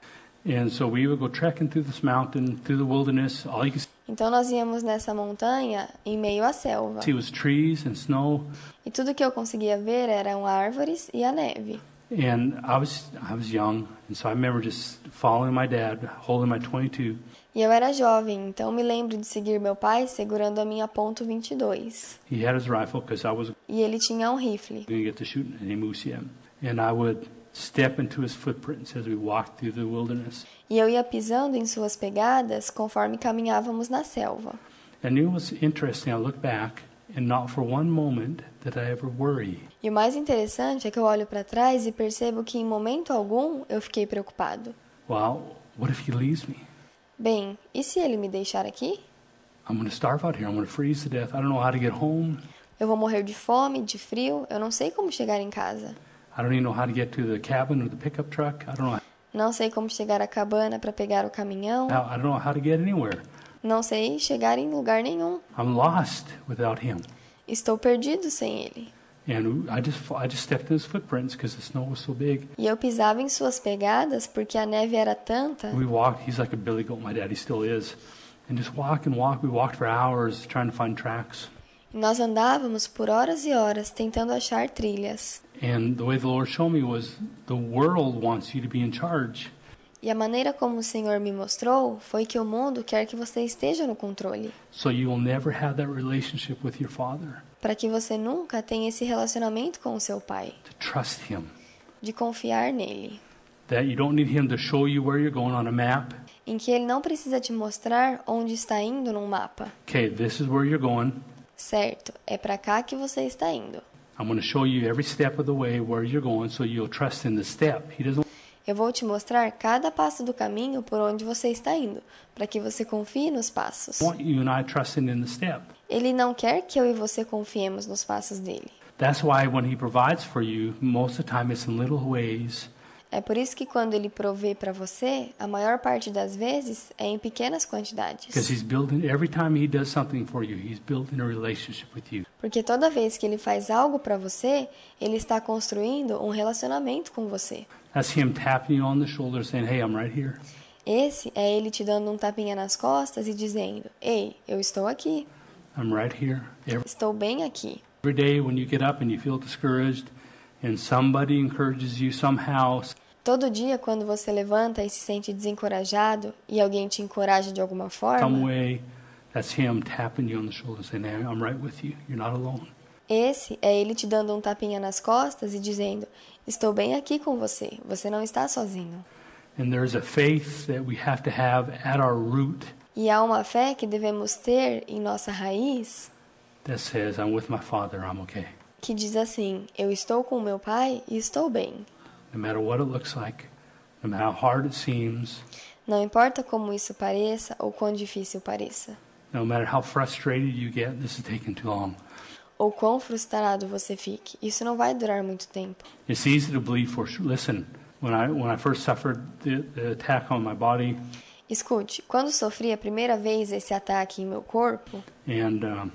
And so we would go trekking through this mountain, through the wilderness. All you could Então nós íamos nessa montanha em meio à selva. see was trees and snow. E tudo que eu conseguia ver eram árvores e a neve. And I was I was young, and so I remember just following my dad, holding my twenty-two. E eu era jovem, então me lembro de seguir meu pai segurando a minha ponto vinte e dois. He had his rifle because I was E ele tinha um rifle. going to get to shooting any moose yet. And I would step into his footprints as we walked through the wilderness. E eu ia pisando em suas pegadas conforme caminhávamos na selva. And it was interesting. I look back, and not for one moment did I ever worry. E o mais interessante é que eu olho para trás e percebo que em momento algum eu fiquei preocupado. Well, what if he leaves me? Bem, e se ele me deixar aqui? I'm going to starve out here. I'm going to freeze to death. I don't know how to get home. Eu vou morrer de fome, de frio, eu não sei como chegar em casa. I don't even know how to get to the cabin or the pickup truck. I don't know Não sei como chegar à cabana para pegar o caminhão. how, I don't know how to get anywhere. Não sei chegar em lugar nenhum. I'm lost without him. Estou perdido sem ele. And I just I just stepped in his footprints because the snow was so big. E eu pisava em suas pegadas porque a neve era tanta. We walked. He's like a billy goat. My daddy still is. And just walk and walk. We walked for hours trying to find tracks. E nós andávamos por horas e horas tentando achar trilhas. And the way the Lord showed me was the world wants you to be in charge. E a maneira como o Senhor me mostrou foi que o mundo quer que você esteja no controle, So you will never have that relationship with your father. para que você nunca tenha esse relacionamento com o seu pai, To trust him. de confiar nele, That you don't need him to show you where you're going on a map. em que ele não precisa te mostrar onde está indo num mapa. Okay, this is where you're going. Certo, é para cá que você está indo. I'm going to show you every step of the way where you're going so you'll trust in the step. He doesn't Eu vou te mostrar cada passo do caminho por onde você está indo, para que você confie nos passos. want you and I trusting in the step. Ele não quer que eu e você confiemos nos passos dele. That's why when he provides for you, most of the time it's in little ways. É por isso que quando ele provê para você, a maior parte das vezes é em pequenas Because quantidades. he's building, every time he does something for you, he's building a relationship with you. Porque toda vez que ele faz algo para você, ele está construindo um relacionamento com você. That's him tapping you on the shoulder saying, hey, I'm right here. Esse é ele te dando um tapinha nas costas e dizendo: "Ei, eu estou aqui. I'm right here. Every, Estou bem aqui." every day when you get up and you feel discouraged and somebody encourages you somehow, Todo dia quando você levanta e se sente desencorajado e alguém te encoraja de alguma some forma, way, that's him tapping you on the shoulder saying, hey, I'm right with you. You're not alone. esse é ele te dando um tapinha nas costas e dizendo: "Estou bem aqui com você. Você não está sozinho." And there's a faith that we have to have at our root E há uma fé que devemos ter em nossa raiz that says, I'm with my Father, I'm okay. que diz assim: "Eu estou com meu pai e estou bem." No matter what it looks like, no matter how hard it seems, Não importa como isso pareça ou quão difícil pareça, no matter how frustrated you get, this is taking too long. ou quão frustrado você fique, isso não vai durar muito tempo. It's easy to believe for sure. Listen, when I when I first suffered the, the attack on my body, Escute, quando sofri a primeira vez esse ataque em meu corpo, and um,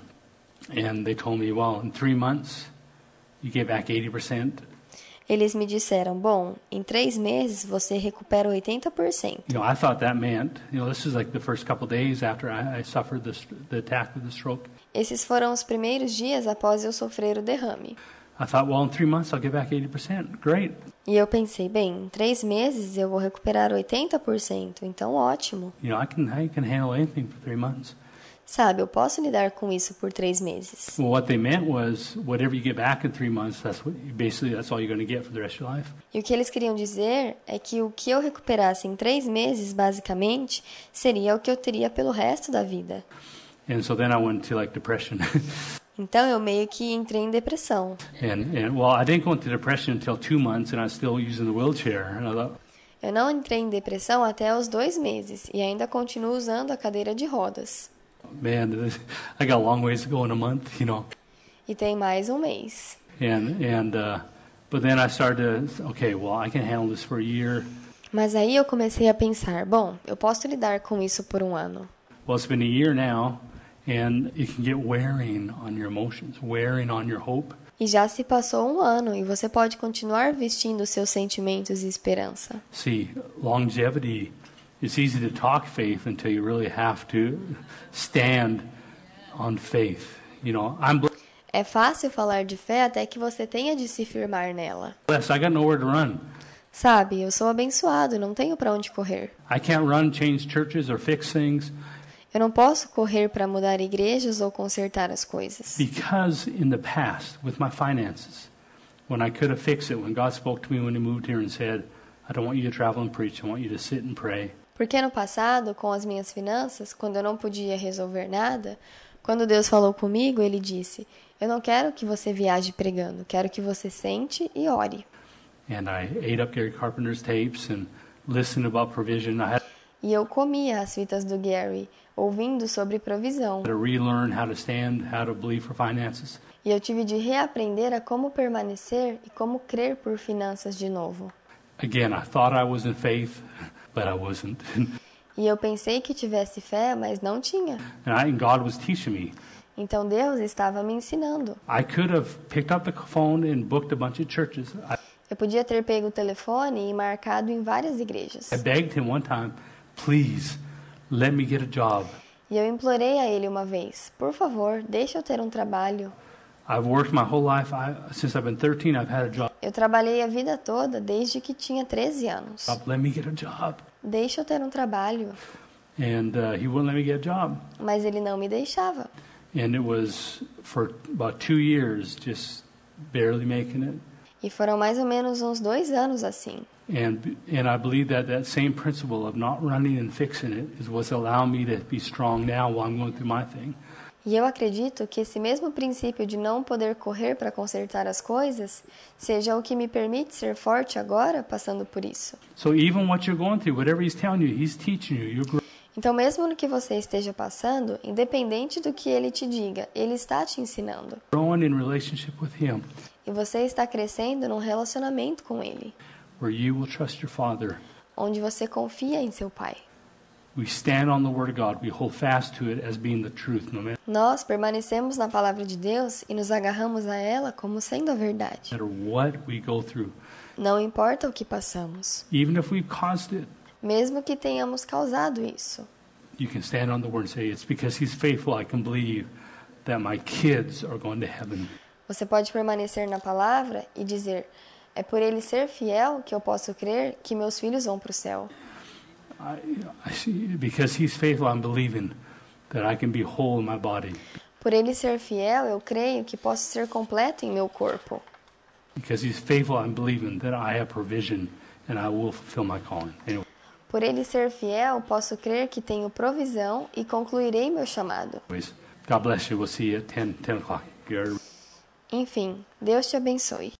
and they told me, well, in three months, you get back eighty percent. eles me disseram: "Bom, em três meses você recupera oitenta por cento." You know, I thought that meant, you know, this is like the first couple days after I, I suffered this, the attack with the stroke. Esses foram os primeiros dias após eu sofrer o derrame. I thought, well, in three months I'll get back eighty percent. Great. E eu pensei: bem, em três meses eu vou recuperar oitenta por cento, então ótimo. You know, I can I can handle anything for three months. Sabe, eu posso lidar com isso por três meses. Well, what they meant was whatever you get back in three months, that's what basically that's all you're going to get for the rest of your life. E o que eles queriam dizer é que o que eu recuperasse em três meses, basicamente, seria o que eu teria pelo resto da vida. And so then I went to like depression. Então eu meio que entrei em depressão. and and well, I didn't go into depression until two months, and I was still using the wheelchair. And I thought, Eu não entrei em depressão até os dois meses e ainda continuo usando a cadeira de rodas. man, this, I got a long ways to go in a month, you know. E tem mais um mês. And and uh, but then I started to okay, well, I can handle this for a year. Mas aí eu comecei a pensar: bom, eu posso lidar com isso por um ano. Well, it's been a year now, And it can get wearing on your emotions, wearing on your hope. E já se passou um ano e você pode continuar vestindo seus sentimentos e esperança. See, longevity, it's easy to talk faith until you really have to stand on faith. You know, I'm É fácil falar de fé até que você tenha de se firmar nela. blessed. I got nowhere to run. Sabe, eu sou abençoado, não tenho para onde correr. I can't run, change churches, or fix things Eu não posso correr para mudar igrejas ou consertar as coisas. because in the past, with my finances, when I could have fixed it, when God spoke to me when He moved here and said, I don't want you to travel and preach, I want you to sit and pray. Porque no passado, com as minhas finanças, quando eu não podia resolver nada, quando Deus falou comigo, Ele disse, eu não quero que você viaje pregando, quero que você sente e ore. And I ate up Gary Carpenter's tapes and listened about provision. I had E eu comia as fitas do Gary, ouvindo sobre provisão. to relearn how to stand, how to believe for finances. E eu tive de reaprender a como permanecer e como crer por finanças de novo. Again, I thought I was in faith, but I wasn't. E eu pensei que tivesse fé, mas não tinha. And, I, and God was teaching me. Então Deus estava me ensinando. I could have picked up the phone and booked a bunch of churches. I, Eu podia ter pego o telefone e marcado em várias igrejas. I begged Him one time, please, let me get a job. E eu implorei a ele uma vez, por favor, deixa eu ter um trabalho. I've worked my whole life. I, since I've been thirteen, I've had a job. Eu trabalhei a vida toda, desde que tinha treze anos. Let me get a job. Deixa eu ter um trabalho. And uh, He wouldn't let me get a job. Mas ele não me deixava. And it was for about two years, just barely making it. E foram mais ou menos uns dois anos assim. And and I believe that that same principle of not running and fixing it is what's allowing me to be strong now while I'm going through my thing. E eu acredito que esse mesmo princípio de não poder correr para consertar as coisas seja o que me permite ser forte agora, passando por isso. So even what you're going through, whatever He's telling you, He's teaching you. You're growing. Então, mesmo no que você esteja passando, independente do que ele te diga, ele está te ensinando. Growing in relationship with Him, E você está crescendo num relacionamento com ele, where you will trust your Father. onde você confia em seu pai. We stand on the Word of God. We hold fast to it as being the truth, no Nós permanecemos na palavra de Deus e nos agarramos a ela como sendo a verdade. matter what we go through. Não importa o que passamos, Even if we've caused it, mesmo que tenhamos causado isso. you can stand on the Word and say, it's because He's faithful I can believe that my kids are going to heaven. Você pode permanecer na palavra e dizer, é por ele ser fiel que eu posso crer que meus filhos vão para o céu. I, I see, because He's faithful, I'm believing that I can be whole in my body. Por ele ser fiel, eu creio que posso ser completo em meu corpo. Because He's faithful, I'm believing that I have provision and I will fulfill my calling. Anyway, Por ele ser fiel, posso crer que tenho provisão e concluirei meu chamado. God bless you. We'll see you at ten, ten o'clock. Gary. Enfim, Deus te abençoe.